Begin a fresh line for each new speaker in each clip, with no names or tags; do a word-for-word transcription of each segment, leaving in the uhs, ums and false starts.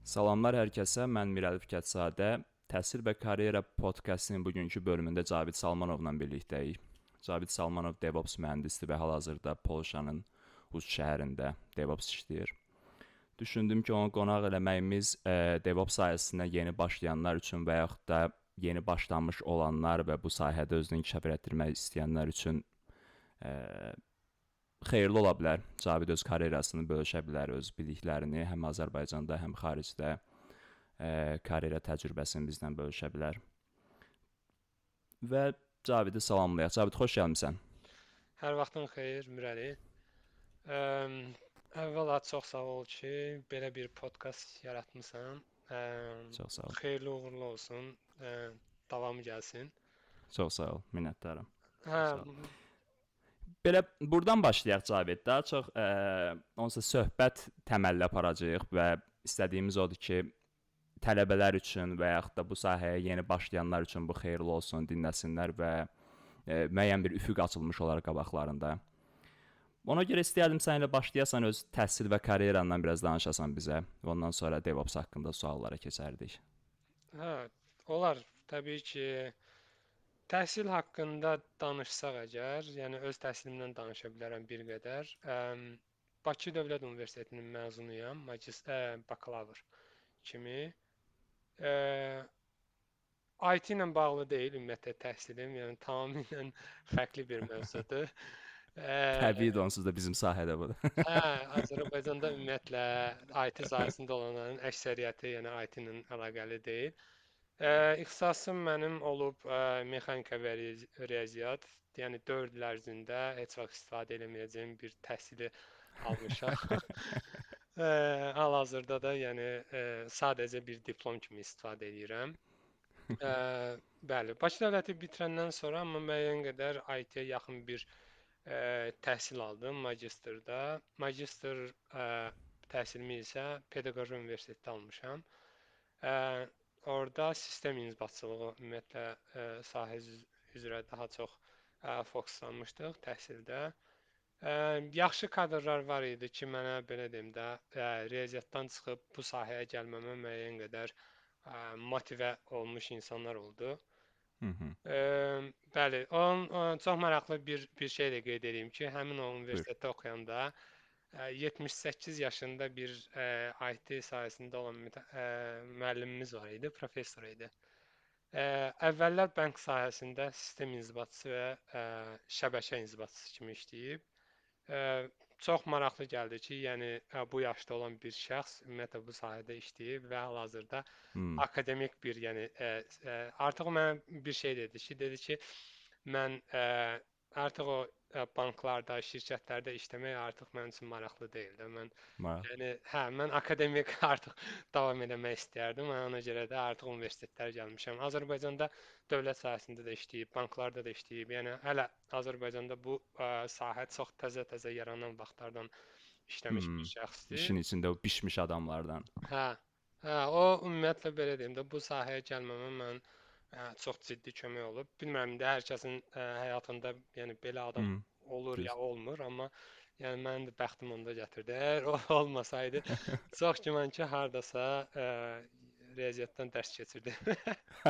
Salamlar hər kəsə, mən Mirəli Fikətzadə. Təhsil və Karyera podkastının bugünkü bölümündə Cavid Salmanovla birlikdəyik. Cavid Salmanov DevOps mühəndisidir və hal-hazırda Polşanın Uc şəhərində DevOps işləyir. Düşündüm ki, onu qonaq eləməyimiz e, DevOps sahəsinə yeni başlayanlar üçün və yaxud da yeni başlamış olanlar və bu sahədə özünü inkişaf etdirmək istəyənlər üçün e, xeyirli ola bilər. Cavid öz karyerasını bölüşə bilər, öz biliklərini həm Azərbaycanda, həm xaricdə e, karyera təcrübəsini bizlə bölüşə bilər. Və Cavidi salamlayaq. Cavid, xoş gəlmisən.
Hər vaxtın xeyir, Mirəli. Ə, əvvəla çox sağ ol ki, belə bir podkast yaratmısan. Ə,
Çox sağ ol.
xeyirli uğurlu olsun. Ə, davamı gəlsin.
Çox sağ ol, minnətdaram.
Hə,
Sağ ol. Belə buradan başlayaq Cavid. Daha çox e, onsuz söhbət təməlli aparacağıq və istədiyimiz odur ki, tələbələr üçün və yaxud da bu sahəyə yeni başlayanlar üçün bu xeyirli olsun, dinləsinlər və e, müəyyən bir üfüq açılmış olar qabaqlarında. Ona görə istəyərdim səninlə başlayasan, öz təhsil və karyerandan biraz danışasan bizə. Ondan sonra DevOps haqqında suallara keçərdik.
hə, olar. Təbii ki, təhsil haqqında danışsaq əgər, yəni öz təhsilimdən danışa bilərəm bir qədər. Ə, Bakı Dövlət Universitetinin məzunuyam, magist ə, bakalavr kimi. Ə, I T ilə bağlı deyil ümumiyyətlə təhsilim, yəni tamamilə fərqli bir mövzudur. Ə,
Təbii onsuz da bizim sahədə bu.
hə, Azərbaycanda ümumiyyətlə I T sahəsində olanların əksəriyyəti yəni I T ilə əlaqəli deyil. Ə, ixtisasım mənim olub ə, mexanika və riyazi- riyaziyyat, yəni dörd il ərzində heç vaxt istifadə eləməyəcəyim bir təhsili almışam. Ə, hal-hazırda da yəni ə, sadəcə bir diplom kimi istifadə edirəm. Ə, bəli, Bakı dövləti bitirəndən sonra amma müəyyən qədər I T-yə yaxın bir ə, təhsil aldım magistrda. Magistr ə, təhsilimi isə Pedaqoji Universitetdə almışam. Ə, orada sistem inzibatçılığı ümumiyyətlə ə, sahə üz- üzrə daha çox ə, fokuslanmışdıq təhsildə. Ə, yaxşı kadrlar var idi ki, mənə belə deyim də, ə, riyaziyyatdan çıxıb bu sahəyə gəlməmə müəyyən qədər ə, motivə olmuş insanlar oldu.
Hı -hı.
Ə, bəli, onun ə, çox maraqlı bir bir şey də qeyd edeyim ki, həmin o
Buyur.
universitetdə oxuyanda ə, yetmiş səkkiz yaşında bir ə, I T sahəsində olan mütə- ə, müəllimimiz var idi, professor idi. Ə, əvvəllər bank sahəsində sistem inzibatçısı və ə, şəbəkə inzibatçısı kimi işləyib. Ə, çox maraqlı gəldi ki, yəni ə, bu yaşda olan bir şəxs ümumiyyətlə bu sahədə işləyib və hal-hazırda
Hmm.
akademik bir, yəni ə, ə, artıq o mənə bir şey dedi ki, dedi ki, mən ə, artıq o ə, banklarda, şirkətlərdə işləmək artıq mənim üçün maraqlı deyil də. Mən
Maraq.
yəni hə, mən akademik artıq davam etmək istəyərdim. Mən ona görə də artıq universitetlərə gəlmişəm. Azərbaycanda dövlət sahəsində də işləyib, banklarda da işləyib. Yəni hələ Azərbaycanda bu ə, sahə çox təzə-təzə yaranan vaxtlardan işləmiş bir
Hmm.
şəxsdir.
İşin içində o bişmiş adamlardan.
Hə. Hə, o ümumiyyətlə belə deyim də bu sahəyə gəlməmə mən ə, çox ciddi kömək olub. Bilmirəm indi hər kəsin ə, həyatında yəni belə adam
Hmm.
olur ya
Düz.
olmur, amma yəni mənim də bəxtim onda gətirdi. Əgər o olmasaydı çox güman ki, hardasa ə, riyaziyyatdan dərs keçirdim.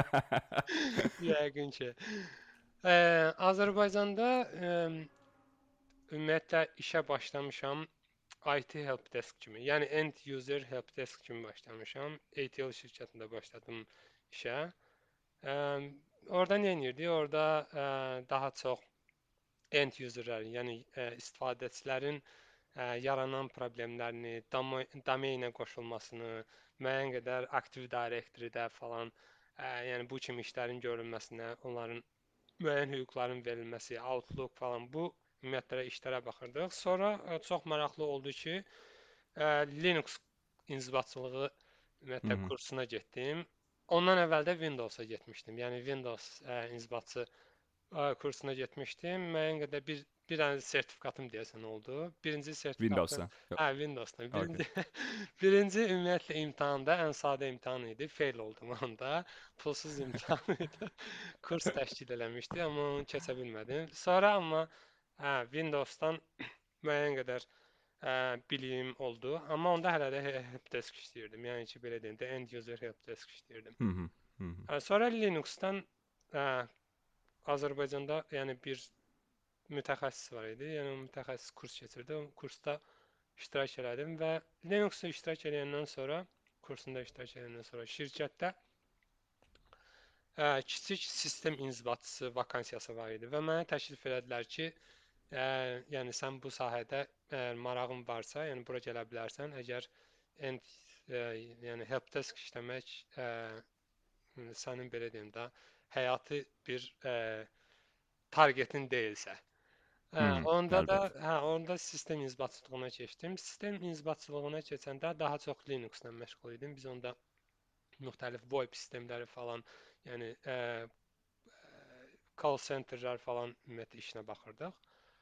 Yəqin ki. Ə, Azərbaycanda ə, ümumiyyətlə işə başlamışam I T helpdesk kimi. Yəni end user helpdesk kimi başlamışam. A T L şirkətində başladım işə. Ə, orada nə edirdik? Orada ə, daha çox end userlərin, yəni ə, istifadəçilərin ə, yaranan problemlərini, domo- domeynə qoşulmasını, müəyyən qədər Active Directory-də falan, ə, yəni bu kimi işlərin görülməsinə, onların müəyyən hüquqların verilməsi, Outlook falan bu ümumiyyətlə işlərə baxırdıq. Sonra ə, çox maraqlı oldu ki, ə, Linux inzibatçılığı
Hı
ümumiyyətlə
-hı.
kursuna getdim. Ondan əvvəl də Windows-a getmişdim. Yəni Windows ə, inzibatçı ə, kursuna getmişdim. Müəyyən qədər bir bir dənə sertifikatım deyəsən oldu. Birinci sertifikatım
Windows'da. Yok.
hə Windows-dan.
Okay.
Birinci birinci ümumiyyətlə imtahanda ən sadə imtahan idi. Fail oldum onda. Pulsuz imtahan idi. Kurs təşkil eləmişdi, amma onu keçə bilmədim. Sonra amma hə Windows-dan müəyyən qədər ə, biliyim oldu. Amma onda hələ də he- helpdesk işləyirdim. Yəni ki, belə deyim də end user helpdesk işləyirdim.
Hı hı. Hı hı.
Ə, Sonra Linux-dan ə, Azərbaycanda yəni bir mütəxəssis var idi. Yəni o mütəxəssis kurs keçirdi. O kursda iştirak elədim və Linux-da iştirak edəndən sonra, kursunda iştirak edəndən sonra şirkətdə ə, kiçik sistem inzibatçısı vakansiyası var idi və mənə təklif elədilər ki, ə, yəni sən bu sahədə əgər marağın varsa, yəni bura gələ bilərsən. Əgər end, ə, yəni helpdesk işləmək ə, sənin belə deyim də həyati bir ə, targetin deyilsə.
Hı
Hə,
hı.
onda da
Əlbəttə.
hə, onda sistem inzibatçılığına keçdim. Sistem inzibatçılığına keçəndə daha çox Linux-la məşğul idim. Biz onda müxtəlif VoIP sistemləri falan, yəni ə, call centerlər falan ümumiyyətlə işinə baxırdıq.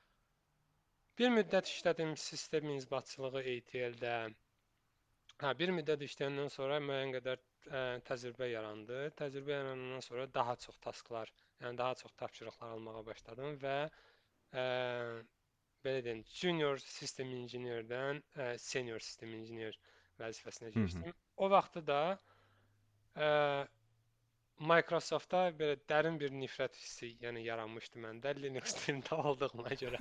Bir müddət işlədim sistem inzibatçılığı A T L-də. Hə, bir müddət işləyəndən sonra müəyyən qədər ə, təcrübə yarandı. Təcrübə yaranandan sonra daha çox tasklar, yəni daha çox tapşırıqlar almağa başladım və ə, belə deyim, junior sistem injinerdən ə, senior sistem injiner vəzifəsinə
Hı hı.
keçdim. O vaxtı da ə, Microsoft-a belə dərin bir nifrət hissi, yəni yaranmışdı məndə Linux dilində olduğuna görə.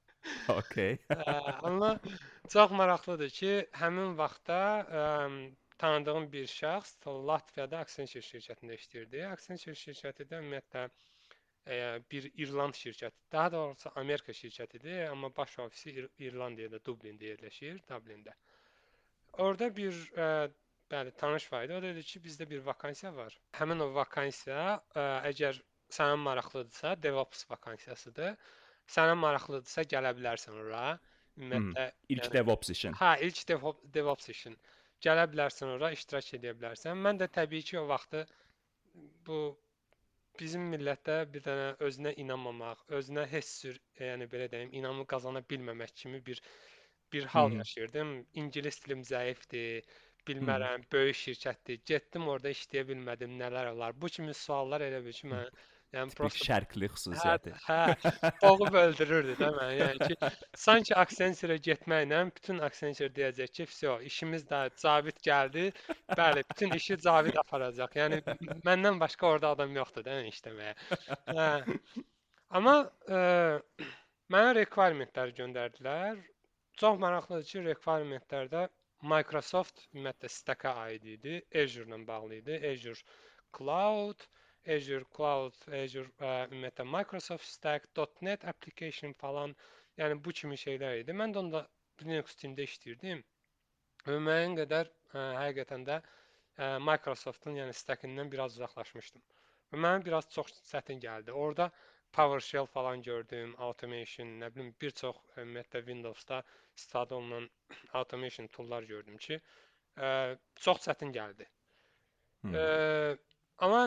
Okay.
Ə, amma çox maraqlıdır ki, həmin vaxtda ə, tanıdığım bir şəxs Latviyada Accenture şirkətində işləyirdi. Accenture şirkəti də ümumiyyətlə ə, bir İrland şirkəti, daha doğrusu Amerika şirkətidir, amma baş ofisi İr İrlandiyada, Dublində yerləşir, Dublində. Orada bir ə, bəli tanış var idi. O dedi ki, bizdə bir vakansiya var. Həmin o vakansiya ə, əgər sənə maraqlıdırsa, DevOps vakansiyasıdır. Sənə maraqlıdırsa gələ bilərsən ora.
Hı hı.
Ümumiyyətlə,
İlk
yəni
DevOps işin.
hə, ilk DevOps, DevOps işin. Gələ bilərsən ora, iştirak edə bilərsən. Mən də təbii ki, o vaxtı bu bizim millətdə bir dənə özünə inanmamaq, özünə heç cür, yəni belə deyim, inamı qazana bilməmək kimi bir bir
Hı
hal
hı.
yaşayırdım. İngilis dilim zəifdir,
Hı hı.
bilmərəm, böyük şirkətdir. Getdim orada işləyə bilmədim, nələr olar. Bu kimi suallar elə bil ki, mən yəni
Tipik
prosta
şərqli
hə,
xüsusiyyəti.
hə, boğub öldürürdü də məni. Yəni ki, sanki Accenture-ə getməklə bütün Accenture deyəcək ki, "Vsyo, işimiz də Cavid gəldi. Bəli, bütün işi Cavid aparacaq." Yəni məndən başqa orada adam yoxdur da yəni işləməyə. Hə. Amma ə, mənə requirement-ləri göndərdilər. Çox maraqlıdır ki, requirement-lərdə Microsoft ümumiyyətlə stack-a aid idi, Azure-la bağlı idi. Azure Cloud, Azure Cloud, Azure ə, ümumiyyətlə Microsoft Stack, .NET application falan, yəni bu kimi şeylər idi. Mən də onda Linux dilində işləyirdim və müəyyən qədər ə, həqiqətən də ə, Microsoft-un yəni stack-indən biraz uzaqlaşmışdım. Və mənə biraz çox çətin gəldi. Orada PowerShell falan gördüm, automation, nə bilim bir çox ümumiyyətlə Windows-da istifadə olunan automation toollar gördüm ki, ə, çox çətin gəldi.
Hı
Ə,
hı.
amma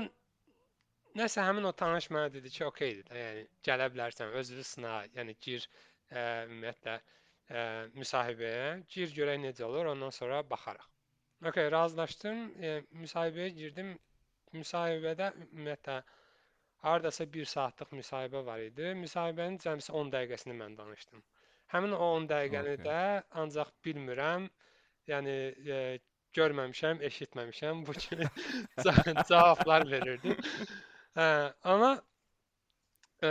nəsə həmin o tanış mənə dedi ki, okeydir də, yəni gələ bilərsən, özünü sına, yəni gir ə, ümumiyyətlə ə, müsahibəyə, gir görək necə olur, ondan sonra baxarıq. Okay, razılaşdım. E, müsahibəyə girdim. Müsahibədə ümumiyyətlə hardasa bir saatlıq müsahibə var idi. Müsahibənin cəmsi on dəqiqəsini mən danışdım. Həmin o on dəqiqəni
Okay.
də ancaq bilmirəm, yəni e, görməmişəm, eşitməmişəm bu kimi ca- cavablar verirdim. Hə, amma e,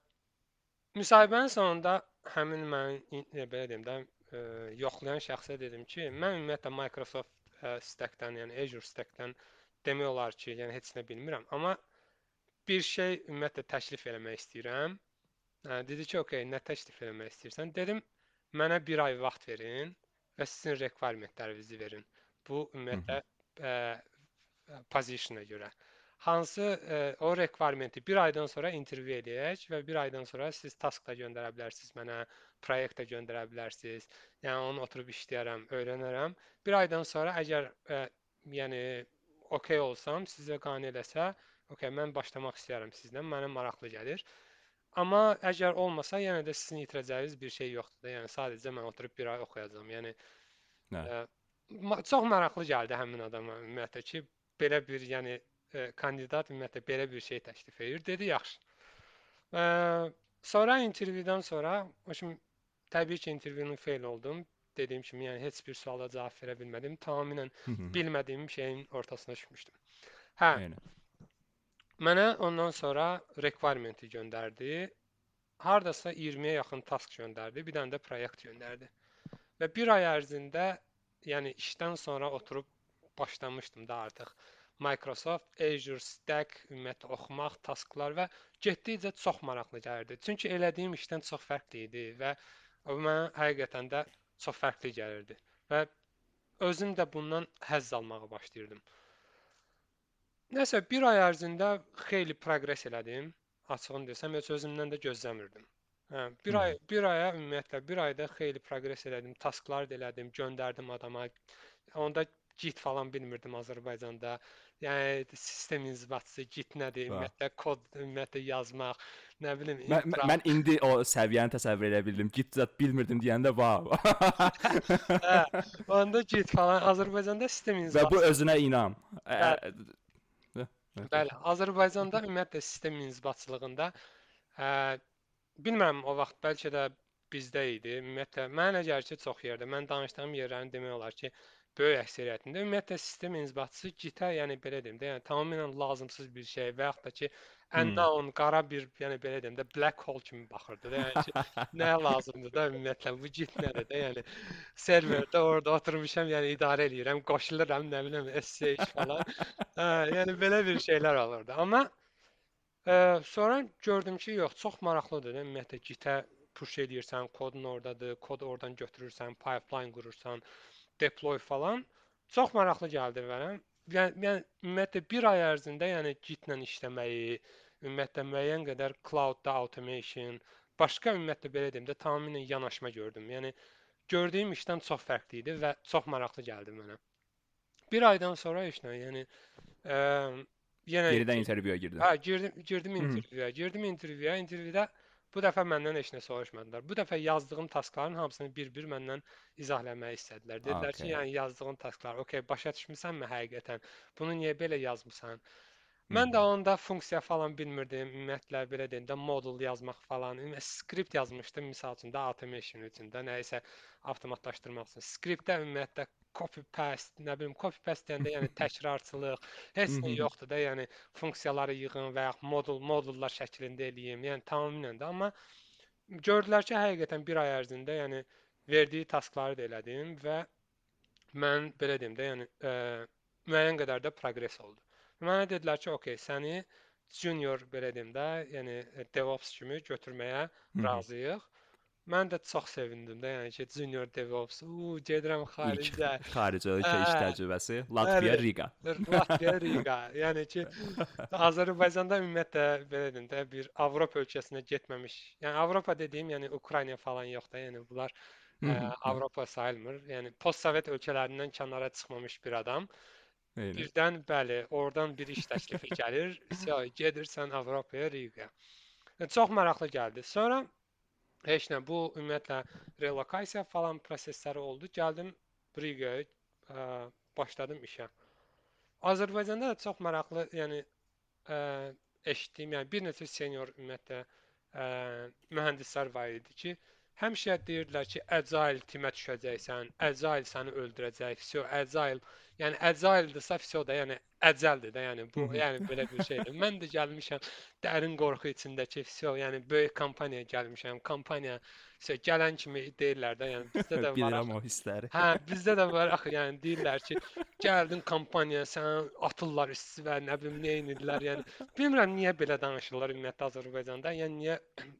müsahibənin sonunda həmin mən e, belə deyim də e, yoxlayan şəxsə dedim ki, mən ümumiyyətlə Microsoft e, Stack-dən, yəni Azure Stack-dən demək olar ki, yəni heç nə bilmirəm, amma bir şey ümumiyyətlə təklif eləmək istəyirəm. Hə, dedi ki, okey, nə təklif eləmək istəyirsən? Dedim, mənə bir ay vaxt verin və sizin requirementlərinizi verin. Bu
Hı
ümumiyyətlə
hı.
ə, position-a görə. Hansı ə, o requirementi bir aydan sonra interview eləyək və bir aydan sonra siz task da göndərə bilərsiniz mənə, proyekt də göndərə bilərsiniz. Yəni onu oturub işləyərəm, öyrənərəm. Bir aydan sonra əgər ə, yəni okey olsam, sizə qane eləsə, okey, mən başlamaq istəyirəm sizlə, mənə maraqlı gəlir. Amma əgər olmasa, yenə də sizin itirəcəyiniz bir şey yoxdur da. Yəni sadəcə mən oturub bir ay oxuyacağam. Yəni
Hə.
ə, ma- çox maraqlı gəldi həmin adama ümumiyyətlə ki, belə bir, yəni ə, kandidat ümumiyyətlə belə bir şey təklif edir. Dedi, yaxşı. Ə, sonra intervyudan sonra, o kimi təbii ki, intervyunun fail oldum. dediyim kimi, yəni heç bir suala cavab verə bilmədim. Tamamilə
Hı hı.
bilmədiyim şeyin ortasına düşmüşdüm. Hə,
Eynən.
mənə ondan sonra requirement-i göndərdi. Hardasa iyirmiyə yaxın task göndərdi, bir dənə də proyekt göndərdi. Və bir ay ərzində, yəni işdən sonra oturub başlamışdım da artıq Microsoft Azure Stack ümumiyyətlə oxumaq, tasklar və getdikcə çox maraqlı gəlirdi. Çünki elədiyim işdən çox fərqli idi və o mənə həqiqətən də çox fərqli gəlirdi və özüm də bundan həzz almağa başlayırdım. Nəsə bir ay ərzində xeyli proqres elədim. Açığını desəm, heç özümdən də gözləmirdim. Hə, bir ay, bir aya ümumiyyətlə bir ayda xeyli proqres elədim, tasklar da elədim, göndərdim adama. Onda Git falan bilmirdim Azərbaycanda. Yəni sistem inzibatçısı Git nədir?
Bax.
Ümumiyyətlə kod ümumiyyətlə yazmaq, nə bilim
Mən, mən-
infra.
mən indi o səviyyəni təsəvvür edə bildim. Git zət bilmirdim deyəndə vav.
Hə, onda Git falan Azərbaycanda sistem
Və bu
inzibatçısı.
özünə inam. Ə-
Bəli,
ə- ə-
bəli. Azərbaycanda ümumiyyətlə sistem inzibatçılığında hə, bilmirəm o vaxt bəlkə də bizdə idi. Ümumiyyətlə mənə elə gəlir ki, çox yerdə. Mən danışdığım yerlərin demək olar ki, böyük əksəriyyətində ümumiyyətlə sistem inzibatçısı Git-ə, yəni belə deyim də, yəni tamamilə lazımsız bir şey və yaxud da ki,
Hmm.
unknown, qara bir, yəni belə deyim də, black hole kimi baxırdı da. Yəni ki, nəyə lazımdır da ümumiyyətlə bu Git nədir də? Yəni serverdə orada oturmuşam, yəni idarə eləyirəm, qoşuluram, nə bilim, S S H falan. Hə, yəni belə bir şeylər olurdu. Amma Ə, sonra gördüm ki, yox, çox maraqlıdır da. Ümumiyyətlə Git-ə push eləyirsən, kodun ordadır, kodu oradan götürürsən, pipeline qurursan, deploy falan. Çox maraqlı gəldi mənə. Yəni, yəni ümumiyyətlə bir ay ərzində, yəni Git-lə işləməyi, ümumiyyətlə müəyyən qədər cloud-da automation, başqa ümumiyyətlə belə deyim də, tamamilə yanaşma gördüm. Yəni gördüyüm işdən çox fərqli idi və çox maraqlı gəldi mənə. Bir aydan sonra heç nə, yəni ə, yenə
Yenidən intervyuya girdin.
hə, girdim, girdim
Hı.
intervyuya. Girdim intervyuya. İntervyuda bu dəfə məndən heç nə soruşmadılar. Bu dəfə yazdığım taskların hamısını bir-bir məndən izahləməyi istədilər. Dedilər ki,
Okay.
yəni yazdığın tasklar, okey, başa düşmüsənmi həqiqətən? Bunu niyə belə yazmısan?
Hı
Mən də
-hı.
onda funksiya falan bilmirdim. Ümumiyyətlə belə deyim də modul yazmaq falan. Ümumiyyətlə skript yazmışdım misal üçün də automation üçün də nəyisə avtomatlaşdırmaq üçün. Skriptdə ümumiyyətlə copy paste, nə bilim copy paste deyəndə yəni təkrarçılıq,
Hı
heç nə
-hı.
yoxdur da, yəni funksiyaları yığın və ya modul modullar şəklində eləyim. Yəni tamamilə də amma gördülər ki, həqiqətən bir ay ərzində yəni verdiyi taskları da elədim və mən belə deyim də, yəni ə, müəyyən qədər də proqres oldu. Mənə dedilər ki, okey, səni junior belə deyim də, yəni DevOps kimi götürməyə
Hı -hı.
razıyıq. Mən də çox sevindim də, yəni ki, junior DevOps, u gedirəm
İlk
xaricə.
xarici
Hə,
ölkə iş təcrübəsi
bəli.
Latviya, Riga.
Latviya, Riga. Yəni ki, Azərbaycanda ümumiyyətlə belə deyim də, bir Avropa ölkəsinə getməmiş. Yəni Avropa dediyim, yəni Ukrayna falan yox da, yəni bunlar
Hı
ə,
-hı.
Avropa sayılmır. Yəni postsovet ölkələrindən kənara çıxmamış bir adam.
Eynən.
Birdən bəli, oradan bir iş təklifi gəlir. Sə gedirsən Avropaya, Riga. Yəni, çox maraqlı gəldi. Sonra heç nə, bu ümumiyyətlə relokasiya falan prosesləri oldu. Gəldim Rigaya, ə, başladım işə. Azərbaycanda da çox maraqlı, yəni ə, eşitdiyim, yəni bir neçə senior ümumiyyətlə ə, mühəndislər var idi ki, həmişə deyirdilər ki, Agile timə düşəcəksən, Agile səni öldürəcək, vəsə Agile, yəni Agile-dırsa vəsə da, yəni əcəldir də, yəni
Hı
bu,
-hı.
yəni belə bir şeydir. Mən də gəlmişəm dərin qorxu içindəki vəsə, yəni böyük kompaniyaya gəlmişəm, kampaniya vəsə gələn kimi deyirlər də, yəni bizdə də var
Bilirəm
axı.
o hissləri.
Hə, bizdə də var axı, yəni deyirlər ki, gəldin kompaniyaya, sənə atırlar istivə, nə bilim nə edirlər, yəni bilmirəm niyə belə danışırlar ümumiyyətlə Azərbaycanda. Yəni niyə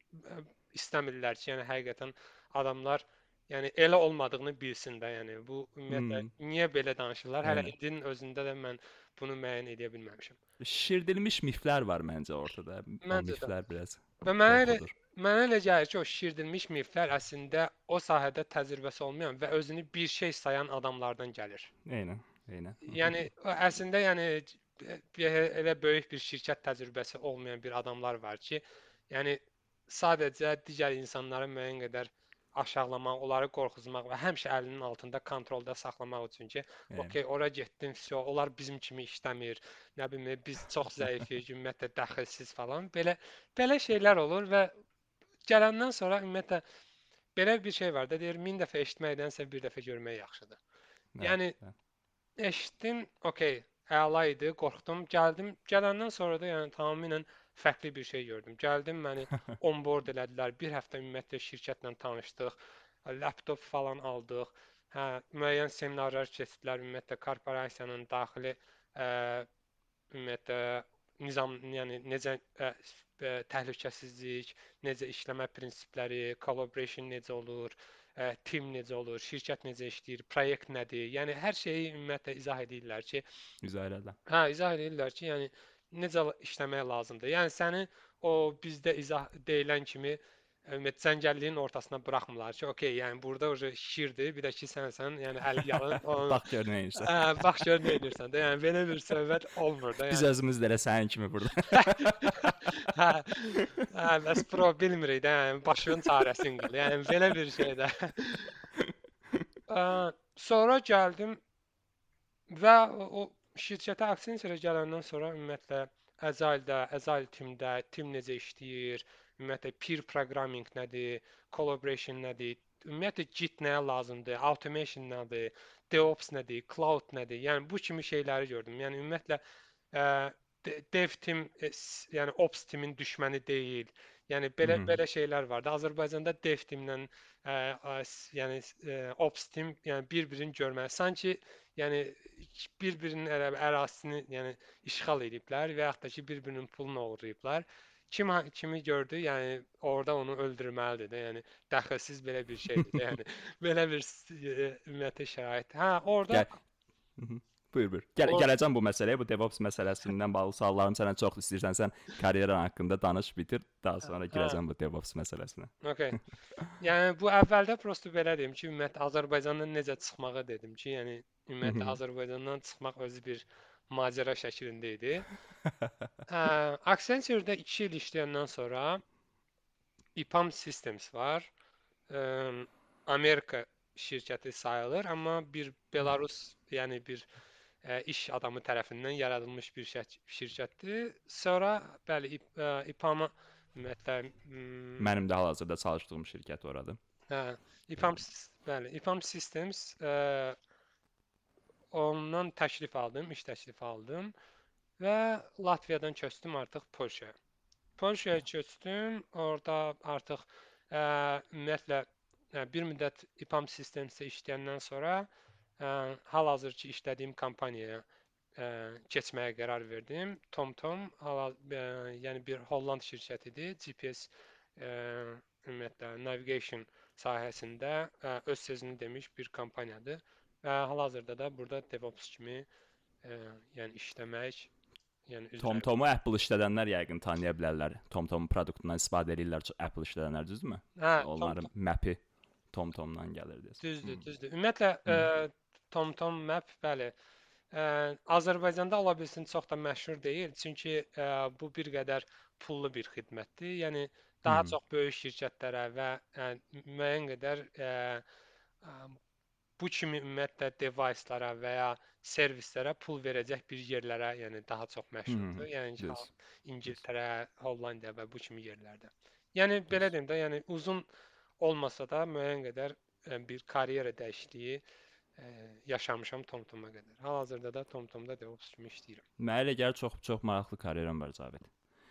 istəmirlər ki, yəni həqiqətən adamlar yəni elə olmadığını bilsin də, yəni bu ümumiyyətlə
Hmm.
niyə belə danışırlar? Hələ
Eynən.
indinin özündə də mən bunu müəyyən edə bilməmişəm.
Şişirdilmiş miflər var məncə ortada. O
Məncə də.
miflər biraz
Və mənə elə
qorxudur.
mənə elə gəlir ki, o şişirdilmiş miflər əslində o sahədə təcrübəsi olmayan və özünü bir şey sayan adamlardan gəlir.
Eynən, eynən.
Yəni o əslində yəni bir- elə böyük bir şirkət təcrübəsi olmayan bir adamlar var ki, yəni sadəcə digər insanları müəyyən qədər aşağılamaq, onları qorxuzmaq və həmişə əlinin altında kontrolda saxlamaq üçün ki,
Eynən.
okey, ora getdim, vəsə, onlar bizim kimi işləmir. Nə bilim, biz çox zəifik, ümumiyyətlə dəxilsiz falan. Belə belə şeylər olur və gələndən sonra ümumiyyətlə belə bir şey var da, deyir, min dəfə eşitməkdənsə bir dəfə görmək yaxşıdır. Yəni
Bəli,
eşitdim, okey, əla idi, qorxdum, gəldim. Gələndən sonra da yəni tamamilə fərqli bir şey gördüm. Gəldim, məni onboard elədilər. Bir həftə ümumiyyətlə şirkətlə tanışdıq. Laptop falan aldıq. Hə, müəyyən seminarlar keçdilər. Ümumiyyətlə korporasiyanın daxili ə, ümumiyyətlə nizam, yəni necə ə, ə, təhlükəsizlik, necə işləmə prinsipləri, collaboration necə olur, ə, team necə olur, şirkət necə işləyir, proyekt nədir? Yəni hər şeyi ümumiyyətlə izah edirlər ki,
izah elədim.
hə, izah edirlər ki, yəni necə işləmək lazımdır. Yəni səni o bizdə izah deyilən kimi ümumiyyətlə cəngəlliyin ortasına buraxmırlar ki, okey, yəni burada uje şirdir, bir də ki sənsən, yəni əl yalın, onu
Bax gör nə edirsən.
hə, bax gör nə edirsən də. Yəni belə bir söhbət olmur da,
Biz
yəni.
özümüz də elə sənin kimi burada.
Hə, hə, bəs pro bilmirik də, yəni başının çarəsini qıl. Yəni belə bir şey də. Ə, Sonra gəldim və o, o şirkətə Accenture gələndən sonra ümumiyyətlə Agile-də, Agile teamdə, team necə işləyir, ümumiyyətlə peer programming nədir, collaboration nədir, ümumiyyətlə Git nəyə lazımdır, automation nədir, DevOps nədir, cloud nədir? Yəni bu kimi şeyləri gördüm. Yəni ümumiyyətlə ə, dev team, e, s- yəni ops teamin düşməni deyil. Yəni belə
Mhm.
belə şeylər var da. Azərbaycanda dev teamlə ə, ə, s- yəni ə, ops team yəni bir-birini görməli. Sanki yəni bir-birinin əra- ərazisini yəni işğal ediblər və yaxud da ki bir-birinin pulunu oğurlayıblar. Kim ha- kimi gördü, yəni orada onu öldürməlidir də. Yəni dəxilsiz belə bir şeydir də. Yəni belə bir s- e, ümumiyyətlə şərait. Hə, orada
Gəl. Mhm. Buyur, buyur. Gəl,
or
gələcəm bu məsələyə, bu DevOps məsələsindən bağlı suallarım sənə çox istəyirsən, sən karyeran haqqında danış, bitir, daha sonra
hə,
girəcəm bu DevOps məsələsinə.
okey. Yəni bu əvvəldə prosta belə deyim ki, ümumiyyətlə Azərbaycandan necə çıxmağı dedim ki, yəni ümumiyyətlə
Mhm.
Azərbaycandan çıxmaq özü bir macəra şəklində idi. Hə, Accenture-də iki il işləyəndən sonra EPAM Systems var. Ə, Amerika şirkəti sayılır, amma bir Belarus, yəni bir ə, iş adamı tərəfindən yaradılmış bir şək- şirkətdir. Sonra bəli, İP- ə, EPAM-a ümumiyyətlə m,
Mənim də hal-hazırda çalışdığım şirkət oradır.
hə, EPAM, s- bəli, EPAM Systems ə, ondan təklif aldım, iş təklifi aldım və Latviyadan köçdüm artıq Polşaya. Polşaya köçdüm. Orada artıq ə, ümumiyyətlə ə, bir müddət EPAM Systemsdə işləyəndən sonra ə, hal-hazırki işlədiyim kompaniyaya ə, keçməyə qərar verdim. TomTom, hal yəni bir Holland şirkətidir. G P S ə, ümumiyyətlə navigation sahəsində ə, öz sözünü demiş bir kompaniyadır. Və hal-hazırda da burada DevOps kimi ə, yəni işləmək, yəni üzrə.
TomTomu Apple işlədənlər yəqin tanıya bilərlər. TomTomun produktundan istifadə edirlər çox Apple işlədənlər, düzdürmü?
Hə,
Onların mapi TomTomdan gəlir deyəsən.
düzdür,
Hmm.
düzdür. Ümumiyyətlə
Hı.
ə, TomTom Map, bəli, ə, Azərbaycanda ola bilsin çox da məşhur deyil, çünki ə, bu bir qədər pullu bir xidmətdir. Yəni daha
Hmm.
çox böyük şirkətlərə və ə, müəyyən qədər ə, ə, bu kimi ümumiyyətlə device-lara və ya servislərə pul verəcək bir yerlərə, yəni daha çox məşhurdur.
Hmm.
Yəni ha-
Düz.
İngiltərə, Hollandiya və bu kimi yerlərdə. Yəni belə
Düz.
deyim də, yəni uzun olmasa da müəyyən qədər ə, bir karyera dəyişikliyi ə, yaşamışam TomTom-a qədər. Hal-hazırda da TomTom-da DevOps kimi işləyirəm.
Mənə elə gəlir çox çox maraqlı karyeran var Cavid.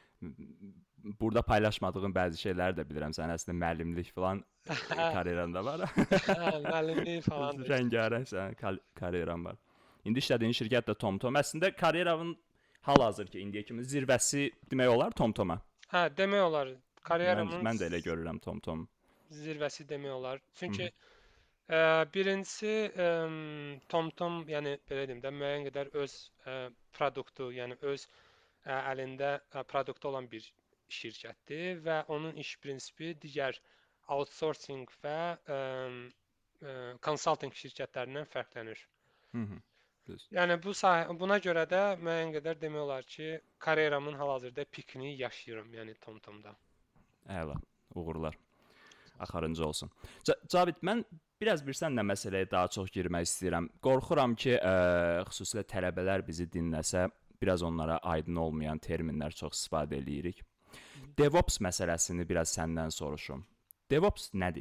Burada paylaşmadığın bəzi şeyləri də bilirəm. Sən əslində müəllimlik falan karyeran da var.
Hə, müəllimlik falan da işləyirəm.
Rəngarəng sənin kar- karyeran var. İndi işlədiyin şirkət də TomTom. Əslində karyeranın hal-hazırki indiyə kimi zirvəsi demək olar TomTom-a.
Hə, demək olar
Mən
karyeramın
mən də elə görürəm TomTom.
zirvəsi demək olar.
Hı
Çünki
-hı.
Ə, birincisi əm, TomTom, yəni belə deyim də müəyyən qədər öz ə, produktu, yəni öz ə, əlində ə, produktu olan bir şirkətdir və onun iş prinsipi digər outsourcing və əm, ə, consulting şirkətlərindən fərqlənir.
Hı -hı. Düz.
Yəni bu sahə, buna görə də müəyyən qədər demək olar ki, karyeramın hal-hazırda pikini yaşayıram, yəni TomTomda.
Əla. Uğurlar. Axırıncı olsun. Ca- Cavid, mən biraz bir sənlə məsələyə daha çox girmək istəyirəm. Qorxuram ki, ə, xüsusilə tələbələr bizi dinləsə, biraz onlara aydın olmayan terminlər çox istifadə eləyirik. DevOps məsələsini biraz səndən soruşum. DevOps nədir?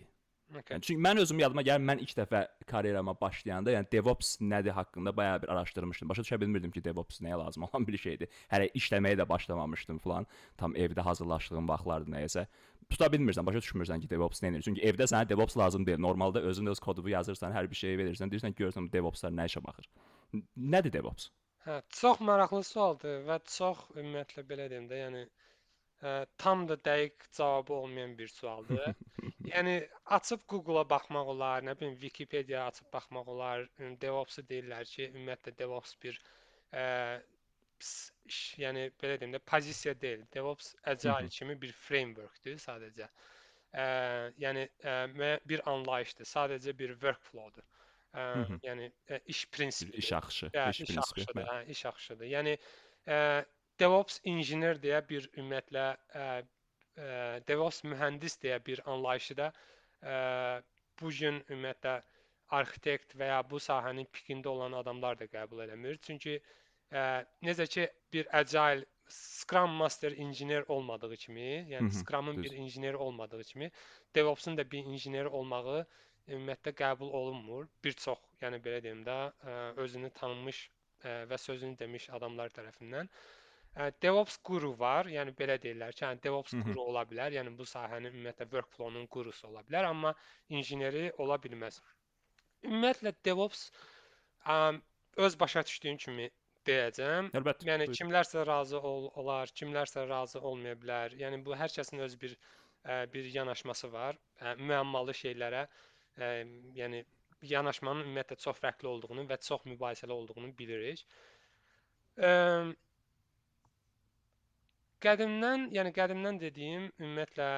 Okay.
Yəni çünki mən özüm yadıma gəlir, mən ilk dəfə karyerama başlayanda, yəni DevOps nədir haqqında bayağı bir araşdırmışdım. Başa düşə bilmirdim ki, DevOps nəyə lazım olan bir şeydir. Hələ işləməyə də başlamamışdım falan. Tam evdə hazırlaşdığım vaxtlardı nəyəsə. Tuta bilmirsən, başa düşmürsən ki, DevOps nə edir. Çünki evdə sənə DevOps lazım deyil. Normalda özün öz kodunu yazırsan, hər bir şeyi verirsən, deyirsən ki, görürsən DevOpslar nə işə baxır. Nədir DevOps?
Hə, çox maraqlı sualdır və çox ümumiyyətlə belə deyim də, yəni ə, tam da dəqiq cavabı olmayan bir sualdır. Yəni açıb Google-a baxmaq olar, nə bilim Wikipedia açıb baxmaq olar. DevOps-u deyirlər ki, ümumiyyətlə DevOps bir ə, ps- iş, yəni belə deyim də pozisiya deyil. DevOps Agile kimi bir frameworkdur sadəcə. Ə, yəni ə, mə- bir anlayışdır, sadəcə bir workflow-dur. Ə, yəni ə, iş
Bir
prinsipidir.
iş axışı,
Hə,
iş
iş
prinsipi.
axışıdır,
Bəli.
hə, iş axışıdır. Yəni ə, DevOps injiner deyə bir ümumiyyətlə ə, ə, DevOps mühəndis deyə bir anlayışı da ə, bu gün ümumiyyətlə arxitekt və ya bu sahənin pikində olan adamlar da qəbul eləmir. Çünki ə, necə ki bir agile Scrum Master injiner olmadığı kimi, yəni Scrum-ın bir
Düz.
injineri olmadığı kimi, DevOps-un da bir injineri olmağı ümumiyyətlə qəbul olunmur. Bir çox, yəni belə deyim də, ə, özünü tanınmış ə, və sözünü demiş adamlar tərəfindən. Ə, DevOps guru var, yəni belə deyirlər ki, yəni DevOps guru ola bilər, yəni bu sahənin ümumiyyətlə workflow-nun gurusu ola bilər, amma injineri ola bilməz. Ümumiyyətlə DevOps ə, öz başa düşdüyüm kimi deyəcəm.
Əlbəttə.
Yəni
Buyur.
kimlərsə razı ol, olar, kimlərsə razı olmaya bilər. Yəni bu hər kəsin öz bir ə, bir yanaşması var. Ə, müəmmalı şeylərə, ə, yəni yanaşmanın ümumiyyətlə çox fərqli olduğunu və çox mübahisəli olduğunu bilirik. Ə, qədimdən, yəni qədimdən dediyim ümumiyyətlə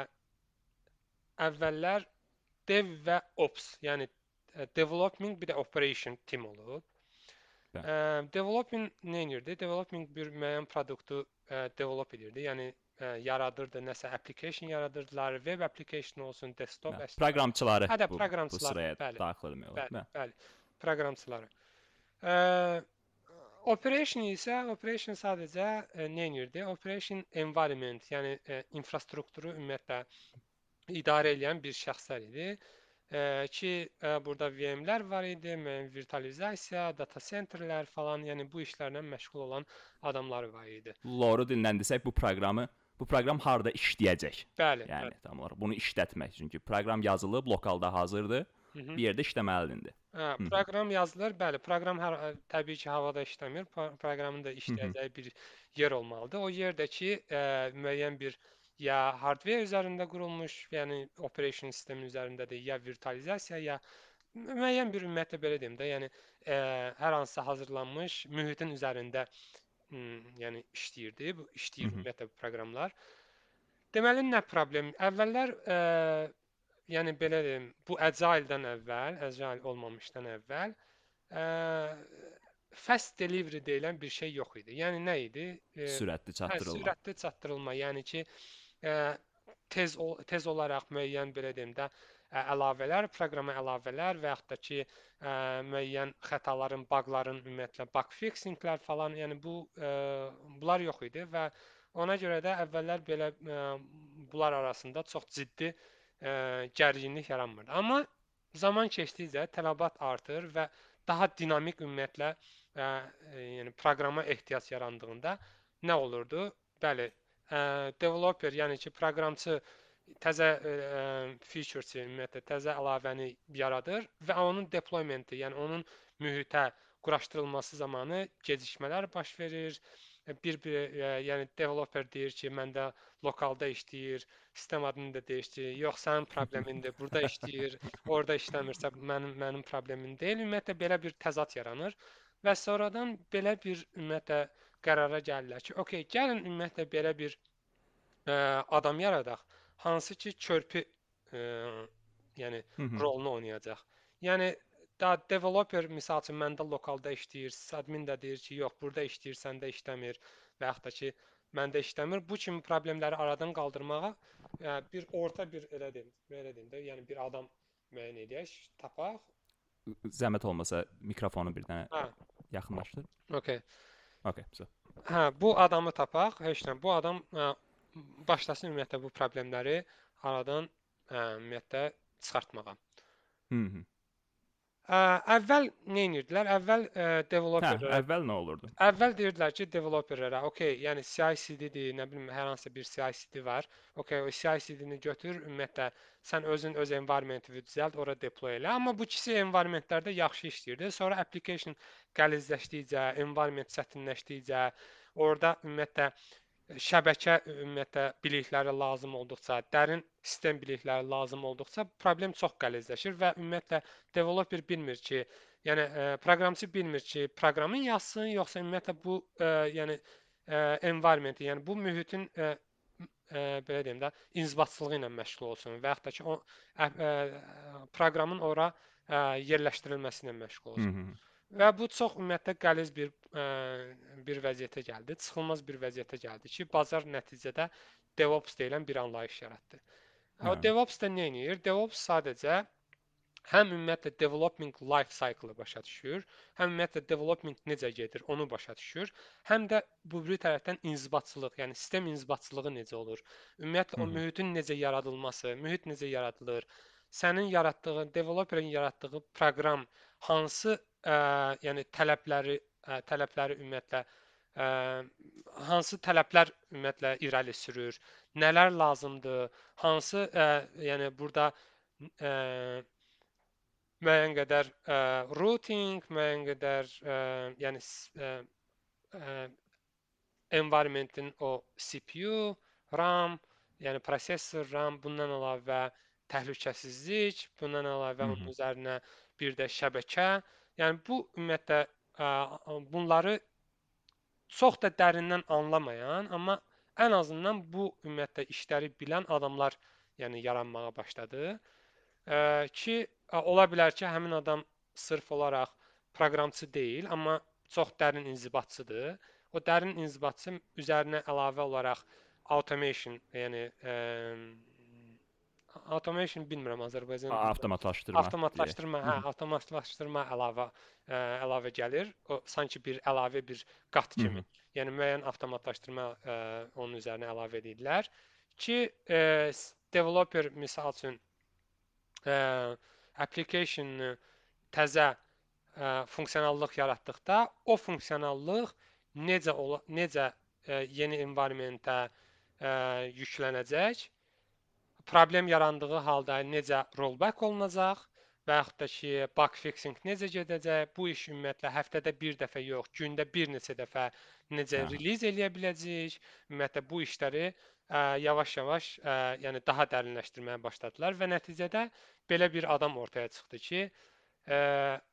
əvvəllər dev və ops, yəni ə, development bir də operation team olub.
Bəli.
Ə, developing nə edirdi? Developing bir müəyyən produktu ə, develop edirdi. Yəni ə, yaradırdı, nəsə application yaradırdılar, web application olsun, desktop
Bəli.
əslində.
Proqramçıları
Hə də
bu bu
proqramçılar,
sıraya
bəli,
daxil etmək olar.
bəli,
Bəli.
bəli, proqramçıları. Ə, operation isə operation sadəcə ə, nə edirdi? Operation environment, yəni ə, infrastrukturu ümumiyyətlə idarə edən bir şəxslər idi. Ə, ki ə, burada V M-lər var idi, müəyyən virtualizasiya, data centerlər falan, yəni bu işlərlə məşğul olan adamlar var idi.
Loru dillə desək bu proqramı bu proqram harda işləyəcək?
Bəli,
Yəni
bəli.
tam olaraq bunu işlətmək. Çünki proqram yazılıb, lokalda hazırdır.
Hı -hı.
Bir yerdə işləməlidir.
Hə, proqram yazılır. Bəli, proqram hər təbii ki, havada işləmir. Pro- Proqramın da
Hı -hı.
işləyəcəyi bir yer olmalıdır. O yerdəki ə, müəyyən bir ya hardware üzərində qurulmuş, yəni operation sistemi üzərindədir, ya virtualizasiya, ya müəyyən bir ümumiyyətlə belə deyim də, yəni ə, hər hansısa hazırlanmış mühitin üzərində m, yəni işləyirdi. Bu işləyir
Hı -hı.
ümumiyyətlə bu proqramlar. Deməli nə problem? Əvvəllər ə, yəni belə deyim, bu Agile-dən əvvəl, Agile olmamışdan əvvəl ə, fast delivery deyilən bir şey yox idi. Yəni nə idi? Ə,
Sürətli
hə,
çatdırılma.
sürətli çatdırılma, yəni ki, ə, tez ol, tez olaraq müəyyən belə deyim də ə, əlavələr, proqrama əlavələr və yaxud da ki, ə, müəyyən xətaların, baqların ümumiyyətlə bug fixinglər falan, yəni bu ə, bunlar yox idi və ona görə də əvvəllər belə ə, bunlar arasında çox ciddi ə, gərginlik yaranmırdı. Amma zaman keçdikcə tələbat artır və daha dinamik ümumiyyətlə ə, yəni proqrama ehtiyac yarandığında nə olurdu? Bəli, ə, developer, yəni ki, proqramçı təzə ə, feature-si, ümumiyyətlə təzə əlavəni yaradır və onun deploymenti, yəni onun mühitə quraşdırılması zamanı gecikmələr baş verir. Bir-bir, ə, yəni developer deyir ki, məndə lokalda işləyir, sistem adını da dəyişdirir. Yox, sənin problemindir, burada işləyir, orada işləmirsə mənim mənim problemim deyil. Ümumiyyətlə belə bir təzad yaranır və sonradan belə bir ümumiyyətlə qərara gəlirlər ki, okey, gəlin ümumiyyətlə belə bir ə, adam yaradaq, hansı ki körpü ə, yəni
Hı -hı.
rolunu oynayacaq. Yəni da developer misal üçün məndə lokalda işləyir, admin də deyir ki, yox, burada işləyir, səndə işləmir və yaxud da ki, məndə işləmir. Bu kimi problemləri aradan qaldırmağa ə, bir orta bir elə deyim, belə deyim də, yəni bir adam müəyyən edək, tapaq.
Zəhmət olmasa mikrofonu bir dənə
Hə,
yaxınlaşdır.
okey.
Okay, so.
Hə, bu adamı tapaq. Heç nə. Bu adam ə, başlasın ümumiyyətlə bu problemləri aradan ə, ümumiyyətlə çıxartmağa.
Hı -hı.
Ə, əvvəl nə edirdilər? Əvvəl ə,
Hə,
developerlərə
əvvəl nə olurdu?
əvvəl deyirdilər ki, developerlərə, okey, yəni CI/CD-dir, nə bilim, hər hansısa bir CI/CD var. Okey, o CI/CD-ni götür, ümumiyyətlə sən özün öz environment-ını düzəlt, ora deploy elə. Amma bu ikisi environmentlərdə yaxşı işləyirdi. Sonra application qəlizləşdikcə, environment çətinləşdikcə, orada ümumiyyətlə şəbəkə ümumiyyətlə bilikləri lazım olduqca, dərin sistem bilikləri lazım olduqca problem çox qəlizləşir və ümumiyyətlə developer bilmir ki, yəni ə, proqramçı bilmir ki, proqramın yazsın, yoxsa ümumiyyətlə bu ə, yəni ə, environment, yəni bu mühitin ə, ə, belə deyim də, inzibatçılığı ilə məşğul olsun və yaxud da ki, o ə, ə, proqramın ora ə, yerləşdirilməsi ilə məşğul
Hı
olsun.
-hı.
Və bu çox ümumiyyətlə qəliz bir ə, bir vəziyyətə gəldi, çıxılmaz bir vəziyyətə gəldi ki, bazar nəticədə DevOps deyilən bir anlayış yaratdı. O
Hə.
DevOps da nə edir? DevOps sadəcə həm ümumiyyətlə development life cycle-ı başa düşür, həm ümumiyyətlə development necə gedir, onu başa düşür, həm də bu biri tərəfdən inzibatçılıq, yəni sistem inzibatçılığı necə olur, ümumiyyətlə
Hı
o
-hı.
mühitin necə yaradılması, mühit necə yaradılır, sənin yaratdığın, developerin yaratdığı proqram hansı ə, yəni tələbləri, ə, tələbləri ümumiyyətlə ə, hansı tələblər ümumiyyətlə irəli sürür, nələr lazımdır, hansı ə, yəni burada ə, müəyyən qədər ə, routing, müəyyən qədər ə, yəni ə, ə, environmentin o C P U, RAM, yəni prosesor, RAM, bundan əlavə təhlükəsizlik, bundan əlavə
Hı
onun
-hı.
üzərinə bir də şəbəkə. Yəni bu ümumiyyətlə ə, bunları çox da dərindən anlamayan, amma ən azından bu ümumiyyətlə işləri bilən adamlar yəni yaranmağa başladı. Ə, ki ola bilər ki, həmin adam sırf olaraq proqramçı deyil, amma çox dərin inzibatçıdır. O dərin inzibatçı üzərinə əlavə olaraq automation, yəni ə, automation bilmirəm Azərbaycan dilində.
Avtomatlaşdırma deyək.
Avtomatlaşdırma,
Hı
hə,
-hı.
avtomatlaşdırma əlavə ə, əlavə gəlir. O sanki bir əlavə bir qat
Hı
kimi.
-hı.
Yəni müəyyən avtomatlaşdırma ə, onun üzərinə əlavə edirlər ki, ə, developer misal üçün ə, application-ı təzə ə, funksionallıq yaratdıqda o funksionallıq necə ola, necə ə, yeni environmentə ə, yüklənəcək, problem yarandığı halda necə rollback olunacaq və yaxud da ki, bug fixing necə gedəcək, bu iş ümumiyyətlə həftədə bir dəfə yox, gündə bir neçə dəfə necə
Aha.
release eləyə biləcəyik, ümumiyyətlə bu işləri ə, yavaş-yavaş ə, yəni daha dərinləşdirməyə başladılar və nəticədə belə bir adam ortaya çıxdı ki, ə,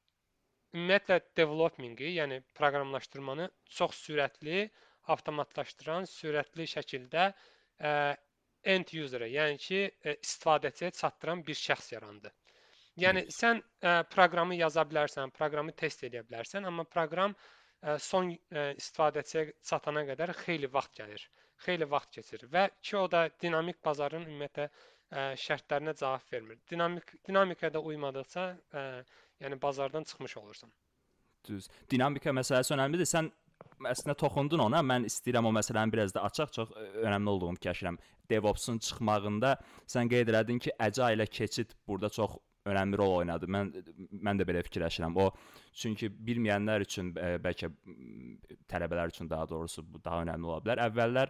ümumiyyətlə developmingi, yəni proqramlaşdırmanı çox sürətli, avtomatlaşdıran, sürətli şəkildə ə, end user-ə, yəni ki, istifadəçiyə çatdıran bir şəxs yarandı. Yəni
Yes.
sən ə, proqramı yaza bilərsən, proqramı test edə bilərsən, amma proqram ə, son ə, istifadəçiyə çatana qədər xeyli vaxt gəlir, xeyli vaxt keçir və ki o da dinamik bazarın ümumiyyətlə ə, şərtlərinə cavab vermir. Dinamik dinamikaya uymadıqca ə, yəni bazardan çıxmış olursan.
Düz. Dinamika məsələsi önəmlidir. Sən əslində toxundun ona. Mən istəyirəm o məsələni biraz da açaq, çox önəmli olduğunu fikirləşirəm. DevOps-un çıxmağında sən qeyd elədin ki, Agile ilə keçid burada çox önəmli rol oynadı. Mən mən də belə fikirləşirəm. O çünki bilməyənlər üçün bəlkə tələbələr üçün daha doğrusu bu daha önəmli ola bilər. Əvvəllər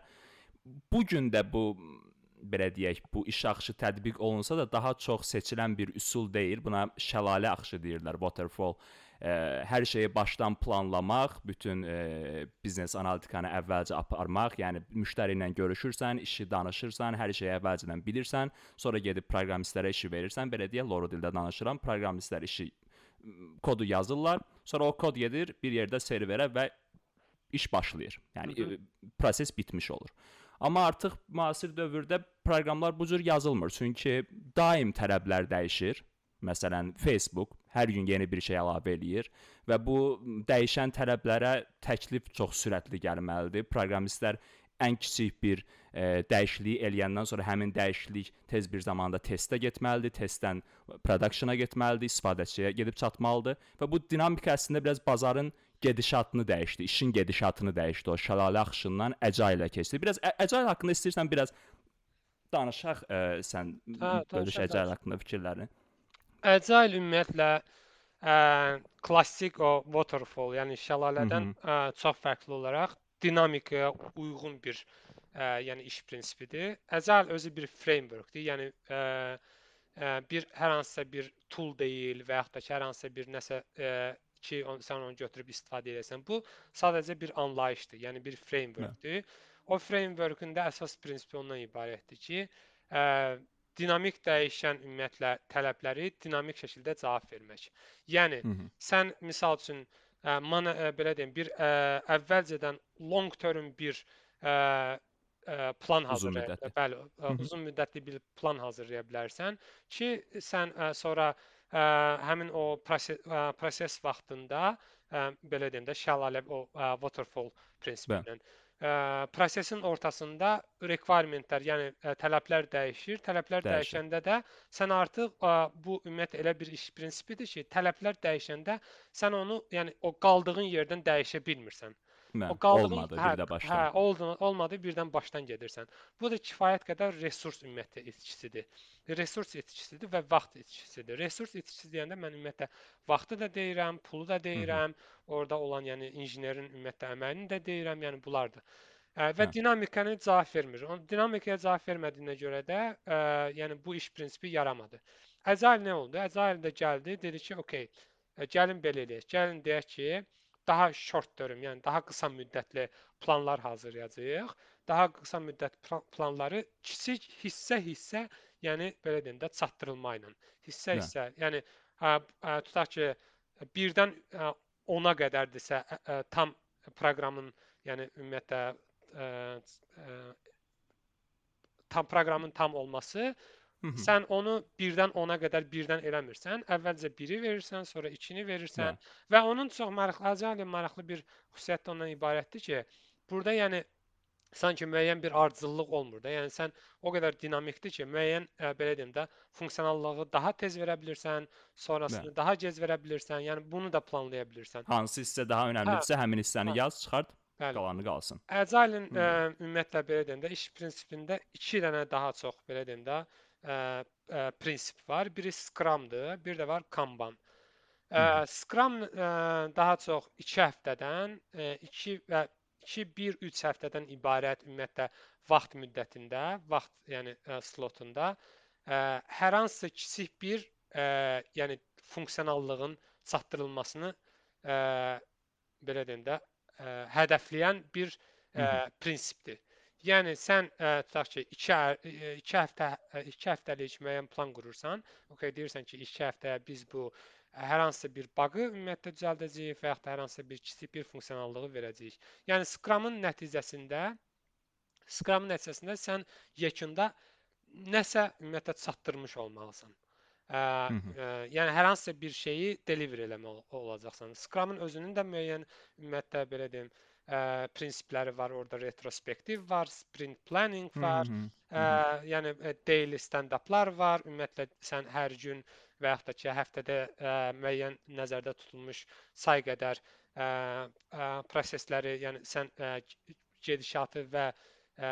bu gün də bu belə deyək, bu iş axışı tətbiq olunsa da daha çox seçilən bir üsul deyil. Buna şəlalə axışı deyirlər, waterfall. Ə, hər şeyi başdan planlamaq, bütün ə, biznes analitikanı əvvəlcə aparmaq, yəni müştəri ilə görüşürsən, işi danışırsan, hər şeyi əvvəlcədən bilirsən, sonra gedib proqramistlərə işi verirsən, belə deyə Loro dildə danışıram, proqramistlər işi kodu yazırlar, sonra o kod gedir bir yerdə serverə və iş başlayır. Yəni Hı -hı. proses bitmiş olur. Amma artıq müasir dövrdə proqramlar bu cür yazılmır, çünki daim tələblər dəyişir. Məsələn, Facebook hər gün yeni bir şey əlavə eləyir və bu dəyişən tələblərə təklif çox sürətli gəlməlidir. Proqramistlər ən kiçik bir e, dəyişikliyi eləyəndən sonra həmin dəyişiklik tez bir zamanda testə getməlidir, testdən production-a getməlidir, istifadəçiyə gedib çatmalıdır və bu dinamika əslində biraz bazarın gedişatını dəyişdi, işin gedişatını dəyişdi. O şəlalə axışından Agile-ə keçdi. Biraz Agile haqqında istəyirsən biraz danışaq, ə, sən
Hə,
bölüş
danışaq,
Agile
danışaq.
haqqında fikirlərini.
Agile ümumiyyətlə ə, klassik o waterfall, yəni
Hı
şəlalədən
-hı.
ə, çox fərqli olaraq dinamikaya uyğun bir ə, yəni iş prinsipidir. Agile özü bir frameworkdir. Yəni ə, ə, bir hər hansısa bir tool deyil və yaxud da ki, hər hansısa bir nəsə ə, ki, on, sən onu götürüb istifadə edirsən. Bu sadəcə bir anlayışdır, yəni bir
Hə.
frameworkdir. O frameworkün də əsas prinsipi ondan ibarətdir ki, ə, dinamik dəyişən ümumiyyətlə tələbləri dinamik şəkildə cavab vermək. Yəni
Hı -hı.
sən misal üçün ə, mana ə, belə deyim, bir ə, əvvəlcədən long term bir ə, ə, plan
Uzun
hazırlaya,
müddətli.
bəli, ə,
Hı -hı.
uzun müddətli bir plan hazırlaya bilərsən ki, sən ə, sonra ə, həmin o proses, ə, proses vaxtında ə, belə deyim də şəlalə o ə, waterfall prinsipi
Bəli.
ilə ə, prosesin ortasında requirementlər, yəni ə, tələblər dəyişir. Tələblər
Dəyişir.
dəyişəndə də sən artıq ə, bu ümumiyyətlə elə bir iş prinsipidir ki, tələblər dəyişəndə sən onu, yəni o qaldığın yerdən dəyişə bilmirsən. O
Bəli.
qaldığın,
Olmadı
hə,
bir də
hə,
başdan.
oldu, olmadı, birdən başdan gedirsən. Bu da kifayət qədər resurs ümumiyyətlə itkisidir. Resurs itkisidir və vaxt itkisidir. Resurs itkisi deyəndə mən ümumiyyətlə vaxtı da deyirəm, pulu da
Hı -hı.
deyirəm, orada olan yəni injinerin ümumiyyətlə əməyini də deyirəm, yəni bunlardır. Ə, və
Hə.
dinamikanı cavab vermir. O dinamikaya cavab vermədiyinə görə də ə, yəni bu iş prinsipi yaramadı. Agile nə oldu? Agile də gəldi, dedi ki, okey, ə, gəlin belə eləyək. Gəlin deyək ki, daha short term, yəni daha qısa müddətli planlar hazırlayacağıq. Daha qısa müddət planları kiçik hissə-hissə, yəni belə deyim də çatdırılma ilə.
Bəli.
Hissə-hissə, yəni ə, ə, tutaq ki, birdən ə, ona qədərdirsə ə, ə, tam proqramın, yəni ümumiyyətlə ə, ə, tam proqramın tam olması,
Hı -hı.
sən onu birdən ona qədər birdən eləmirsən. Əvvəlcə biri verirsən, sonra ikini verirsən
Bəli.
və onun çox maraqlı, Agile maraqlı bir xüsusiyyəti də ondan ibarətdir ki, burada yəni sanki müəyyən bir ardıcıllıq olmur da. Yəni sən o qədər dinamikdir ki, müəyyən ə, belə deyim də, funksionallığı daha tez verə bilirsən,
Bəli.
sonrasını daha gec verə bilirsən. Yəni bunu da planlaya bilirsən.
Hansı hissə daha
Hə,
önəmlidirsə, həmin hissəni
hə,
yaz, çıxart,
bəli.
qalanı qalsın.
Agile-in ə,
Hı.
ümumiyyətlə belə deyim də, iş prinsipində iki dənə daha çox belə deyim də, ə, ə, prinsip var. Biri Scrum-dır, bir də var Kanban.
Hı
Ə,
-hı.
Scrum ə, daha çox iki həftədən, ə, iki və iki bir üç həftədən ibarət ümumiyyətlə vaxt müddətində, vaxt yəni ə, slotunda ə, hər hansısa kiçik bir ə, yəni funksionallığın çatdırılmasını ə, belə deyim də, ə, hədəfləyən bir
Hı
ə,
-hı.
prinsipdir. Yəni sən ə, tutaq ki, iki, ə, iki həftə iki həftəlik müəyyən plan qurursan, okey, deyirsən ki, iki həftəyə biz bu hər hansısa bir baqı ümumiyyətlə düzəldəcəyik və yaxud da hər hansısa bir kiçik bir funksionallığı verəcəyik. Yəni Scrum-ın nəticəsində Scrum-ın nəticəsində sən yekunda nəsə ümumiyyətlə çatdırmış olmalısan. Ə,
Hı -hı.
ə, yəni hər hansısa bir şeyi deliver eləməli olacaqsan. Scrum-ın özünün də müəyyən ümumiyyətlə belə deyim, ə, prinsipləri var. Orada retrospektiv var, sprint planning
Hı
var.
-hı. Hı
Ə,
-hı.
yəni ə, daily stand-uplar var. Ümumiyyətlə sən hər gün və yaxud da ki, həftədə ə, müəyyən nəzərdə tutulmuş say qədər ə, ə, prosesləri, yəni sən ə, gedişatı və ə,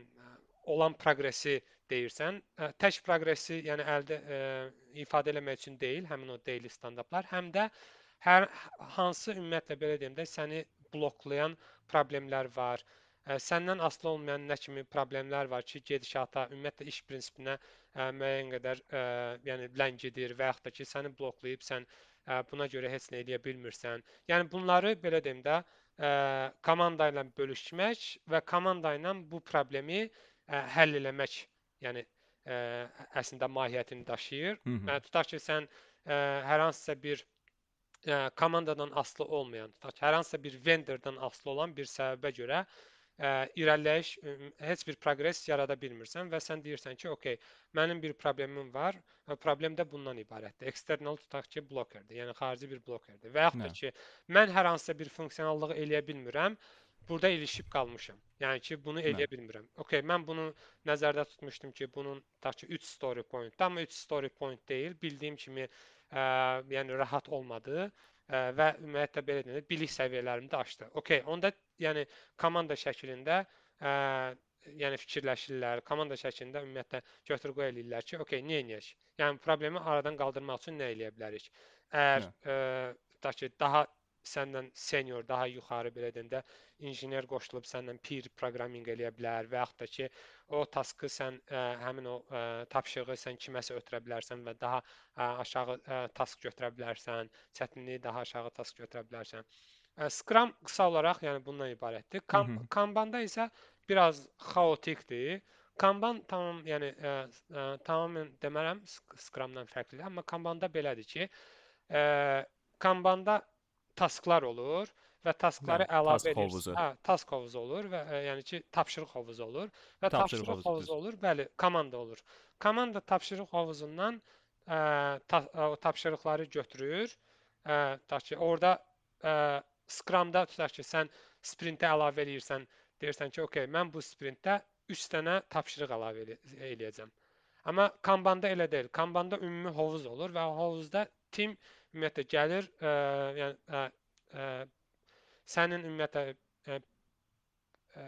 olan proqresi deyirsən. Ə, tək proqresi, yəni əldə ə, ifadə eləmək üçün deyil, həmin o daily stand-uplar, həm də hər hansı ümumiyyətlə belə deyim də səni bloklayan problemlər var. Ə, səndən asılı olmayan nə kimi problemlər var ki, gedişata, ümumiyyətlə iş prinsipinə ə, müəyyən qədər ə, yəni ləngidir və yaxud da ki, səni bloklayıb sən ə, buna görə heç nə edə bilmirsən. Yəni bunları belə deyim də ə, komanda ilə bölüşmək və komanda ilə bu problemi ə, həll eləmək, yəni ə, əslində mahiyyətini daşıyır.
Hı -hı.
Ə, tutaq ki, sən ə, hər hansısa bir ə, komandadan asılı olmayan, tutaq ki, hər hansısa bir vendordan asılı olan bir səbəbə görə ə, irəliləyiş, ə, heç bir proqres yarada bilmirsən və sən deyirsən ki, okey, mənim bir problemim var və problem də bundan ibarətdir. External tutaq ki, blokerdir, yəni xarici bir blokerdir. Və yaxud da
Nə?
ki, mən hər hansısa bir funksionallığı eləyə bilmirəm, burada ilişib qalmışam. Yəni ki, bunu
Nə?
eləyə bilmirəm. Okey, mən bunu nəzərdə tutmuşdum ki, bunun tutaq ki, üç story point, amma üç story point deyil, bildiyim kimi ə, yəni rahat olmadı ə, və ümumiyyətlə belə deyək, bilik səviyyələrimi də aşdı. Okey, onda yəni komanda şəklində ə, yəni fikirləşirlər, komanda şəklində ümumiyyətlə götür-qoy eləyirlər ki, okey, nə edək? Yəni problemi aradan qaldırmaq üçün nə eləyə bilərik? Əgər
Nə?
ə, tutaq ki, daha səndən senior, daha yuxarı belə deyəndə injiner qoşulub səndən peer proqramminq eləyə bilər və yaxud da ki, o taskı sən ə, həmin o ə, tapşırığı sən kiməsə ötürə bilərsən və daha ə, aşağı ə, task götürə bilərsən, çətinliyi daha aşağı task götürə bilərsən. Ə, Scrum qısa olaraq yəni bundan ibarətdir.
Hı
Kam
hı.
Kanbanda isə biraz xaotikdir. Kanban tamam, yəni ə, ə, tamamilə demərəm Scrumdan fərqlidir, amma Kanbanda belədir ki, ə, Kanbanda tasklar olur və taskları
Bəli,
əlavə
task
edirsən.
hovuzu,
Hə, task hovuzu olur və ə, yəni ki, tapşırıq hovuzu olur və
tapşırıq
tapşırıq
hovuzu
hovuzu
düz.
olur, bəli, komanda olur. Komanda tapşırıq hovuzundan ə, ta, o tapşırıqları götürür. Ə, tutaq ki, orada ə, Scrum-da tutaq ki, sən sprintə əlavə eləyirsən, deyirsən ki, okey, mən bu sprintdə üç dənə tapşırıq əlavə elə eləyəcəm. Amma Kanbanda elə deyil. Kanbanda ümumi hovuz olur və o hovuzda tim ümumiyyətlə gəlir, ə, yəni ə, ə, sənin ümumiyyətlə ə, ə,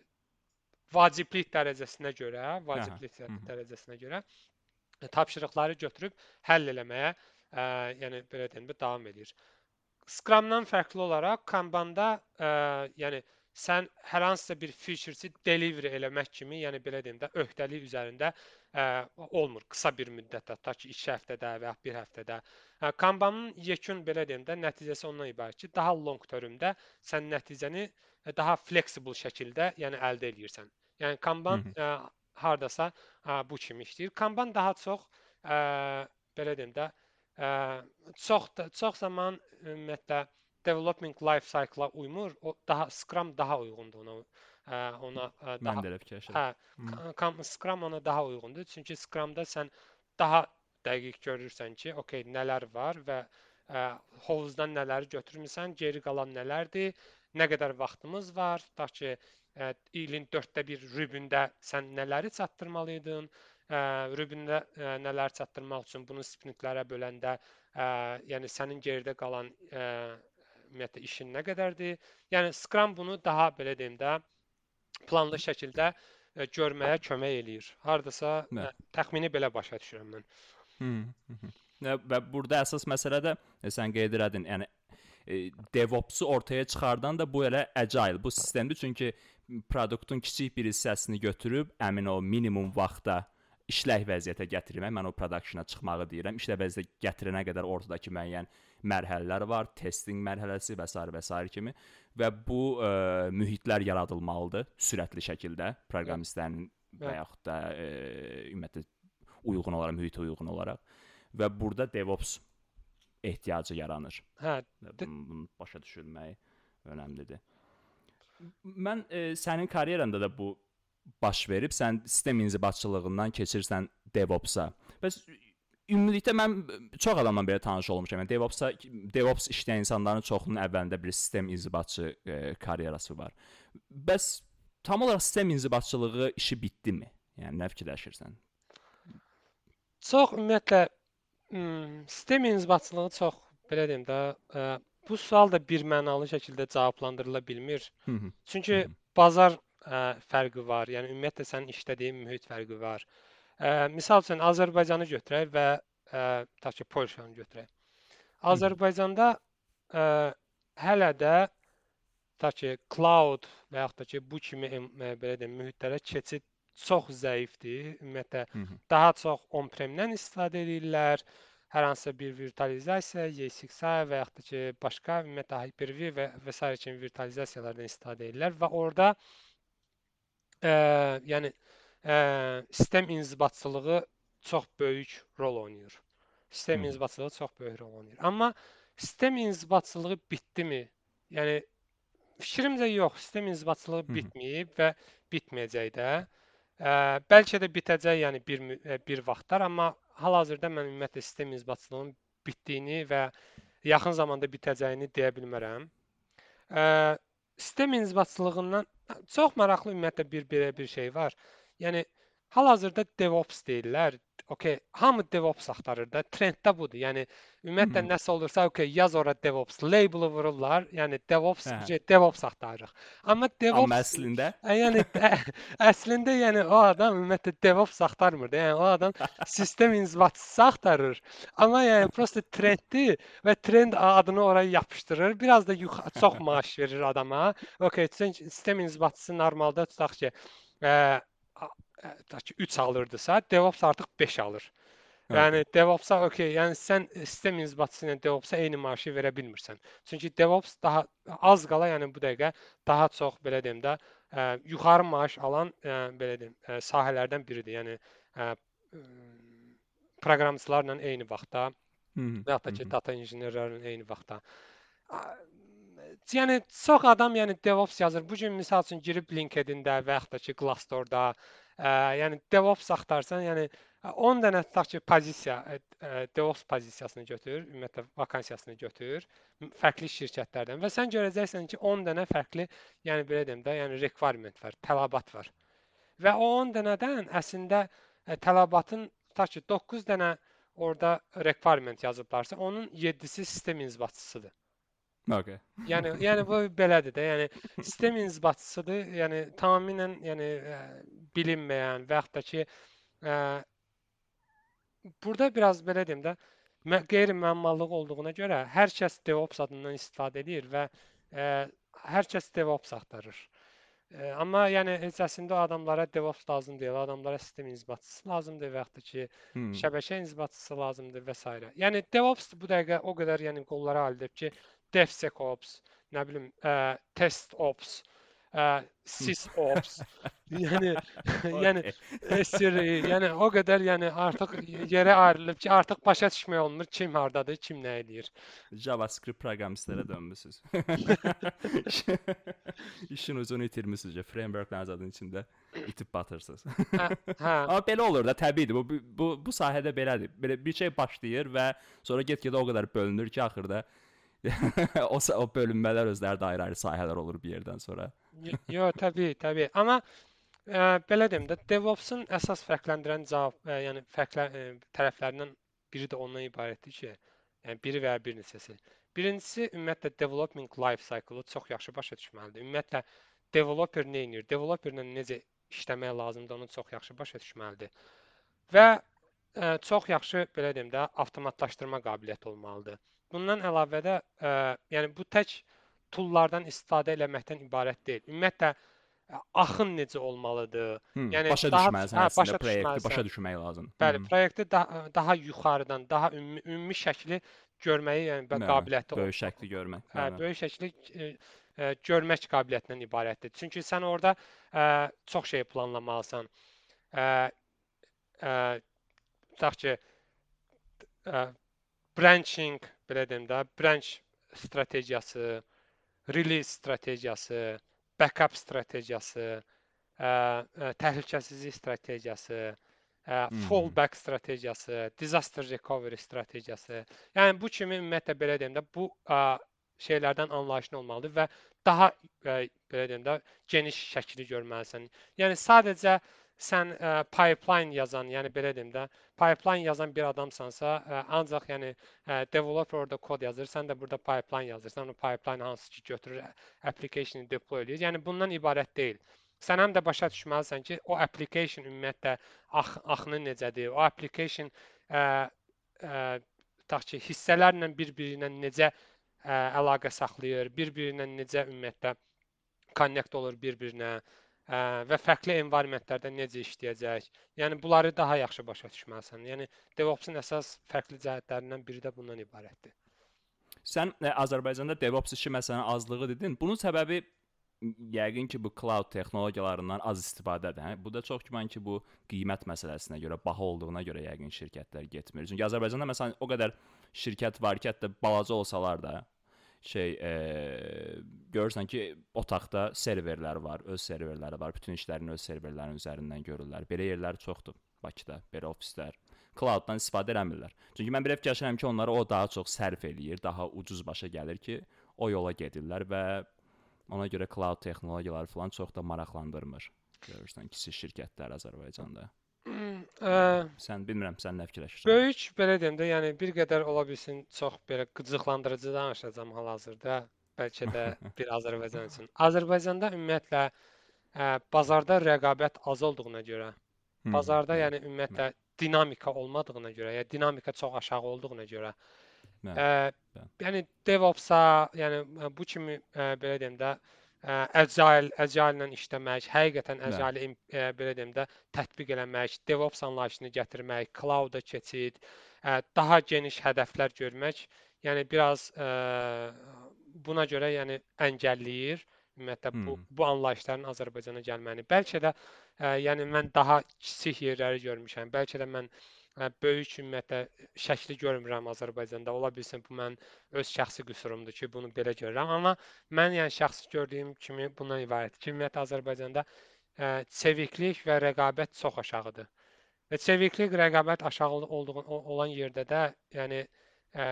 vaciblik dərəcəsinə görə,
Aha.
vaciblik
Hı hı.
dərəcəsinə görə tapşırıqları götürüb həll eləməyə, ə, yəni belə deyim, davam edir. Scrum-dan fərqli olaraq Kanbanda ə, yəni sən hər hansısa bir feature-si deliver eləmək kimi, yəni belə deyim də, öhdəlik üzərində ə, olmur qısa bir müddətdə, ta ki iki həftədə və ya bir həftədə. Ə, Kanbanın yekun belə deyim də, nəticəsi ondan ibarət ki, daha long termdə sən nəticəni daha flexible şəkildə, yəni əldə edirsən. Yəni
Hı
Kanban
hı.
ə, hardasa ə, bu kimi işləyir. Kanban daha çox ə, belə deyim də, ə, çox da, çox zaman ümumiyyətlə development life cycle-a uymur. O daha Scrum daha uyğundur ona. Ə, ona ə,
Mən
daha
də elə fikirləşirəm.
hə,
Hı hı.
Ka- Scrum ona daha uyğundur. Çünki Scrum-da sən daha dəqiq görürsən ki, okey, nələr var və ə, hovuzdan nələri götürmüsən, geri qalan nələrdir, nə qədər vaxtımız var, tutaq ki, ə, ilin dörddə bir rübündə sən nələri çatdırmalıydın, ə, rübündə ə, nələr çatdırmaq üçün bunu sprintlərə böləndə, ə, yəni sənin geridə qalan ə, ümumiyyətlə işin nə qədərdir? Yəni Scrum bunu daha belə deyim də, planlı şəkildə ə, görməyə kömək eləyir. Hardasa
Nə?
ə, təxmini belə başa düşürəm mən.
Hı hı. Hı. Və və burada əsas məsələ də e, sən qeyd elədin, yəni e, DevOps-u ortaya çıxardan da bu elə agile, bu sistemdir. Çünki produktun kiçik bir hissəsini götürüb həmin o minimum vaxtda işlək vəziyyətə gətirmək, mən o production-a çıxmağı deyirəm. İşlək vəziyyətə gətirənə qədər ortadakı müəyyən mərhələlər var, testing mərhələsi və s. və s. kimi və bu ə, mühitlər yaradılmalıdır sürətli şəkildə proqramistlərin və
Bəli.
yaxud da ə, ümumiyyətlə uyğun olaraq, mühitə uyğun olaraq və burada DevOps ehtiyacı yaranır.
Hə, d-
Bunu başa düşülmək önəmlidir. Mən e, sənin karyeranda da bu baş verib, sən sistem inzibatçılığından keçirsən DevOps-a. Bəs ümumilikdə mən çox adamla belə tanış olmuşam. Yəni DevOps-a DevOps işləyən insanların çoxunun əvvəlində bir sistem inzibatçı e, karyerası var. Bəs tam olaraq sistem inzibatçılığı işi bitdimi? Yəni nə fikirləşirsən?
çox ümumiyyətlə m, sistem inzibatçılığı çox belə deyim də, ə, bu sual da birmənalı şəkildə cavablandırıla bilmir.
Hı -hı.
Çünki
Hı -hı.
bazar ə, fərqi var. Yəni ümumiyyətlə sənin işlədiyin mühit fərqi var. Ə, misal üçün Azərbaycanı götürək və ə, tutaq ki, Polşanı götürək.
Hı -hı.
Azərbaycanda ə, hələ də tutaq ki, cloud və yaxud da ki, bu kimi em- ə, belə deyim, mühitlərə keçid çox zəifdir. Ümumiyyətlə
Hı -hı.
daha çox on-prem-dən istifadə edirlər. Hər hansısa bir virtualizasiya, E S X i və yaxud da ki, başqa ümumiyyətlə Hyper-V və və sair kimi virtualizasiyalardan istifadə edirlər və orada ə, yəni ə, sistem inzibatçılığı çox böyük rol oynayır.
Hı
Sistem
-hı.
inzibatçılığı çox böyük rol oynayır. Amma sistem inzibatçılığı bitdimi? Yəni fikrimcə yox, sistem inzibatçılığı
Hı -hı.
bitməyib və bitməyəcək də. Ə, bəlkə də bitəcək, yəni bir mü- ə, bir vaxtlar, amma hal-hazırda mən ümumiyyətlə sistem inzibatçılığının bitdiyini və yaxın zamanda bitəcəyini deyə bilmərəm. Ə, sistem inzibatçılığından çox maraqlı ümumiyyətlə bir belə bir şey var. Yəni hal-hazırda DevOps deyirlər. okey, hamı DevOps axtarır da, trenddə budur. Yəni ümumiyyətlə
Mhm.
nəsə olursa, okey, yaz ora DevOps, label-ı vururlar. Yəni DevOps,
Hə.
şey, DevOps axtarırıq. Amma
Amma
DevOps
əslində
ə, yəni ə, əslində yəni o adam ümumiyyətlə DevOps axtarmır da. Yəni o adam sistem inzibatçısı axtarır. Amma yəni prosta trenddir və trend adını oraya yapışdırır. Biraz da yuxa- çox maaş verir adama. Okey, çünki sistem inzibatçısı normalda tutaq ki, ə, tutaq ki üç alırdısa, DevOps artıq beş alır.
okey.
Yəni DevOps-a okey, yəni sən sistem inzibatçısı ilə DevOps-a eyni maaşı verə bilmirsən. Çünki DevOps daha az qala, yəni bu dəqiqə daha çox belə deyim də, ə, yuxarı maaş alan ə, belə deyim, ə, sahələrdən biridir. Yəni ə, proqramçılarla eyni vaxtda
Mhm,
və yaxud da ki,
mhm.
data injinerlərlə eyni vaxtda. A- Yəni çox adam yəni DevOps yazır. Bu gün misal üçün girib LinkedIn-də və yaxud da ki, Glassdoor-da, ə, yəni DevOps axtarsan, yəni ə, on dənə tutaq ki, pozisiya, ə, ə, DevOps pozisiyasını götür, ümumiyyətlə vakansiyasını götür, m- fərqli şirkətlərdən və sən görəcəksən ki, on dənə fərqli, yəni belə deyim də, yəni requirement var, tələbat var. Və o on dənədən əslində ə, tələbatın tutaq ki, doqquz dənə orada requirement yazıblarsa, onun yeddisi sistem inzibatçısıdır.
Okay.
Yəni yəni bu belədir də. Yəni sistem inzibatçısıdır. Yəni tamamilə yəni ə, bilinməyən və yaxud da ki, ə, burada biraz belə deyim də, mə- qeyri-müəmmallıq olduğuna görə hər kəs DevOps adından istifadə edir və ə, hər kəs DevOps axtarır. Ə, amma yəni heç əslində o adamlara DevOps lazım deyil, o adamlara sistem inzibatçısı lazımdır və yaxud da ki,
Hmm.
şəbəkə inzibatçısı lazımdır və s. Yəni DevOps bu dəqiqə o qədər yəni qollara alıb ki, DevSecOps, nə bilim, ə, TestOps, ə, SysOps, yəni yəni
Okay.
S R E, yəni o qədər yəni artıq yerə ayrılıb ki, artıq başa düşmək olmur kim hardadır, kim nə edir.
JavaScript proqramistlərə dönmüsüz. İşin ucunu itirmisiniz. Frameworkların adının içində itib batırsınız.
Hə, hə.
Amma belə olur da, təbiidir. Bu bu bu sahədə belədir. Belə bir şey başlayır və sonra get-gedə o qədər bölünür ki, axırda o sa- o bölünmələr özləri də ayrı-ayrı sahələr olur bir yerdən sonra.
Y- Yo, təbii, təbii. Amma ə, belə deyim də, DevOps-un əsas fərqləndirən cavab, ə, yəni fərqlə ə, tərəflərindən biri də ondan ibarətdir ki, yəni biri və ya bir neçəsi. Birincisi, ümumiyyətlə development life cycle-ı çox yaxşı başa düşməlidir. Ümumiyyətlə developer nə edir? Developerlə necə işləmək lazımdır, onu çox yaxşı başa düşməlidir. Və ə, çox yaxşı belə deyim də, avtomatlaşdırma qabiliyyəti olmalıdır. Bundan əlavə də ə, yəni bu tək toollardan istifadə eləməkdən ibarət deyil. Ümumiyyətlə ə, axın necə olmalıdır?
Hmm,
Yəni
başa
daha
düşməlisən
hə,
əslində
başa
proyekti, başa
düşməlisən.
düşmək lazım.
Bəli,
Mhm.
proyekti daha, daha yuxarıdan, daha ümumi, ümumi şəkli görməyi, yəni bə-
Bəli,
qabiliyyəti o,
böyük şəkli görmək.
hə,
Bəli.
böyük şəkli ə, ə, görmək qabiliyyətindən ibarətdir. Çünki sən orada ə, çox şey planlamalısan. Ə, ə, tutaq ki, ə, branching, belə deyim də, branch strategiyası, release strategiyası, backup strategiyası, ə, ə, təhlükəsizlik strategiyası, ə,
Mhm.
fallback strategiyası, disaster recovery strategiyası. Yəni bu kimi ümumiyyətlə belə deyim də, bu ə, şeylərdən anlayışın olmalıdır və daha ə, belə deyim də, geniş şəkli görməlisən. Yəni sadəcə sən ə, pipeline yazan, yəni belə deyim də, pipeline yazan bir adamsansa, ə, ancaq yəni ə, developer orada kod yazır, sən də burada pipeline yazırsan, o pipeline hansı ki götürür application-ı deploy eləyir. Yəni bundan ibarət deyil. Sən həm də başa düşməlisən ki, o application ümumiyyətlə ax axını necədir? O application ə, ə, tutaq ki, hissələrlə bir-biri ilə necə ə, əlaqə saxlayır, bir-biri ilə necə ümumiyyətlə connect olur bir-birinə ə, və fərqli environmentlərdə necə işləyəcək. Yəni bunları daha yaxşı başa düşməlisən. Yəni DevOps-un əsas fərqli cəhətlərindən biri də bundan ibarətdir.
Sən ə, Azərbaycanda DevOps işi məsələn azlığı dedin. Bunun səbəbi m, yəqin ki, bu cloud texnologiyalarından az istifadədir. Hə? Bu da çox güman ki, bu qiymət məsələsinə görə, baha olduğuna görə yəqin şirkətlər getmir. Çünki Azərbaycanda məsələn o qədər şirkət var ki, hətta balaca olsalar da şey e, görürsən ki, otaqda serverlər var, öz serverləri var, bütün işlərini öz serverlərinin üzərindən görürlər. Belə yerlər çoxdur Bakıda, belə ofislər. Cloud-dan istifadə eləmirlər. Çünki mən belə fikirləşirəm ki, onları o daha çox sərf eləyir, daha ucuz başa gəlir ki, o yola gedirlər və ona görə cloud texnologiyaları falan çox da maraqlandırmır. Görürsən kiçik şirkətlər Azərbaycanda.
Ə,
Sən bilmirəm, sən nə fikirləşirsən?
böyük belə deyim də, yəni bir qədər ola bilsin çox belə qıcıqlandırıcı danışacağam hal-hazırda. Bəlkə də bir Azərbaycan üçün. Azərbaycanda ümumiyyətlə ə, bazarda rəqabət az olduğuna görə,
Hı,
bazarda
bəli,
yəni
bəli,
ümumiyyətlə dinamika olmadığına görə, ya dinamika çox aşağı olduğuna görə,
bəli,
ə,
bəli.
yəni DevOps-a, yəni ə, bu kimi ə, belə deyim də, ə, Agile, Agile-la işləmək, həqiqətən
Bəli.
Agile im- ə, belə deyim də tətbiq eləmək, DevOps anlayışını gətirmək, cloud-a keçid, ə, daha geniş hədəflər görmək, yəni biraz ə, buna görə yəni əngəlləyir ümumiyyətlə
Hı,
bu bu anlayışların Azərbaycana gəlməni. Bəlkə də ə, yəni mən daha kiçik yerləri görmüşəm. Bəlkə də mən ə, böyük ümumiyyətlə şəkli görmürəm Azərbaycanda. Ola bilsin bu mən öz şəxsi qüsurumdur ki, bunu belə görürəm. Amma mən yəni şəxsi gördüyüm kimi bundan ibarətdir ki, ümumiyyətlə Azərbaycanda ə, çeviklik və rəqabət çox aşağıdır. Və çeviklik, rəqabət aşağı olduğu o- olan yerdə də, yəni ə,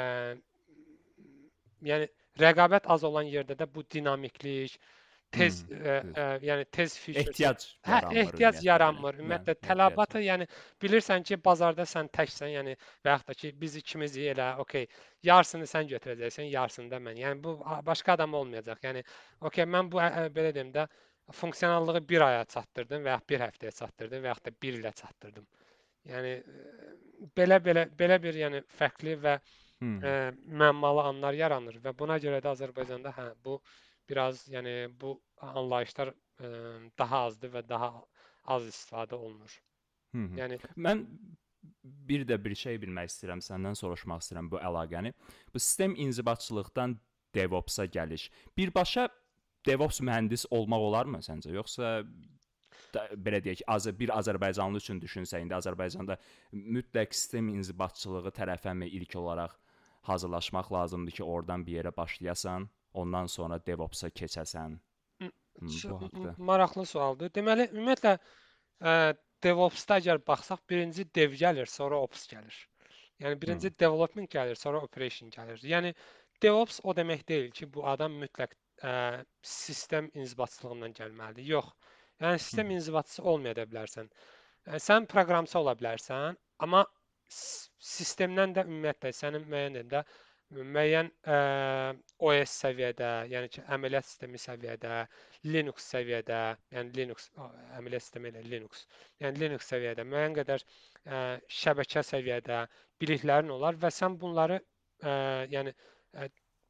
yəni rəqabət az olan yerdə də bu dinamiklik, tez
hı,
ə,
düz.
ə, yəni tez feature,
Ehtiyac
hə,
yaranmır
ehtiyac
ümumiyyətlə belə.
yaranmır.
Bəli,
Ümumiyyətlə
ehtiyac.
tələbatı, yəni bilirsən ki, bazarda sən təksən, yəni və yaxud da ki, biz ikimizik elə, okey, yarısını sən götürəcəksən, yarısını da mən. Yəni bu a- başqa adam olmayacaq. Yəni okey, mən bu ə, ə, belə deyim də funksionallığı bir aya çatdırdım və ya bir həftəyə çatdırdım və yaxud da bir ilə çatdırdım. Yəni ə, belə belə belə bir yəni fərqli və
Hı,
ə, müəmmalı anlar yaranır və buna görə də Azərbaycanda hə bu biraz yəni bu anlayışlar ə, daha azdır və daha az istifadə olunur.
hı, hı.
Yəni
Mən bir də bir şey bilmək istəyirəm, səndən soruşmaq istəyirəm bu əlaqəni. Bu sistem inzibatçılıqdan DevOps-a gəliş. Birbaşa DevOps mühəndis olmaq olarmı səncə? Yoxsa da, belə deyək, az bir Azərbaycanlı üçün düşünsə, indi Azərbaycanda mütləq sistem inzibatçılığı tərəfəmi ilk olaraq hazırlaşmaq lazımdır ki, oradan bir yerə başlayasan, ondan sonra DevOps-a keçəsən.
m-
Hı,
ç-
bu
m-
haqqda.
maraqlı sualdır. Deməli, ümumiyyətlə ə, DevOps-da əgər baxsaq, birinci dev gəlir, sonra ops gəlir. Yəni
Hı,
birinci development gəlir, sonra operation gəlir. Yəni DevOps o demək deyil ki, bu adam mütləq ə, sistem inzibatçılığından gəlməlidir. Yox. Yəni
hı,
sistem inzibatçısı olmaya da bilərsən. Ə, Sən proqramçı ola bilərsən, amma s- sistemdən də ümumiyyətlə sənin müəyyən də müəyyən ə, O S səviyyədə, yəni ki, əməliyyat sistemi səviyyədə, Linux səviyyədə, yəni Linux ə, əməliyyat sistemi ilə Linux, yəni Linux səviyyədə müəyyən qədər ə, şəbəkə səviyyədə biliklərin olar və sən bunları ə, yəni ə,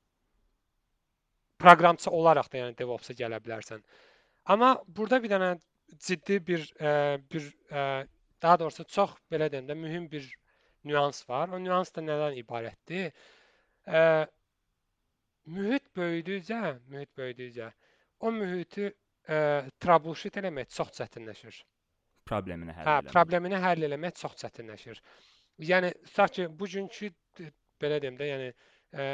proqramçı olaraq da yəni DevOps-a gələ bilərsən. Amma burada bir dənə ciddi bir ə, bir ə, daha doğrusu çox belə deyim də mühüm bir nüans var. O nüans da nədən ibarətdir? Ə, mühit böyüdükcə, mühit böyüdükcə o mühiti ə, troubleshoot eləmək çox çətinləşir.
problemini
Hə,
həll eləmək.
problemini həll eləmək çox çətinləşir. Yəni tutaq ki, bugünkü d- belə deyim də, yəni ə,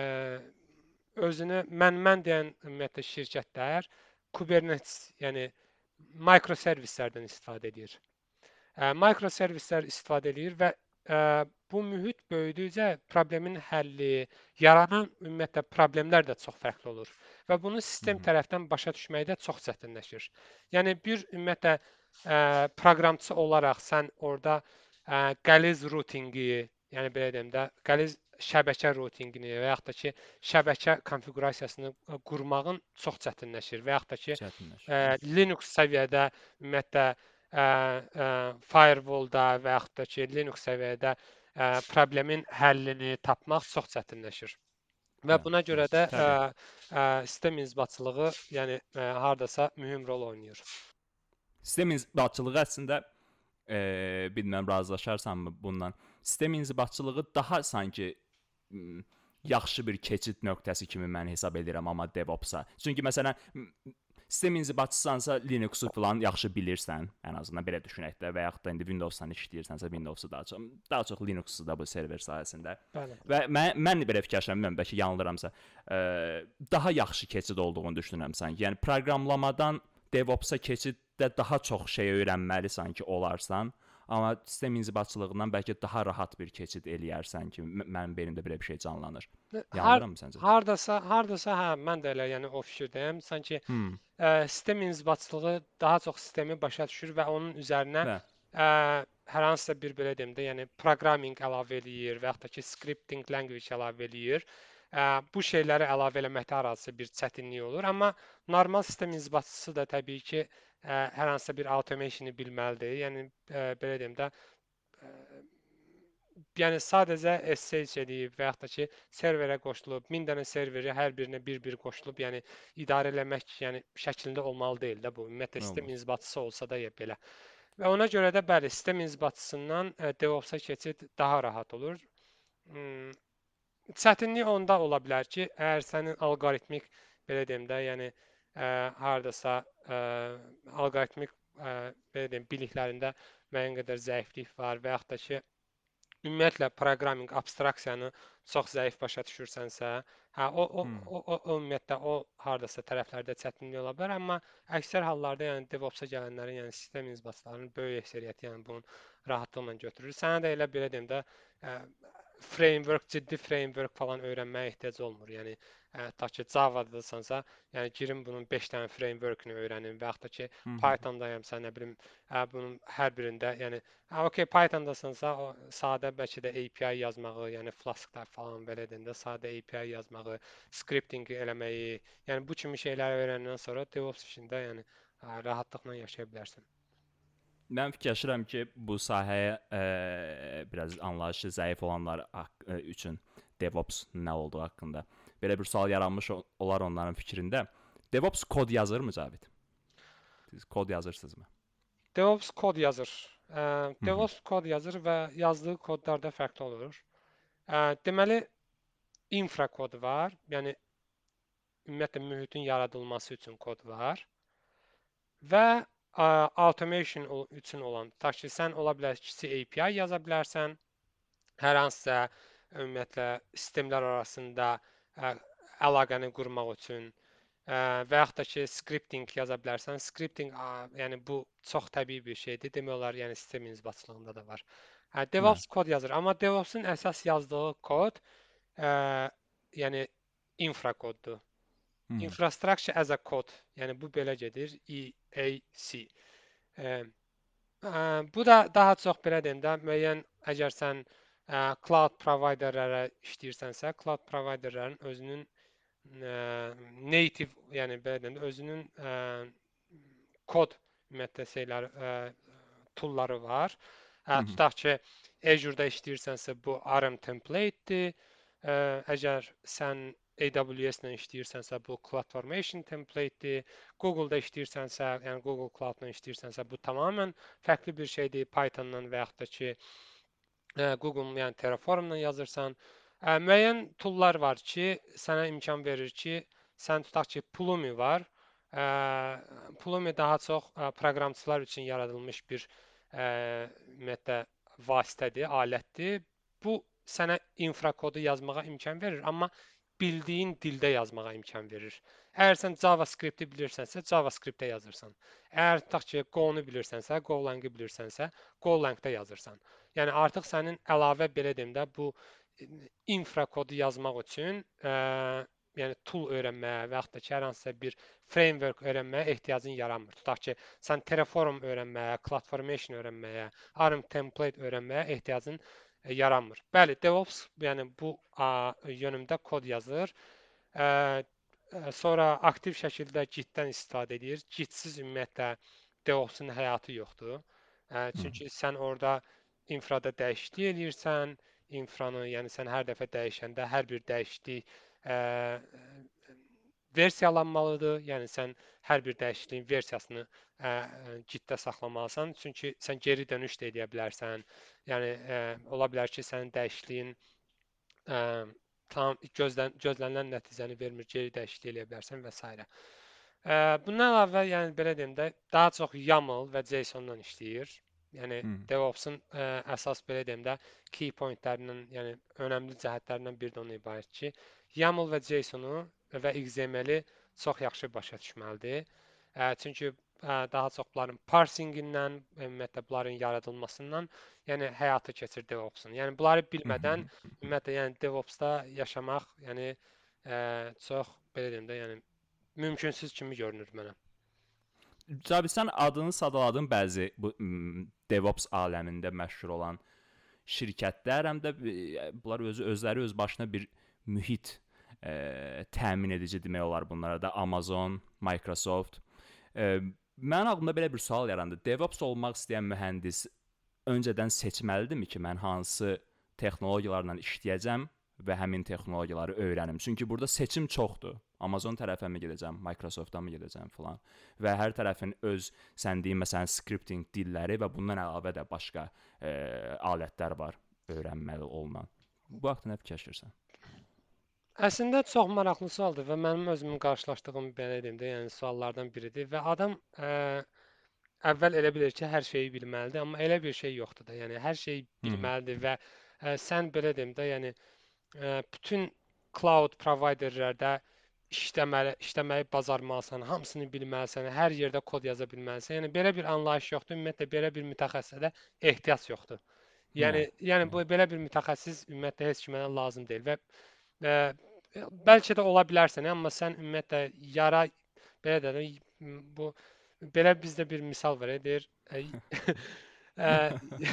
özünü mən mən deyən ümumiyyətlə şirkətlər Kubernetes, yəni mikroservislərdən istifadə edir. Ə, Mikroservislər istifadə eləyir və ə, bu mühit böyüdükcə problemin həlli, yaranan ümumiyyətlə problemlər də çox fərqli olur və bunu
Hı
sistem
-hı.
tərəfdən başa düşməkdə çox çətinləşir. Yəni bir ümumiyyətlə ə, proqramçı olaraq sən orada ə, qəliz rutinqi, yəni belə deyim də, qəliz şəbəkə rutinqini və yaxud da ki, şəbəkə konfiqurasiyasını ə, qurmağın çox çətinləşir və yaxud da ki,
Çətinləşir,
ə,
düz.
Linux səviyyədə ümumiyyətlə ə, ə, firewall-da və yaxud da ki, Linux səviyyədə ə, problemin həllini tapmaq çox çətinləşir. Və
Bəli,
buna görə
bəli.
də ə,
Təbii.
ə, sistem inzibatçılığı, yəni ə, hardasa mühüm rol oynayır.
Sistem inzibatçılığı əslində e, bilmirəm razılaşarsanmı bundan. Sistem inzibatçılığı daha sanki m, yaxşı bir keçid nöqtəsi kimi mən hesab edirəm amma DevOps-a. Çünki məsələn m, sistem inzibatçısansa Linux-u falan yaxşı bilirsən, ən azından belə düşünək də və yaxud da indi Windows-dan işləyirsənsə Windows-u daha çox daha çox Linux-u da bu server sahəsində.
Bəli.
Və mən mən belə fikirləşirəm, bilmirəm bəlkə yanılıramsa, e, daha yaxşı keçid olduğunu düşünürəm sanki. Yəni proqramlamadan DevOps-a keçiddə daha çox şey öyrənməli sanki olarsan, amma sistem inzibatçılığından bəlkə daha rahat bir keçid eləyərsən ki, m- mənim beynimdə belə bir şey canlanır.
Har
Yanılıram mı səncə?
hardasa, hardasa hə, mən də elə yəni o fikirdəyəm. Sanki
Hmm,
ə, sistem inzibatçılığı daha çox sistemi başa düşür və onun üzərinə
və
ə, hər hansısa bir belə deyim də, yəni proqraming əlavə eləyir və yaxud da ki, scripting language əlavə eləyir. Ə, bu şeyləri əlavə eləməkdə arası bir çətinlik olur, amma normal sistem inzibatçısı da təbii ki, ə, hər hansısa bir automationu bilməlidir. Yəni ə, belə deyim də, ə, yəni sadəcə S S H edib və yaxud da ki, serverə qoşulub, min dənə serveri hər birinə bir-bir qoşulub, yəni idarə eləmək, yəni şəklində olmalı deyil də bu. Ümumiyyətlə sistem
Olmaz.
inzibatçısı olsa da ya belə. Və ona görə də bəli, sistem inzibatçısından ə, DevOps-a keçid daha rahat olur. Hmm, Çətinlik onda ola bilər ki, əgər sənin alqoritmik belə deyim də, yəni ə, hardasa ə, alqoritmik ə, belə deyim biliklərində müəyyən qədər zəiflik var və yaxud da ki, ümumiyyətlə proqraming abstraksiyanı çox zəif başa düşürsənsə, hə o o
Hmm.
o, o, o ümumiyyətlə o hardasa tərəflərdə çətinlik ola bilər, amma əksər hallarda yəni DevOps-a gələnlərin, yəni sistem inzibatçılarının böyük əksəriyyəti yəni bunun rahatlıqla götürür. Sənə də elə belə deyim də, ə, framework, ciddi framework falan öyrənməyə ehtiyac olmur. Yəni ə, ta ki Java-dasansa, yəni girim bunun beş dənə framework-ünü öyrənim və yaxud da ki
Hı -hı.
Python-dayamsa, nə bilim, ə, bunun hər birində, yəni hə, okey, Python-dasansa o sadə bəlkə də A P I yazmağı, yəni Flask-da falan belə deyəndə sadə A P I yazmağı, scripting eləməyi, yəni bu kimi şeyləri öyrəndən sonra DevOps işində yəni ə, rahatlıqla yaşaya bilərsən.
Mən fikirləşirəm ki, bu sahəyə ə, biraz anlayışı zəif olanlar haqq- ə, üçün DevOps nə olduğu haqqında belə bir sual yaranmış ol- olar onların fikrində. DevOps kod yazırmı Cavid? Siz kod yazırsınızmı?
DevOps kod yazır. Ə,
Hı -hı.
DevOps kod yazır və yazdığı kodlar da fərqli olur. Ə, deməli infra kod var. Yəni ümumiyyətlə mühitin yaradılması üçün kod var. Və ə, automation ol- üçün olan, ta ki sən ola bilər kiçik A P I yaza bilərsən. Hər hansısa ümumiyyətlə sistemlər arasında ə, əlaqəni qurmaq üçün ə, və yaxud da ki scripting yaza bilərsən. Scripting ə, yəni bu çox təbii bir şeydir. Demək olar, yəni sistem inzibatçılığında da var. Hə,
Bəli.
DevOps kod yazır, amma DevOps-un əsas yazdığı kod ə, yəni infra koddur.
Hı -hı.
Infrastructure as a code. Yəni bu belə gedir. E A C. Ə, ə, bu da daha çox belə deyim də, müəyyən əgər sən ə, cloud providerlərə işləyirsənsə, cloud providerlərin özünün ə, native, yəni belə deyim də, özünün ə, kod ümumiyyətlə şeyləri, ə, toolları var.
Hı
Ə,
-hı.
tutaq ki, Azure-da işləyirsənsə bu R M template-dir. Ə, əgər sən A W S-lə işləyirsənsə bu CloudFormation template-dir. Google-da işləyirsənsə, yəni Google Cloud-la işləyirsənsə bu tamamilə fərqli bir şeydir. Python-la və yaxud da ki ə, Google-un yəni Terraform-la yazırsan. Ə, müəyyən toollar var ki, sənə imkan verir ki, sən tutaq ki, Pulumi var. Ə, Pulumi daha çox ə, proqramçılar üçün yaradılmış bir ə, ümumiyyətlə vasitədir, alətdir. Bu sənə infra kodu yazmağa imkan verir, amma bildiyin dildə yazmağa imkan verir. Əgər sən JavaScript-i bilirsənsə, JavaScript-də yazırsan. Əgər tutaq ki, Go-nu bilirsənsə, Golang-i bilirsənsə, Golang-da yazırsan. Yəni artıq sənin əlavə belə deyim də bu infra kodu yazmaq üçün ə, yəni tool öyrənməyə və yaxud da ki, hər hansısa bir framework öyrənməyə ehtiyacın yaranmır. Tutaq ki, sən Terraform öyrənməyə, CloudFormation öyrənməyə, R M template öyrənməyə ehtiyacın e, yaranmır. Bəli, DevOps yəni bu a, yönümdə kod yazır. Ə, ə, sonra aktiv şəkildə Git-dən istifadə edir. Git-siz ümumiyyətlə DevOps-un həyatı yoxdur. Ə,
Hı -hı.
çünki sən orada infrada dəyişiklik eləyirsən, infranı, yəni sən hər dəfə dəyişəndə hər bir dəyişiklik ə, versiyalanmalıdır. Yəni sən hər bir dəyişikliyin versiyasını ə, Git-də saxlamalısan, çünki sən geri dönüş də edə bilərsən. Yəni ə, ola bilər ki, sənin dəyişikliyin ə, tam gözlən gözlənilən nəticəni vermir, geri dəyişiklik eləyə bilərsən və s. Ə, bundan əlavə, yəni belə deyim də, daha çox YAML və JSON-la işləyir. Yəni
Hı -hı.
DevOps-un ə, əsas belə deyim də key point-lərindən, yəni önəmli cəhətlərindən biri də ondan ibarət ki, YAML və JSON-u və X M L-i çox yaxşı başa düşməlidir. Ə, çünki ə, daha çox bunların parsingindən, ümumiyyətlə bunların yaradılmasından, yəni həyata keçir DevOps-un. Yəni bunları
Hı
bilmədən
-hı.
ümumiyyətlə yəni DevOps-da yaşamaq, yəni ə, çox belə deyim də, yəni mümkünsüz kimi görünür mənə.
Cavid, sən adını sadaladın bəzi bu DevOps aləmində məşhur olan şirkətlər, həm də e, bunlar özü özləri öz başına bir mühit e, təmin edici demək olar bunlara da. Amazon, Microsoft. E, Mənim ağlımda belə bir sual yarandı. DevOps olmaq istəyən mühəndis öncədən seçməlidirmi ki, mən hansı texnologiyalarla işləyəcəm və həmin texnologiyaları öyrənim? Çünki burada seçim çoxdur. Amazon tərəfə mi gedəcəm, Microsoft-a mı gedəcəm filan. Və hər tərəfin öz sən deyin məsələn scripting dilləri və bundan əlavə də başqa e, alətlər var öyrənməli olunan. Bu haqqda nə fikirləşirsən?
Əslində çox maraqlı sualdır və mənim özümün qarşılaşdığım belə deyim də, yəni suallardan biridir və adam ə, əvvəl elə bilir ki, hər şeyi bilməlidir, amma elə bir şey yoxdur da. Yəni hər şeyi
Hı -hı.
bilməlidir və ə, sən belə deyim də, yəni ə, bütün cloud providerlərdə işləməli, işləməyi bacarmalısan, hamısını bilməlisən, hər yerdə kod yaza bilməlisən. Yəni belə bir anlayış yoxdur. Ümumiyyətlə belə bir mütəxəssisə də ehtiyac yoxdur. Yəni
Yəni,
yəni bu belə bir mütəxəssis ümumiyyətlə heç kimə lazım deyil və ə, bəlkə də ola bilərsən, amma sən ümumiyyətlə yara belə də bu belə bizdə bir misal var, deyir ə, ə,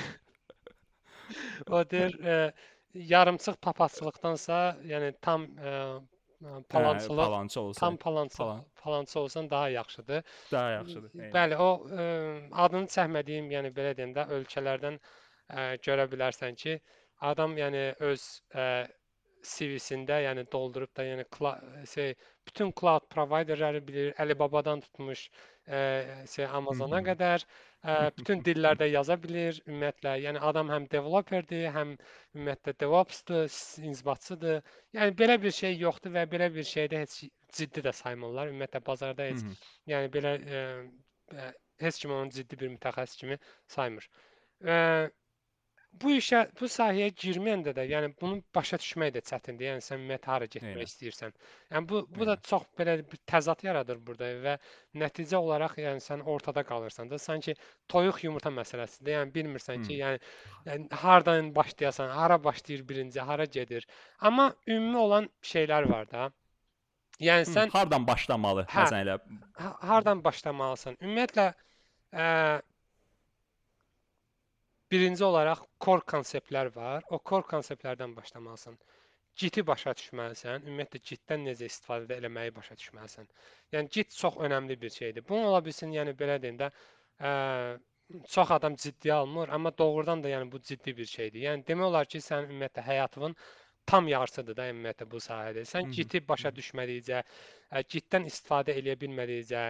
o deyir ə, yarımçıq papaqçılıqdansa, yəni tam ə,
hə,
palançılıq,
palançı olsa,
tam palançı
palan
palançı olsan daha yaxşıdır.
daha yaxşıdır. Eynən.
Bəli, o ə, adını çəkmədiyim, yəni belə deyim də ölkələrdən ə, görə bilərsən ki, adam yəni öz ə, C V-sində yəni doldurub da yəni şey bütün cloud providerləri bilir, Alibabadan tutmuş ə, şey Amazona qədər ə, bütün dillərdə yaza bilir ümumiyyətlə. Yəni adam həm developerdir, həm ümumiyyətlə DevOps-dur, inzibatçıdır. Yəni belə bir şey yoxdur və belə bir şeydə heç ciddi də saymırlar. Ümumiyyətlə bazarda heç yəni belə ə, ə, heç kim onu ciddi bir mütəxəssis kimi saymır. Ə, bu işə, bu sahəyə girməyəndə də, yəni bunu başa düşmək də çətindir. Yəni sən ümumiyyətlə hara getmək
Eynən.
istəyirsən. Yəni bu bu da
Eynən.
çox belə bir təzad yaradır burada və nəticə olaraq yəni sən ortada qalırsan da. Sanki toyuq yumurta məsələsidir. Yəni bilmirsən ki, yəni, yəni hardan başlayasan, hara başlayır birinci, hara gedir. Amma ümumi olan şeylər var da. Yəni
Hı,
sən
hardan başlamalı?
hə,
Məsələn elə
ha- hardan başlamalısan? Ümumiyyətlə ə, birinci olaraq core konseptlər var. O core konseptlərdən başlamalısan. Git-i başa düşməlisən. Ümumiyyətlə Git-dən necə istifadə eləməyi başa düşməlisən. Yəni Git çox önəmli bir şeydir. Bunu ola bilsin, yəni belə deyim də, ə, çox adam ciddiyə almır, amma doğrudan da yəni bu ciddi bir şeydir. Yəni demək olar ki, sən ümumiyyətlə həyatının tam yarısıdır da ümumiyyətlə bu sahədə. Sən Git-i başa düşmədikcə, ə, Git-dən istifadə eləyə bilmədikcə,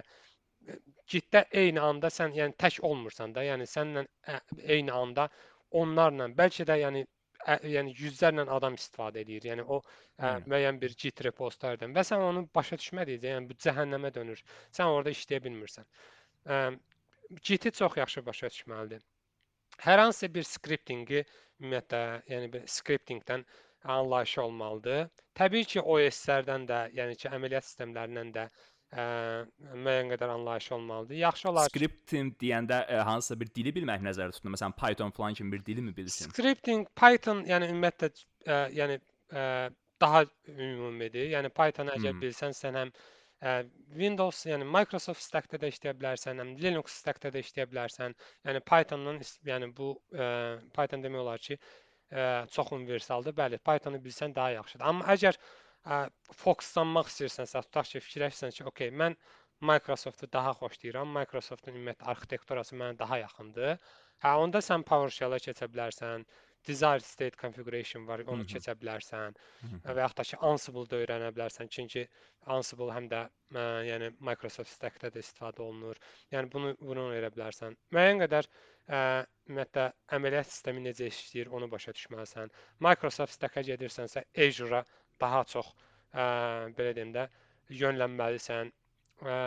Gitdə eyni anda sən yəni tək olmursan da, yəni sənlə ə, eyni anda onlarla, bəlkə də yəni ə, yəni yüzlərlə adam istifadə edir. Yəni o ə,
Eynən.
müəyyən bir Git repozitoriyadan və sən onu başa düşmədikcə, yəni bu cəhənnəmə dönür. Sən orada işləyə bilmirsən. Ə, Git-i çox yaxşı başa düşməlidir. Hər hansı bir skriptinqi ümumiyyətlə, yəni bir skriptingdən anlayışı olmalıdır. Təbii ki, O S-lərdən də, yəni ki, əməliyyat sistemlərindən də ə, müəyyən qədər anlayışı olmalıdır. Yaxşı olar ki,
Scripting deyəndə ə, hansısa bir dili bilmək nəzərdə tutulur. Məsələn, Python falan kimi bir dili mi bilsin?
scripting, Python, yəni ümumiyyətlə ə, yəni ə, daha ümumidir. Yəni Python əgər
Hmm.
bilsən, sən həm ə, Windows, yəni Microsoft stack-də də işləyə bilərsən, həm Linux stack-də də işləyə bilərsən. Yəni Pythondan yəni bu ə, Python demək olar ki, ə, çox universaldır. Bəli, Pythonu bilsən daha yaxşıdır. Amma əgər ə, fokuslanmaq istəyirsənsə, tutaq ki, fikirləşirsən ki, okey, mən Microsoftu daha xoşlayıram. Microsoftun ümumiyyətlə arxitekturası mənə daha yaxındır. Hə, onda sən PowerShell-a keçə bilərsən. Desired state configuration var, onu keçə bilərsən. Və yaxud da ki, Ansible-da öyrənə bilərsən. Çünki Ansible həm də ə, yəni Microsoft Stack-də də istifadə olunur. Yəni bunu bunu öyrənə bilərsən. Müəyyən qədər ə, ümumiyyətlə əməliyyat sistemi necə işləyir, onu başa düşməlisən. Microsoft Stack-a gedirsənsə, Azure-a daha çox ə, belə deyim də yönlənməlisən. Ə,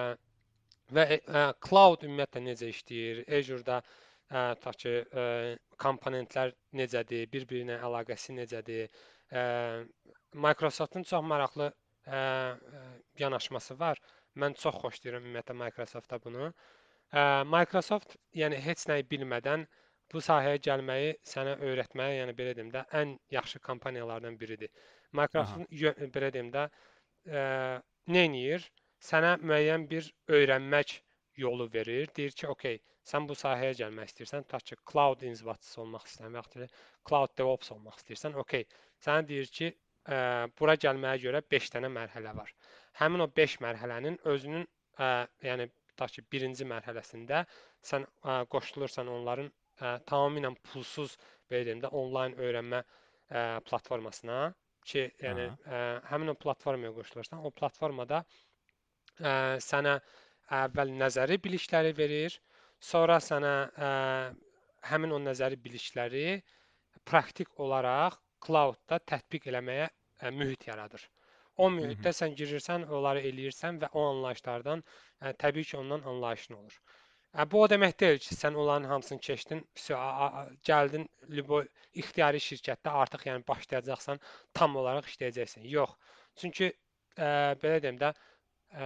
və ə, cloud ümumiyyətlə necə işləyir? Azure-da ə, tutaq ki, ə, komponentlər necədir, bir-birinə əlaqəsi necədir? Ə, Microsoftun çox maraqlı ə, yanaşması var. Mən çox xoşlayıram ümumiyyətlə Microsoftda bunu. Ə, Microsoft yəni heç nəyi bilmədən bu sahəyə gəlməyi sənə öyrətməyə, yəni belə deyim də, ən yaxşı kompaniyalardan biridir. Microsoft belə deyim də, ə, nə edir? Sənə müəyyən bir öyrənmək yolu verir. Deyir ki, okey, sən bu sahəyə gəlmək istəyirsən, tutaq ki, cloud inzibatçısı olmaq istəyirsən, və yaxud da cloud DevOps olmaq istəyirsən, okey. Sənə deyir ki, ə, bura gəlməyə görə beş dənə mərhələ var. Həmin o beş mərhələnin özünün, ə, yəni tutaq ki, birinci mərhələsində sən ə, qoşulursan onların ə, tamamilə pulsuz, belə deyim də, onlayn öyrənmə ə, platformasına ki, yəni
Aha.
ə, həmin o platformaya qoşulursan, o platformada ə, sənə əvvəl nəzəri bilikləri verir, sonra sənə ə, həmin o nəzəri bilikləri praktik olaraq cloudda tətbiq eləməyə ə, mühit yaradır. O
Hı hı.
mühitdə sən girirsən, onları eləyirsən və o anlayışlardan ə, təbii ki, ondan anlayışın olur. Ə, bu o demək deyil ki, sən onların hamısını keçdin, vəsə, a- a- gəldin libo ixtiyari şirkətdə artıq yəni başlayacaqsan, tam olaraq işləyəcəksən. Yox. Çünki ə, belə deyim də, ə,